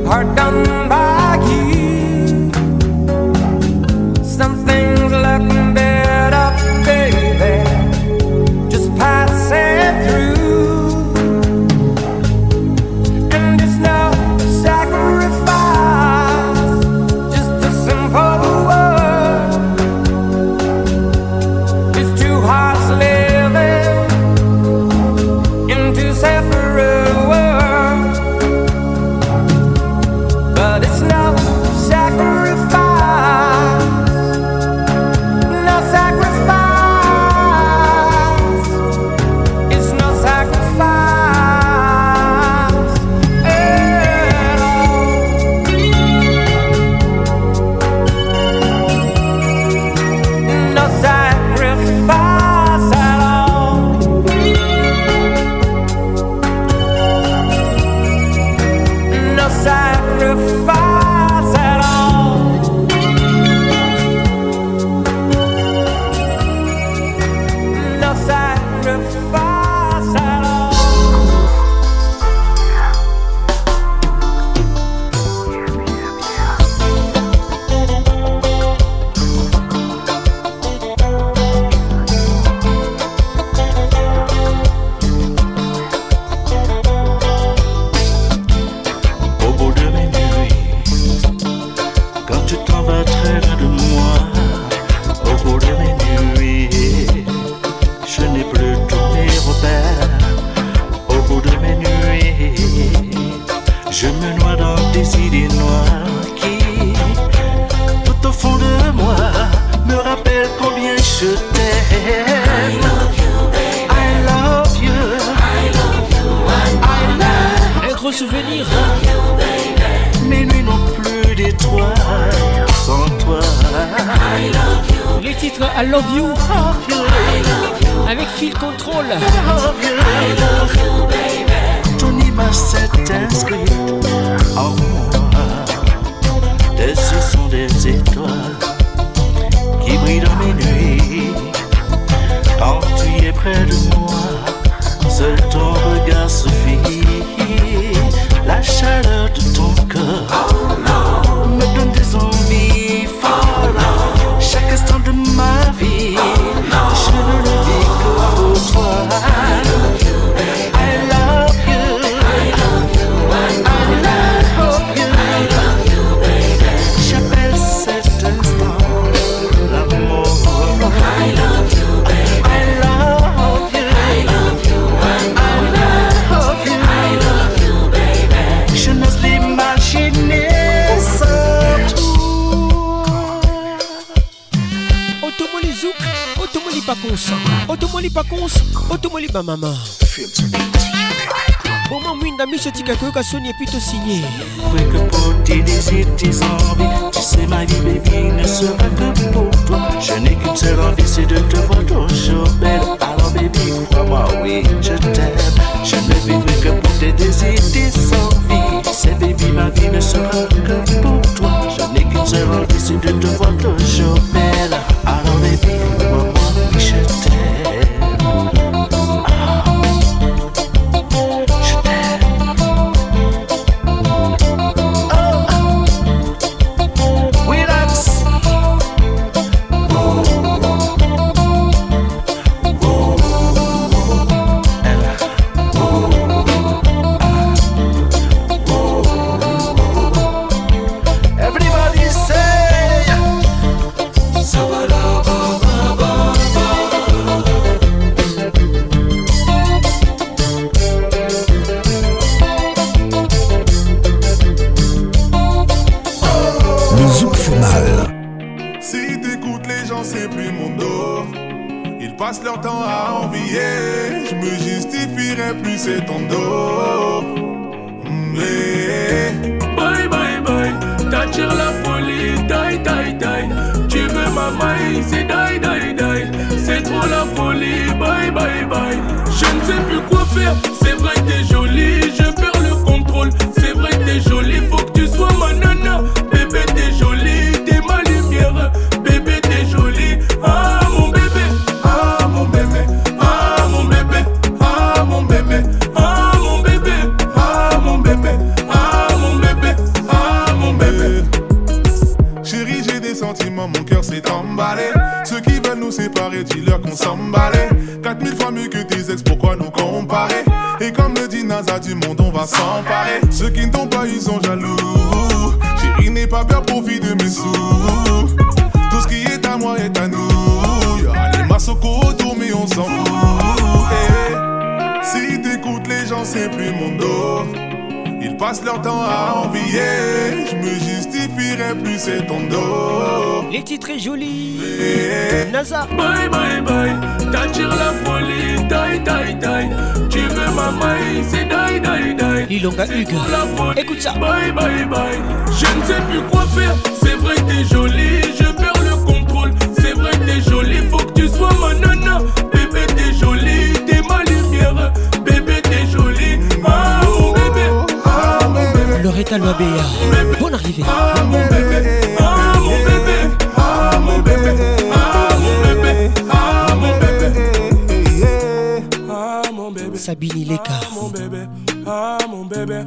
are done by you. Some things look better, baby, just passing through. And it's no sacrifice, just a simple word. It's two hearts living in two separate worlds. But it's no sacrifice, no sacrifice. It's no sacrifice at all. No sacrifice at all. No sacrifice at all. No sacrifice at all. Au bout de mes nuits, quand tu t'en vas très loin de moi, au bout de mes nuits, je n'ai plus tous mes repères. Au bout de mes nuits, je me noie dans des idées noires qui, tout au fond de moi, me rappellent combien je t'aime. I love you, baby. I love you. I love you. I love Un gros souvenir. Mes nuits n'ont plus d'étoiles sans toi. I love you. Les titres I Love You avec Feel Control. I love you, baby. Ton image s'est inscrite en moi. Tes yeux sont des étoiles qui brillent dans mes nuits. Quand tu es près de moi, seul ton regard suffit. La chaleur de ton corps me donne des envies folles. Chaque instant de ma vie, je ne le vis que pour toi. I love you, baby. I love you. I love you. I love you. I love you, baby. J'appelle cet instant l'amour. I love you, baby. I love you. I love you. I love you. I love you, baby. Je n'ose l'imaginer sans toi. Automoli Zouk, Automoli Pacons, Automoli Pacons, Automoli Bamama. Au moment où une dame se dit que Sony est plutôt signé. Vrai que pour tes désirs, tes envies, tu sais ma vie baby ne sera que pour toi. Je n'ai qu'une seule envie, c'est de te voir toujours belle. Alors baby, crois-moi, oui, je t'aime. Je ne vivrai que pour tes désirs, tes envies. C'est baby, ma vie ne sera que pour toi. Je n'ai qu'une seule envie, c'est de te voir toujours belle. Alors baby, crois-moi, oui, je t'aime. Everybody say passent leur temps à envier. Je me justifierai plus, c'est ton dos. Mm, yeah. Bye bye bye, t'attires la folie, die die die. Tu veux ma maille, c'est die die die. C'est trop la folie, bye bye bye. Je ne sais plus quoi faire, c'est vrai que t'es jolie, je perds le contrôle. C'est vrai que t'es jolie, faut que tu sois ma nana. Bébé t'es jolie, t'es ma lumière. Bébé t'es jolie, ah mon bébé, ah mon bébé, ah mon bébé, ah mon bébé, ah mon bébé, ah mon bébé, ah pas s'emparer. Ceux qui ne t'ont pas, ils sont jaloux. Chérie, n'aie pas peur, profite de mes sous. Tout ce qui est à moi est à nous. Y'a les massocos autour, mais on s'en fout. Hey, si t'écoutes les gens, c'est plus mon dos. Ils passent leur temps à envier. Je me justifierai plus, c'est ton dos. Les titres très jolis. Hey. NASA. Bye bye bye. T'attires la folie. Die die die. Tu veux ma maille, c'est die die die. Lilonga Hugues. Écoute ça. Bye bye bye. Je ne sais plus quoi faire. C'est vrai que t'es jolie. Je perds le contrôle. C'est vrai que t'es jolie. Faut que tu sois ma nana. Bébé t'es jolie. T'es ma lumière. Bébé t'es jolie. Ah mon bébé. Ah mon bébé. Loretta Loabea. Bonne arrivée. Ah mon bébé. Ah mon bébé. Ah mon bébé. Ah mon bébé. Ah mon bébé. Ah mon bébé. Sabine Leka. Ah mon bébé. Ah mon bébé.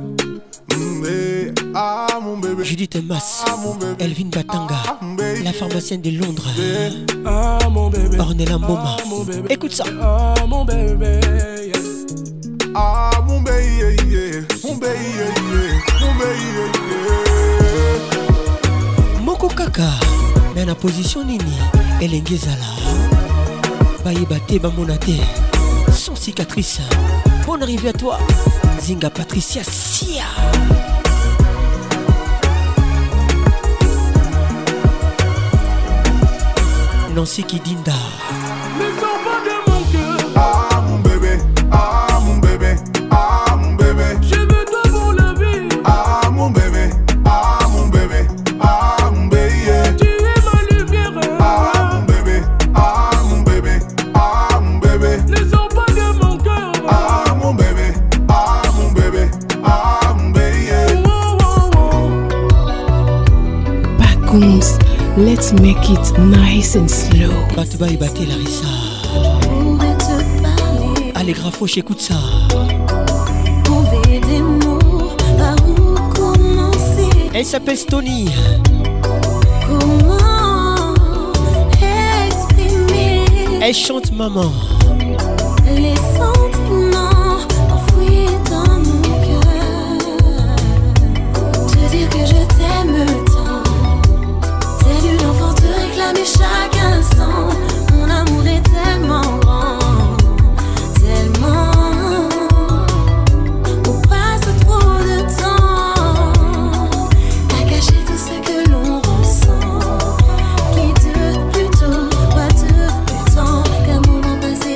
Ah mon bébé. Judith Mas. Elvin Batanga. La pharmacienne de Londres. Ah mon bébé. Ornella Mboma. Écoute ça. Ah mon bébé. Ah mon bébé. Mon bébé. Mon bébé. Moko Kaka. Mais la position nini. Elengezala. Baïbate Bamonate. Sans cicatrice. Bonne arrivée à toi. Zinga Patricia Sia. Nancy Kidinda. Ne sors pas de mon cœur. Ah mon bébé. Ah mon bébé. Ah mon bébé. Je veux toi pour la vie. Ah mon bébé. Ah mon bébé. Ah mon bébé. Tu es ma lumière. Ah mon bébé. Ah mon bébé. Ah mon bébé. Ne sors pas de mon cœur. Ah mon bébé. Ah mon bébé. Ah mon bébé. Backums, let's make it nice and slow. Batba et Baté Larissa. Allez Grafo, j'écoute ça. Trouver des mots par où commencer. Elle s'appelle Stony. Comment exprimer. Elle chante maman. Les sentiments enfouis dans mon cœur. Te dire que je t'aime tant. Tel une enfant te réclamer chaque instant. Mon amour est tellement grand. Tellement. On passe trop de temps à cacher tout ce que l'on ressent. Qui de plus tôt, quoi de plus tôt qu'un moment passé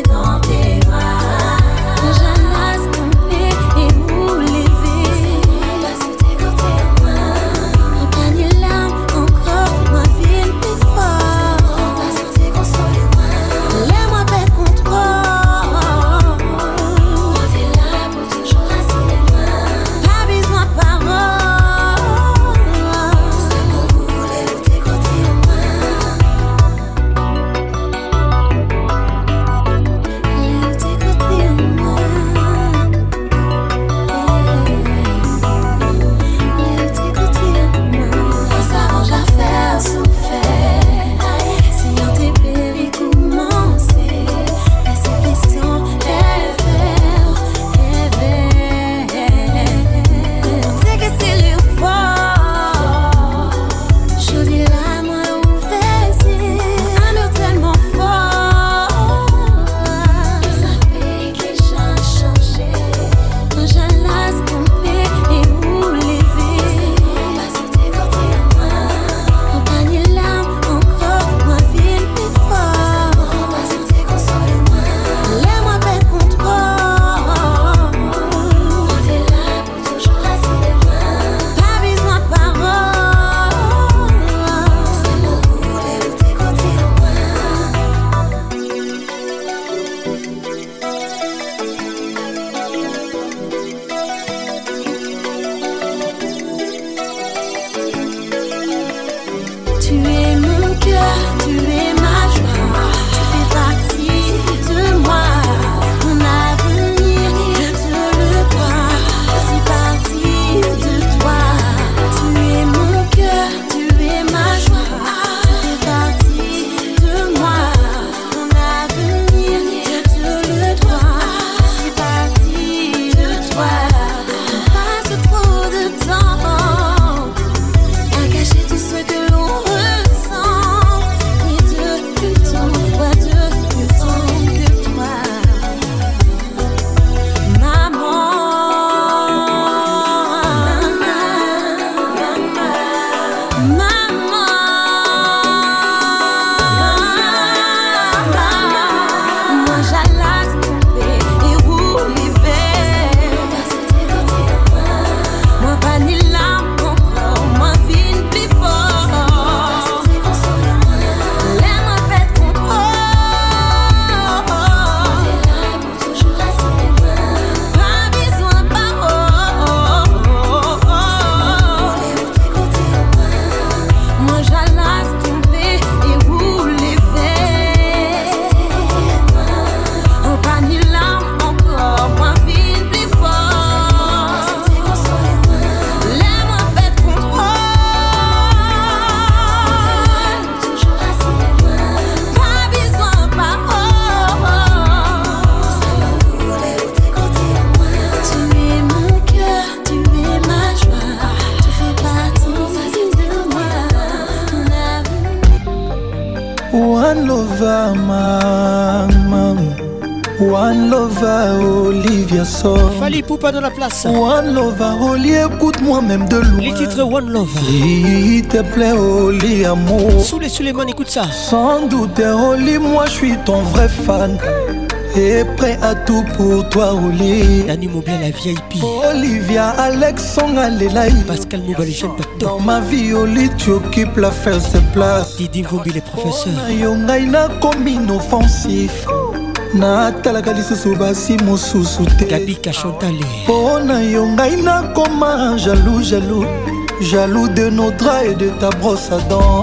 One Lover, Olivia Song. Fali Poupa dans la place. One Lover, Oli, écoute-moi même de loin. Les titres One Lover. S'il te plaît, Oli, amour. Sous les Suleiman, écoute ça. Sans doute, Oli, moi je suis ton vrai fan. Et prêt à tout pour toi, Oli. Dani Mobile, la V I P. Olivia, Alexandre, Alelaï. Pascal Mouba, les jeunes patos. Dans ma vie, Oli, tu occupes la first place. Didi Vombi, les professeurs. Yongaina comme inoffensif. natalaka lisusu basi mosusu te Gabi Kachantale mpo na yo ngai nakoma jaloux jaloux jaloux de nos draps et de ta brosse à dents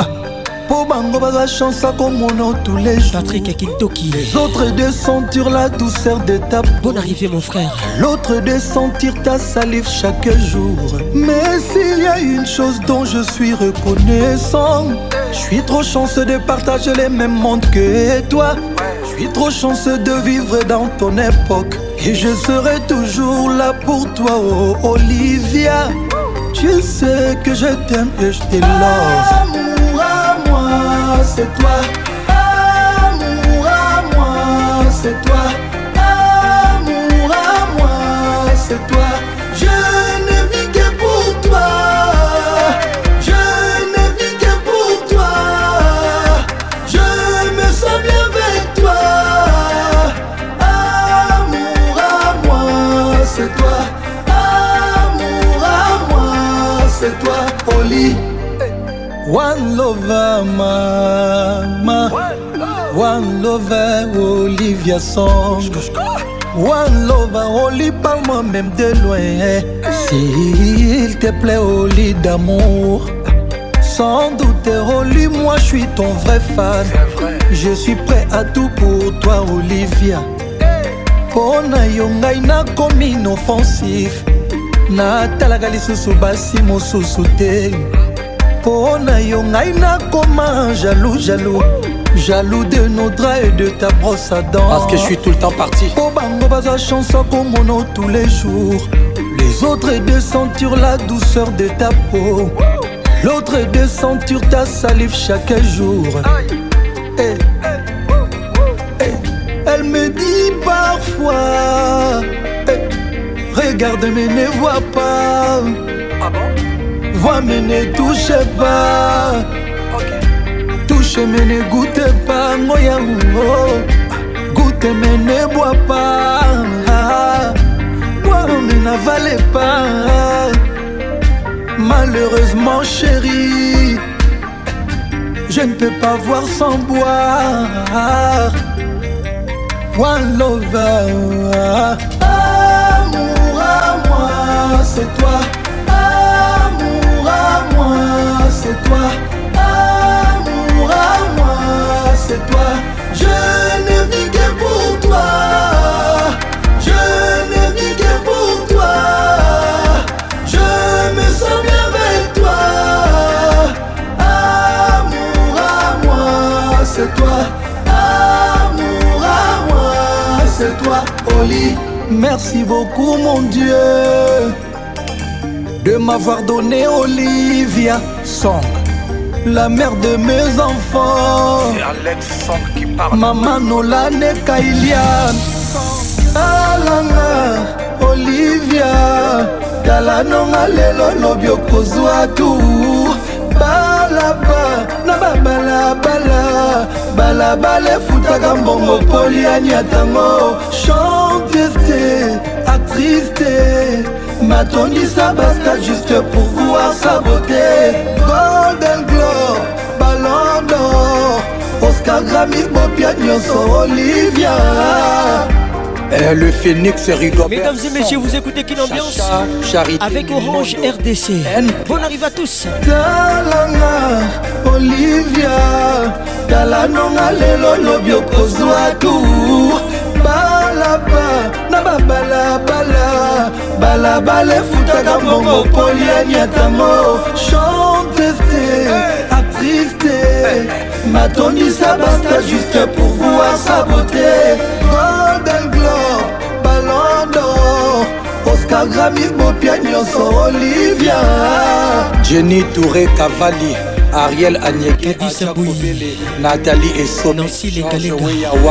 po bango baza chance à komona tous les jours Patrick Akintoki les autres de sentir la douceur de ta peau bonne arrivée mon frère l'autre de sentir ta salive chaque jour mais s'il y a une chose dont je suis reconnaissant je suis trop chanceux de partager les mêmes mondes que toi je suis trop chanceux de vivre dans ton époque et je serai toujours là pour toi oh Olivia tu sais que je t'aime et je te love amour à moi c'est toi amour à moi c'est toi amour à moi c'est toi je ne vis que pour toi je ne vis que pour toi je me sens bien avec toi amour à moi c'est toi amour à moi c'est toi Oli One lover mama One lover Olivia Song One lover Oli parle-moi même de loin s'il te plaît Oli d'amour sans doute Oli moi je suis ton vrai fan je suis prêt à tout pour toi Olivia pona yo ngai nakomi inoffensif natalaka lisusu basi mosusu te pona yo ngai nakoma jaloux jaloux jaloux de nos draps et de ta brosse à dents parce que je suis tout le temps parti po bango baza chance komono tous les jours les autres est de sentir la douceur de ta peau l'autre est de sentir ta salive chaque jour hey. Hey. Elle me dit parfois hey. Regarde mais ne vois pas ah bon? Vois mais ne touche pas okay. Touche mais ne goûte pas Moya oh. Goûte mais ne bois pas Bois mais n'avale pas Malheureusement chérie je ne peux pas voir sans boire One lover amour à moi c'est toi amour à moi c'est toi amour à moi c'est toi je ne vis que pour toi je ne vis que pour toi je me sens bien avec toi amour à moi c'est toi amour à moi c'est toi Oli merci beaucoup mon Dieu de m'avoir donné Olivia Song la mère de mes enfants c'est Alex Song qui parle maman Nolane Kailian alanga Olivia talanonga lelo lobio kozwa tu balabala futaka mbongo poliani atango chanteste actrice matondisa basta juste pour voir sa beauté Golden Globe Ballon d'Or Oscar Grammy Bopia Nyonso Olivia. Eh, le Phoenix Rigobert. Mesdames et messieurs, vous écoutez Kin Ambiance avec Orange R D C. Bonne arrivée à tous. Talanga Olivia Talanonga lelo lobio kozwa tour balaba na babala bala balabala futaka mbongo poliani atango chanteste actrice matondisa basta juste pour voir sa beauté Golden Globe Ballon d'Or Oscar Grammy Bopia Nyonso Olivia. Jenny Touré Cavalli Ariel Anyeke Nathalie Esso Nancy Lengalenga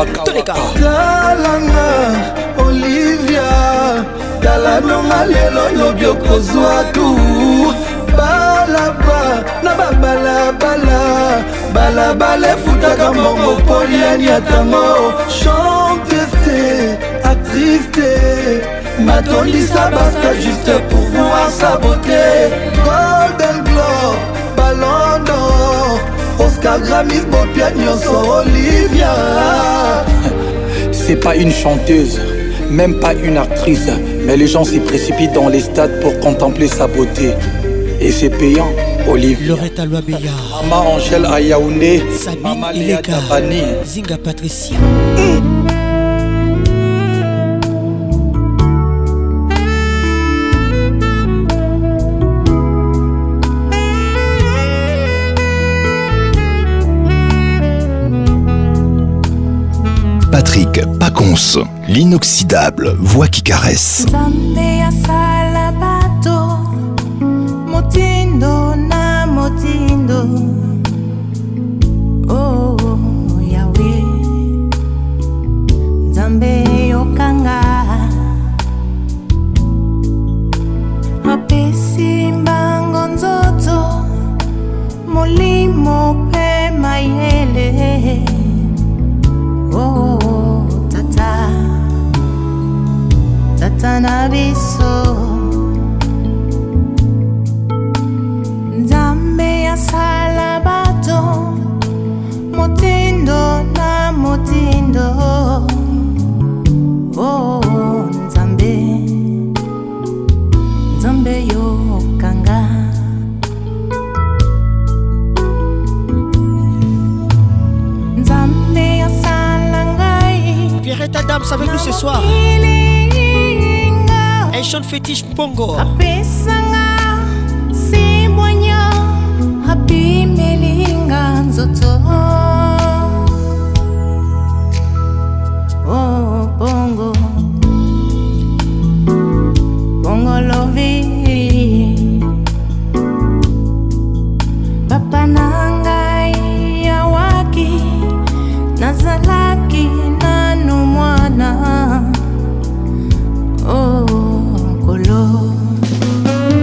Talanga Olivia Talanonga lelo lobio kozwa tour balaba na babalabala balabala futaka mbongo poliani atango chanteste actrice matondisa basta juste pour voir sa beauté Golden Globe Ballon d'Or Oscar Grammy Bopia Nyonso Olivia. C'est pas une chanteuse, même pas une actrice, mais les gens s'y précipitent dans les stades pour contempler sa beauté. Et c'est payant, Olivier. Loretta Loabeya, Maman Angèle Ayaoundé, Sabine Ileka, Zinga Patricia. Patrick Pacons, l'inoxydable voix qui caresse. Zambia salabato, motindo na motindo. Oh Yahweh, Zambe yokanga. Apesi mbango nzoto, molimo pe mayele. Oh, tata, tata nabiso. Nzambe ya salabato, motindo na motindo. Oh, Nzambe, Nzambe yo kanga. Nzambe ya Pierrette Adams avec nous ce soir. Elle chante fétiche Pongo. Apesanga simbonya happy melinga nzoto. Oh Pongo, Pongo lovi. Papa nangai yawaki nazalaki nanu mwana. Oh Kolo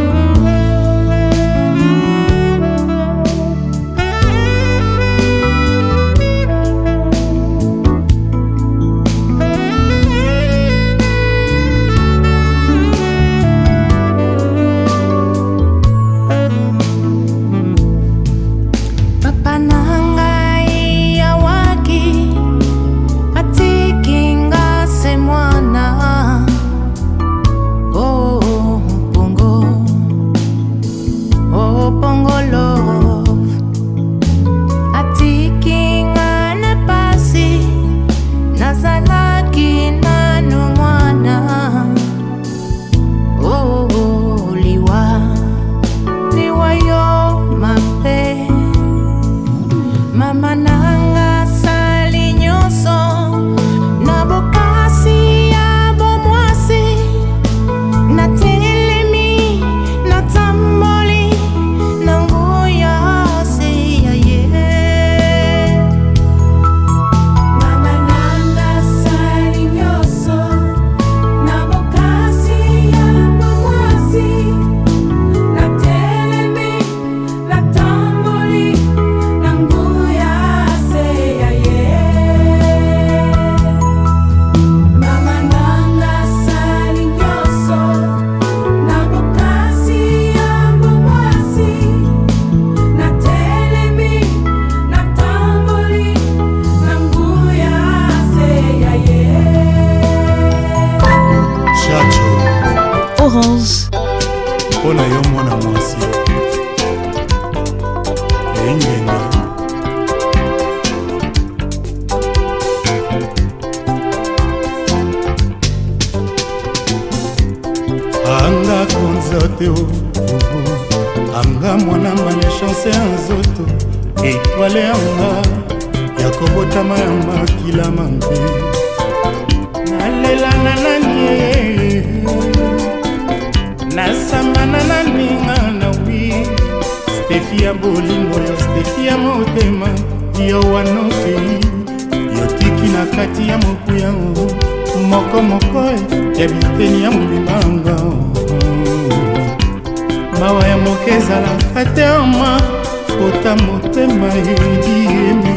anga mwana malechance ya nzoto etwale yanga ya kobotama ya makila mambe nalelana nani nasambana na ninga na wi Stefi ya bolingo yo Stefi ya motema yo wanokei yo tiki na kati ya moku yango moko moko ya biteni ya mobimanga mawa ya moke ezalaka te ama kota motema ediemi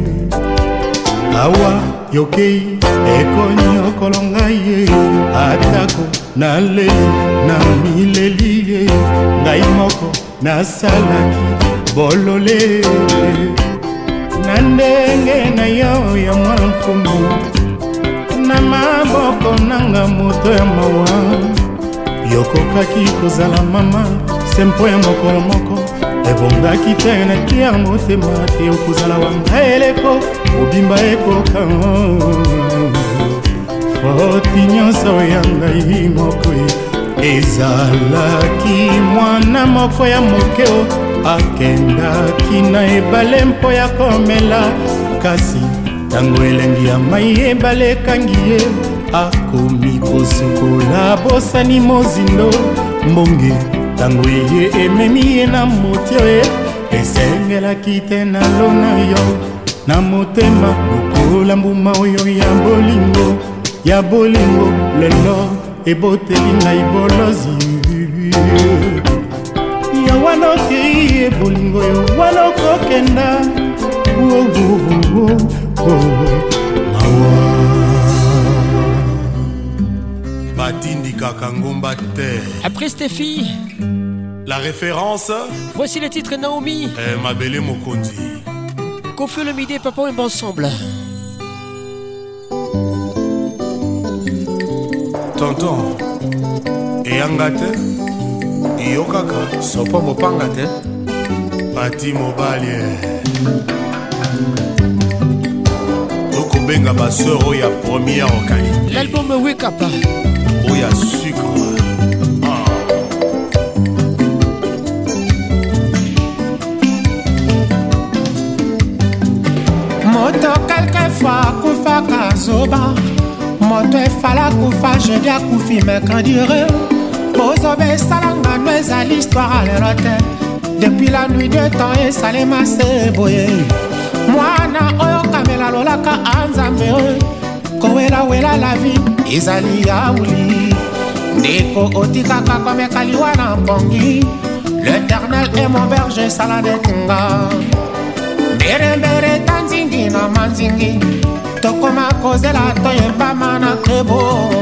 awa yokei ekonyokolo ngai ye atako naleli na mileli ye ngai moko nasalaki bolole na ndenge na yo ya mwa mfumu na maboko nanga moto ya mawa yokokaki kozala mama sempo ya mokolo moko ebongaki te na tia motema te okozala wanga eleko obimba ekoka foti nyonso ya ngai moko ezalaki mwana moko ya mokeo akendaki na ebale mpo ya komela kasi ntango elengi ya mai ebale ekangi ye akomi kosukola bosani mozindo mbonge ntango eye ememi ye na motio ye esengelaki te na lona yo na motema lokola mbuma oyo ya bolingo ya bolingo lelo eboteli ngai bolozi ya wanokei ebolingo yo wanokokenda batindikaka ngomba te. Après Stéphie, la référence, voici le titre Naomi eh, Mabele Mokondi Kofi le midi papa et ensemble. Tonton eyanga te iyokaka sopo mopanga te pati mobali tokobenga baseur oyo ya première qualité. L'album Wake Up oyo ya sucre ah. Moto quelquefois kufaka zoba moto efala kufa jeudi akufi mercredire bozobe esalanga no eza l'histoire lelo te depuis la nuit de temps esalema se boye mwana oyo kamela lolaka anzambe oyo kowelawela la vie ezali yauli ndeko otikaka komekali wana mpongi l'éternel est mon berger sala nekinga mberembere tanzingi na manzingi tokoma kozela toyembama na krebo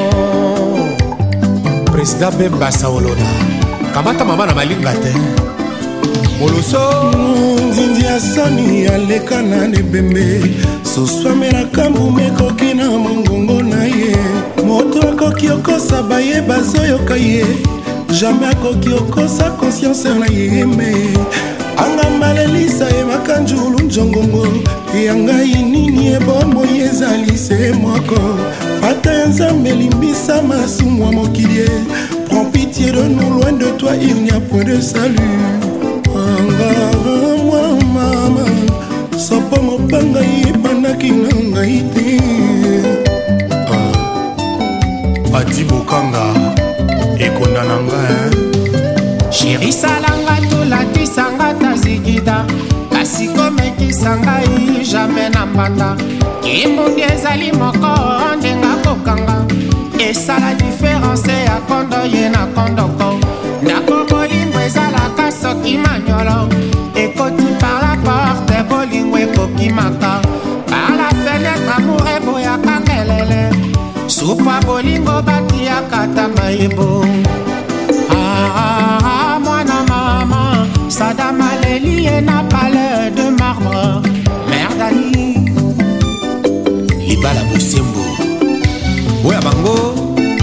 président Bemba Saolola kamata mama na malinga te moloso nzinzi ya soni aleka na lebembe soswamelaka mbume ekoki na mongongo na ye moto akoki okosa baye bazoyoka ye jamais akoki okosa conscience na ye me anga malelisa ye makanjulu njongongo ya ngai nini ebomoi ezali se moko ata ya nzambe elimbisa masumu ya mokili prends pitié de nous loin de toi il n'y a point de salut anga moi mama sopo mopanga yebandaki na ngai te pati bokanga ekonda na ngai Chéri salanga tulatisanga tazikida kasi komekisa ngai jamais na mbanda kimundi ezali moko ndenga kokanga esala diference ya kondo ye na kondoko ndako bolingo ezalaka soki manyolo ekoti par la porte bolingo ekokimaka par la fenêtre amour eboyaka ngelele supa bolingo batiaka tamayebo ah, mwana mama Sadam Aleli et na palais de marbre Merdani Libala Bosembo Oya bango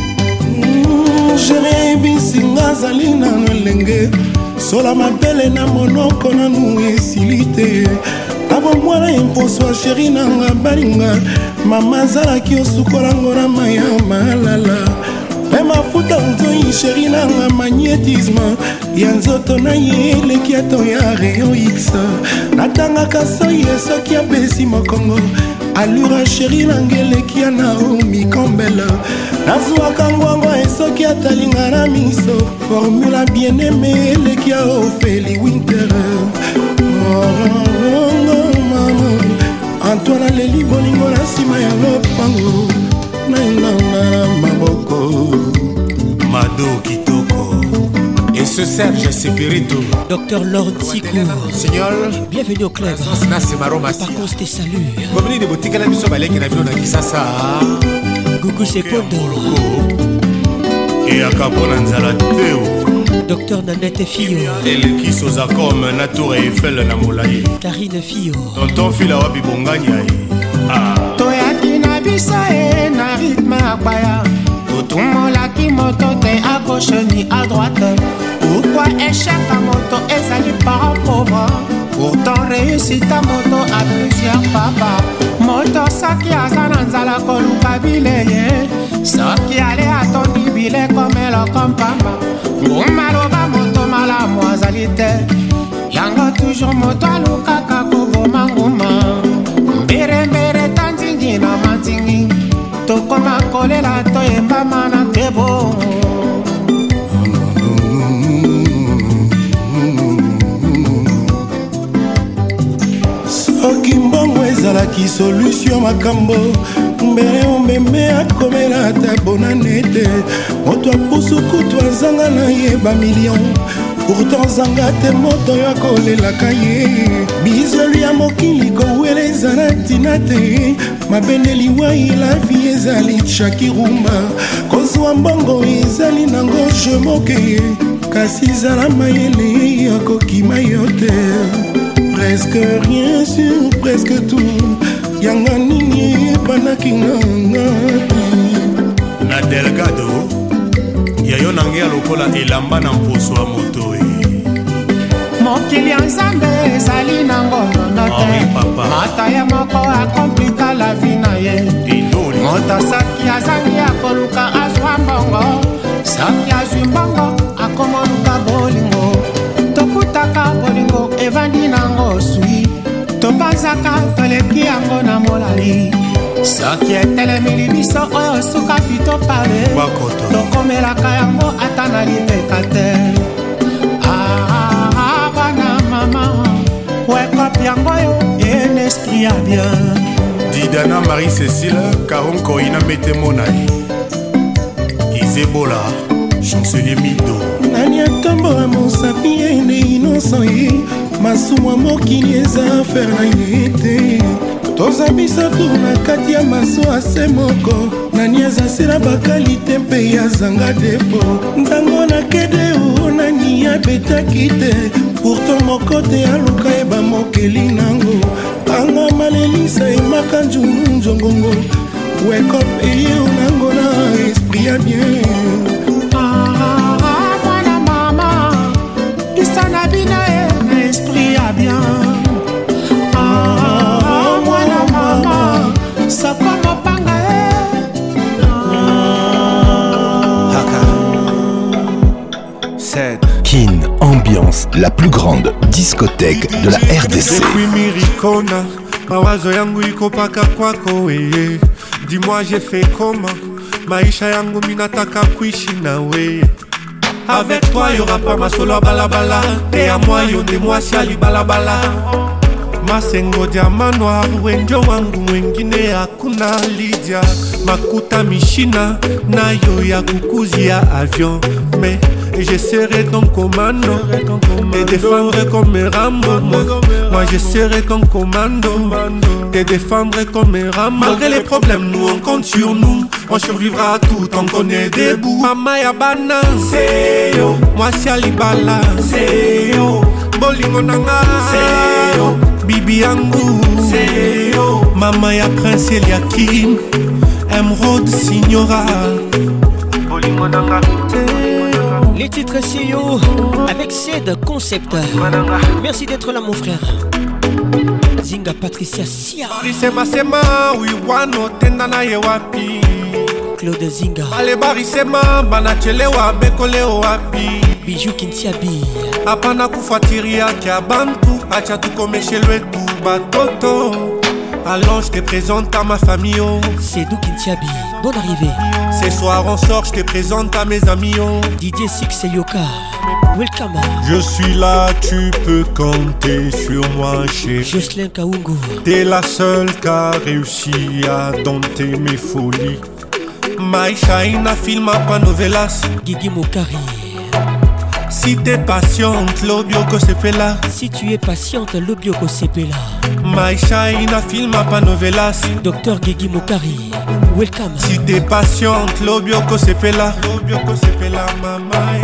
Jérémy Singa Zalina Nolenge Sola mabele na monoko na nou esilite Abo mwana imposo a chéri nanga balinga Mama zala ki osukolango na maya malala me mafuta nzoi sheri nanga magnétisme ya nzoto na ye eleki ato ya rayon x natangaka soi esoki apesi mokongo alura sheri nanga eleki ya naomi kombele nazwaka ngwango esoki atalinga na miso formula bien aime eleki ya ofeli winter Antoine aleli bolingo na nsima ya lopango nainanga na maboko Mado Kitoko et ce Serge Sepirito Docteur Lord Sikou Signor bienvenue au club Par contre tes saluts Komini de botika na biso baleki na bino na Kisasa Gugu Sepondo Et akapona nzala teo Docteur Nanette Fio eleki soza comme na tour Eiffel na molai Karine Fio Tonton fila wapi bonganya ah toyaki na biso e na rythme akwaya totumolaki moto te à gauche ni à droite pourquoi échec à moto ezali par pauvre pourtant réussite à moto à plusieurs papa moto soki aza na nzala koluka bileye soki ale atondi bile komelo kompamba nguma loba moto malamu azali te yango toujours moto alukaka koboma nguma mberembere tanzingi na manzingi tokoma kolela toyembama na tebo soki mbongo ezalaki solution makambo mbele omeme akomela ata bonane te moto apusukutu azanga na ye bamillion pourtant zanga te moto oyo akolelaka ye bizoli ya mokili kowela eza na ntina te mabendeli wai la vie ezali chakirumba kozwa mbongo ezali nango je moke kasi ezala mayele ya kokima yo te presque rien sur presque tout yanga nini epanaki nganga na delgado yayo nange ya lokola elamba na mposo ya moto e mokili ya nzambe ezali nango nono te mata ya moko akomplika la vi na ye moto soki azangi akoluka azwa mbongo soki azwi mbongo akomoluka bolingo tokutaka bolingo evandi nango swi topanzaka toleki yango na molali soki etelemili biso oyo suka pito pale tokomelaka yango ata na lipeka te bana mama wekop yango yo en esprit ya bien Didana Marie-Cécile Karonko ina mete monai Isebola chancelier Mido nani atambola mosapi ene innocent ye masumu ya mokili eza afere na ye te toza bisato na kati ya maso ase moko nani azasela bakalite mpe yazanga defo ntango na kede o nani abetaki te pourtant moko te aluka yeba mokeli nango anga malelisa emaka njungu njongongo wekop eye onango na esprit ya bien esprit ya bien ah mwana mama soko mopanga eh Kin Ambiance, la plus grande discothèque de la R D C. Depuis Miricona, mawazo yangu iko paka kwako weye. Dis-moi j'ai fait comment, maisha yangu minataka kuishi na weye. Avec toi y'aura pas ma solo balabala. Et à moi yo de moi siali balabala. Masengo diama noir wenjo wangu mwengine hakuna Lydia. Makuta mishina na yo ya kukuzia avion. Mais je serai ton commando et défendre comme Rambo. Moi, moi je serai ton commando et défendre comme Rambo. Malgré les problèmes, nous on compte sur nous. On survivra à tout tant qu'on est debout. Mama ya bana, c'est yo. Moi si alibala, c'est yo. Bolingo nanga, c'est yo. Bibi yangu, c'est yo. Mama ya prince Eliakim, Emerald Signora. Bolingo nanga, les titres C E O avec Ced Concept. Merci d'être là mon frère. Zinga Patricia Sia. Sema sema we wano tenda na ye wapi. Claude Zinga balebarisema banachelewa bekoleo wapi Bijou Kintiabi hapana kufuatilia kia bantu acha tukomeshe lwetu batoto. Allons, je te présente à ma famille. Oh. C'est Dou Kintiabi, bonne arrivée. Ce soir on sort, je te présente à mes amis. Oh. Didier Six et Yoka, welcome. Je suis là, tu peux compter sur moi, chérie. Jocelyn Kaungu. T'es la seule qui a réussi à dompter mes folies. Maïcha ina filma pa novelas. Guigui Mokari. Si t'es patiente, l'obioko sepela. Si tu es patiente, l'obioko sepela. Maïcha ina filma pa novelas. Docteur Guigui Mokari, welcome. Si t'es patiente, l'obioko sepela. L'obioko sepela, mama.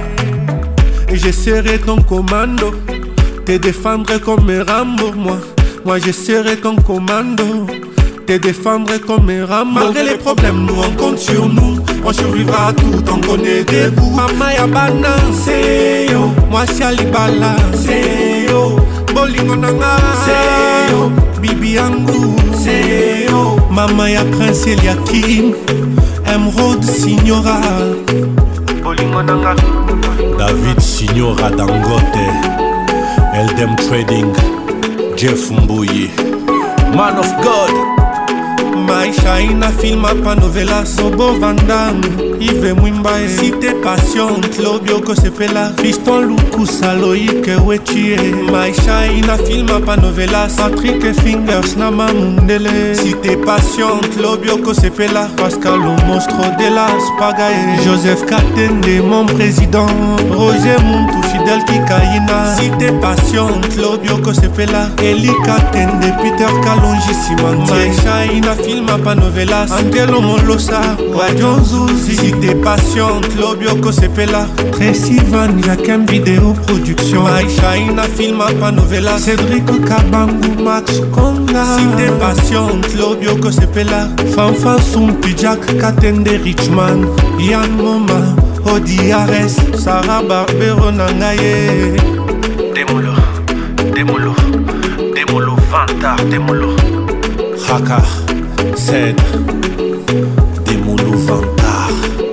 Et je serai ton commando. Te défendre comme Rambo, moi. Moi je serai ton commando. Te défendre comme Rambo. Malgré les problèmes, nous on compte sur nous. On survivra tout tant qu'on est debout. Mama Yabana, c'est yo. Moi c'est Alibala, c'est yo. Bolingo Nanga, c'est yo. Bibi Angou, c'est yo. Mama ya Prince Eliakim, Emerald Signora. Bolingo Nanga. David Signora Dangote, Eldem Trading, Jeff Mbouye, Man of God. Maïcha ina filma pa novela. Sobo Vandam, Yves Mwimbae. Si t'es patiente, l'obioko sepela. Fiston Luku Saloïke Wechie. Maïcha ina filma pa novela. Patrick Fingers Nama Mundele. Si t'es patiente, l'obioko sepela. Pascal le monstre de la Spagae. Joseph Katende, mon président. Roger Muntu Fidel Kikaina. Si t'es patiente, l'obioko sepela. Eli Katende, Peter Kalonji Simante. Maïcha ina filma pa novelas. Angelo Molosa, Wadion Zuzi. Si t'es patiente, l'obioko sepela. Tracy Van, Yakem Vidéo Production. Maïcha ina filma pa novelas. Cédric Kabangu, Max Konga. Si t'es patiente, l'obioko sepela. Fanfa Sumpi, Jack Katende Richman. Yann Moma, Odi Ares, Sarah Barbero Nangaye. Démolo, démolo, démolo, Vantar, démolo. Haka, Zed, Démolo Vantar.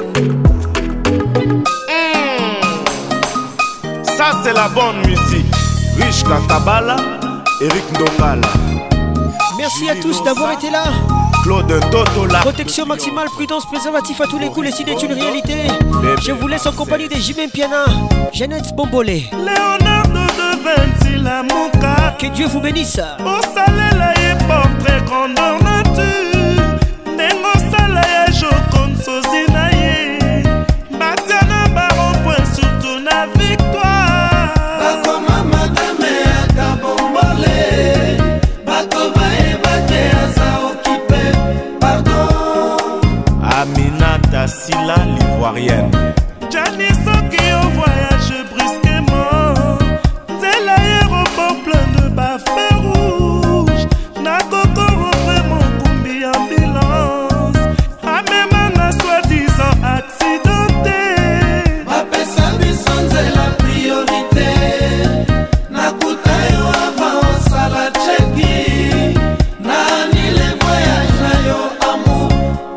Mmh. Ça c'est la bonne musique. Rich Katabala, Eric Ndongala. Merci à tous d'avoir été là. Claude Toto la protection maximale, prudence, préservatif à tous les coups, les signes est une réalité. Je vous laisse en compagnie de Jimmy Piana, Jeannette Bombolé, Leonardo de Vinci la Mouka. Que Dieu vous bénisse. Au salé la portrait grandeur nature. Nengo sala ya jokon sozi na ye. Batiana baron point surtout na victoire. Bakoma madame ata bombolé. Bakoma ebate asa occupé. Pardon. Aminata Silla l'ivoirienne. Gianni Soki au voyage brusquement. C'est l'aéroport plein de bafés rouges. Nakokoro vraiment combi ambulance. Amemana soi-disant accidenté. Bapesa biso c'est la priorité. Nakuta yo avant sala cheki. Nani les voyages na yo amour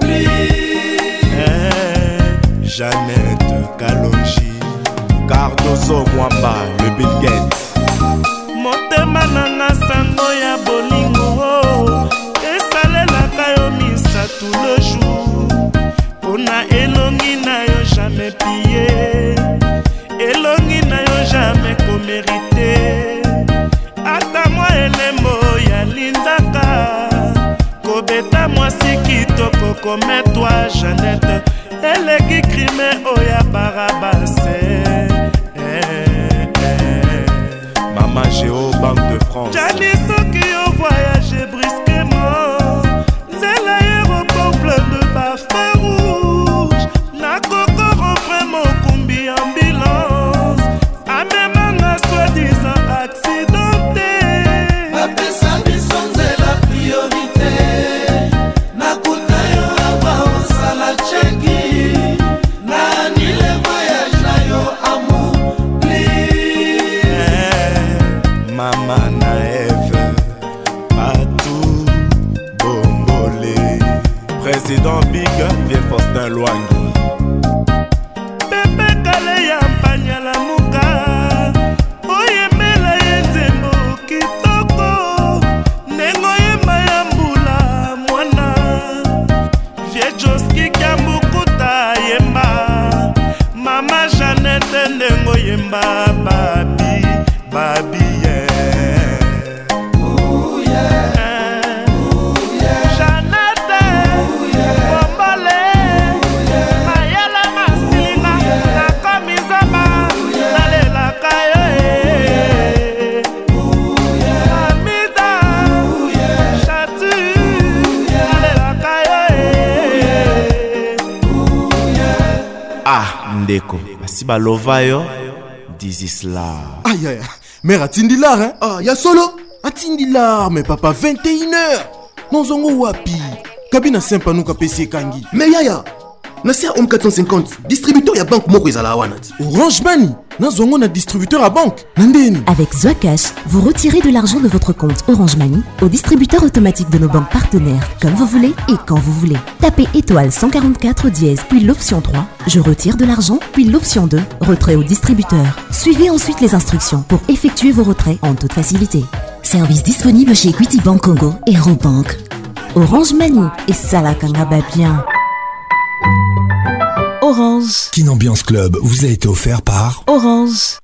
eh, Jeannette Kalonji, Cardozo Mwamba, le Bill Gates. Motema nanga sango ya bolingo esalelaka yo misa tout le jour. Pona elongi na yo jamais pillé. Elongi na yo jamais comérité. Ata mwa elembo ya linzaka. Kobeta mwasi kitoko comme toi Jeannette. Eleki crime oya barabase. Mama Géo, Banque de France. Gianni Soki au voyage brusquement. C'est l'aéroport plein de bafés rouges. Nakokoro vraiment combi ambulance. Amemana soi-disant accidenté. Bapesa biso c'est la priorité. Nakuta yo avant sala cheki. Nani les voyages na yo amour Mama Naève, partout. si balova yo this is love. Aïe aïe, mère atindi l'art hein. Ah, y'a solo atindi l'art, mais papa vingt et une heures. Non zongo wapi. Kabina sempa nuka P C kangi. Mais yaya, Nasser Home quatre cent cinquante, distributeur ya banque moko ezala wanat. Orange Money, nazongo na distributeur à banque. Nandeni. Avec Zoacash, vous retirez de l'argent de votre compte Orange Money au distributeur automatique de nos banques partenaires, comme vous voulez et quand vous voulez. Tapez étoile cent quarante-quatre dièse, puis l'option trois, je retire de l'argent, puis l'option deux, retrait au distributeur. Suivez ensuite les instructions pour effectuer vos retraits en toute facilité. Service disponible chez Equity Bank Congo et Robank. Orange Money et ça la kangaba bien. Orange. Kin Ambiance Club vous a été offert par Orange.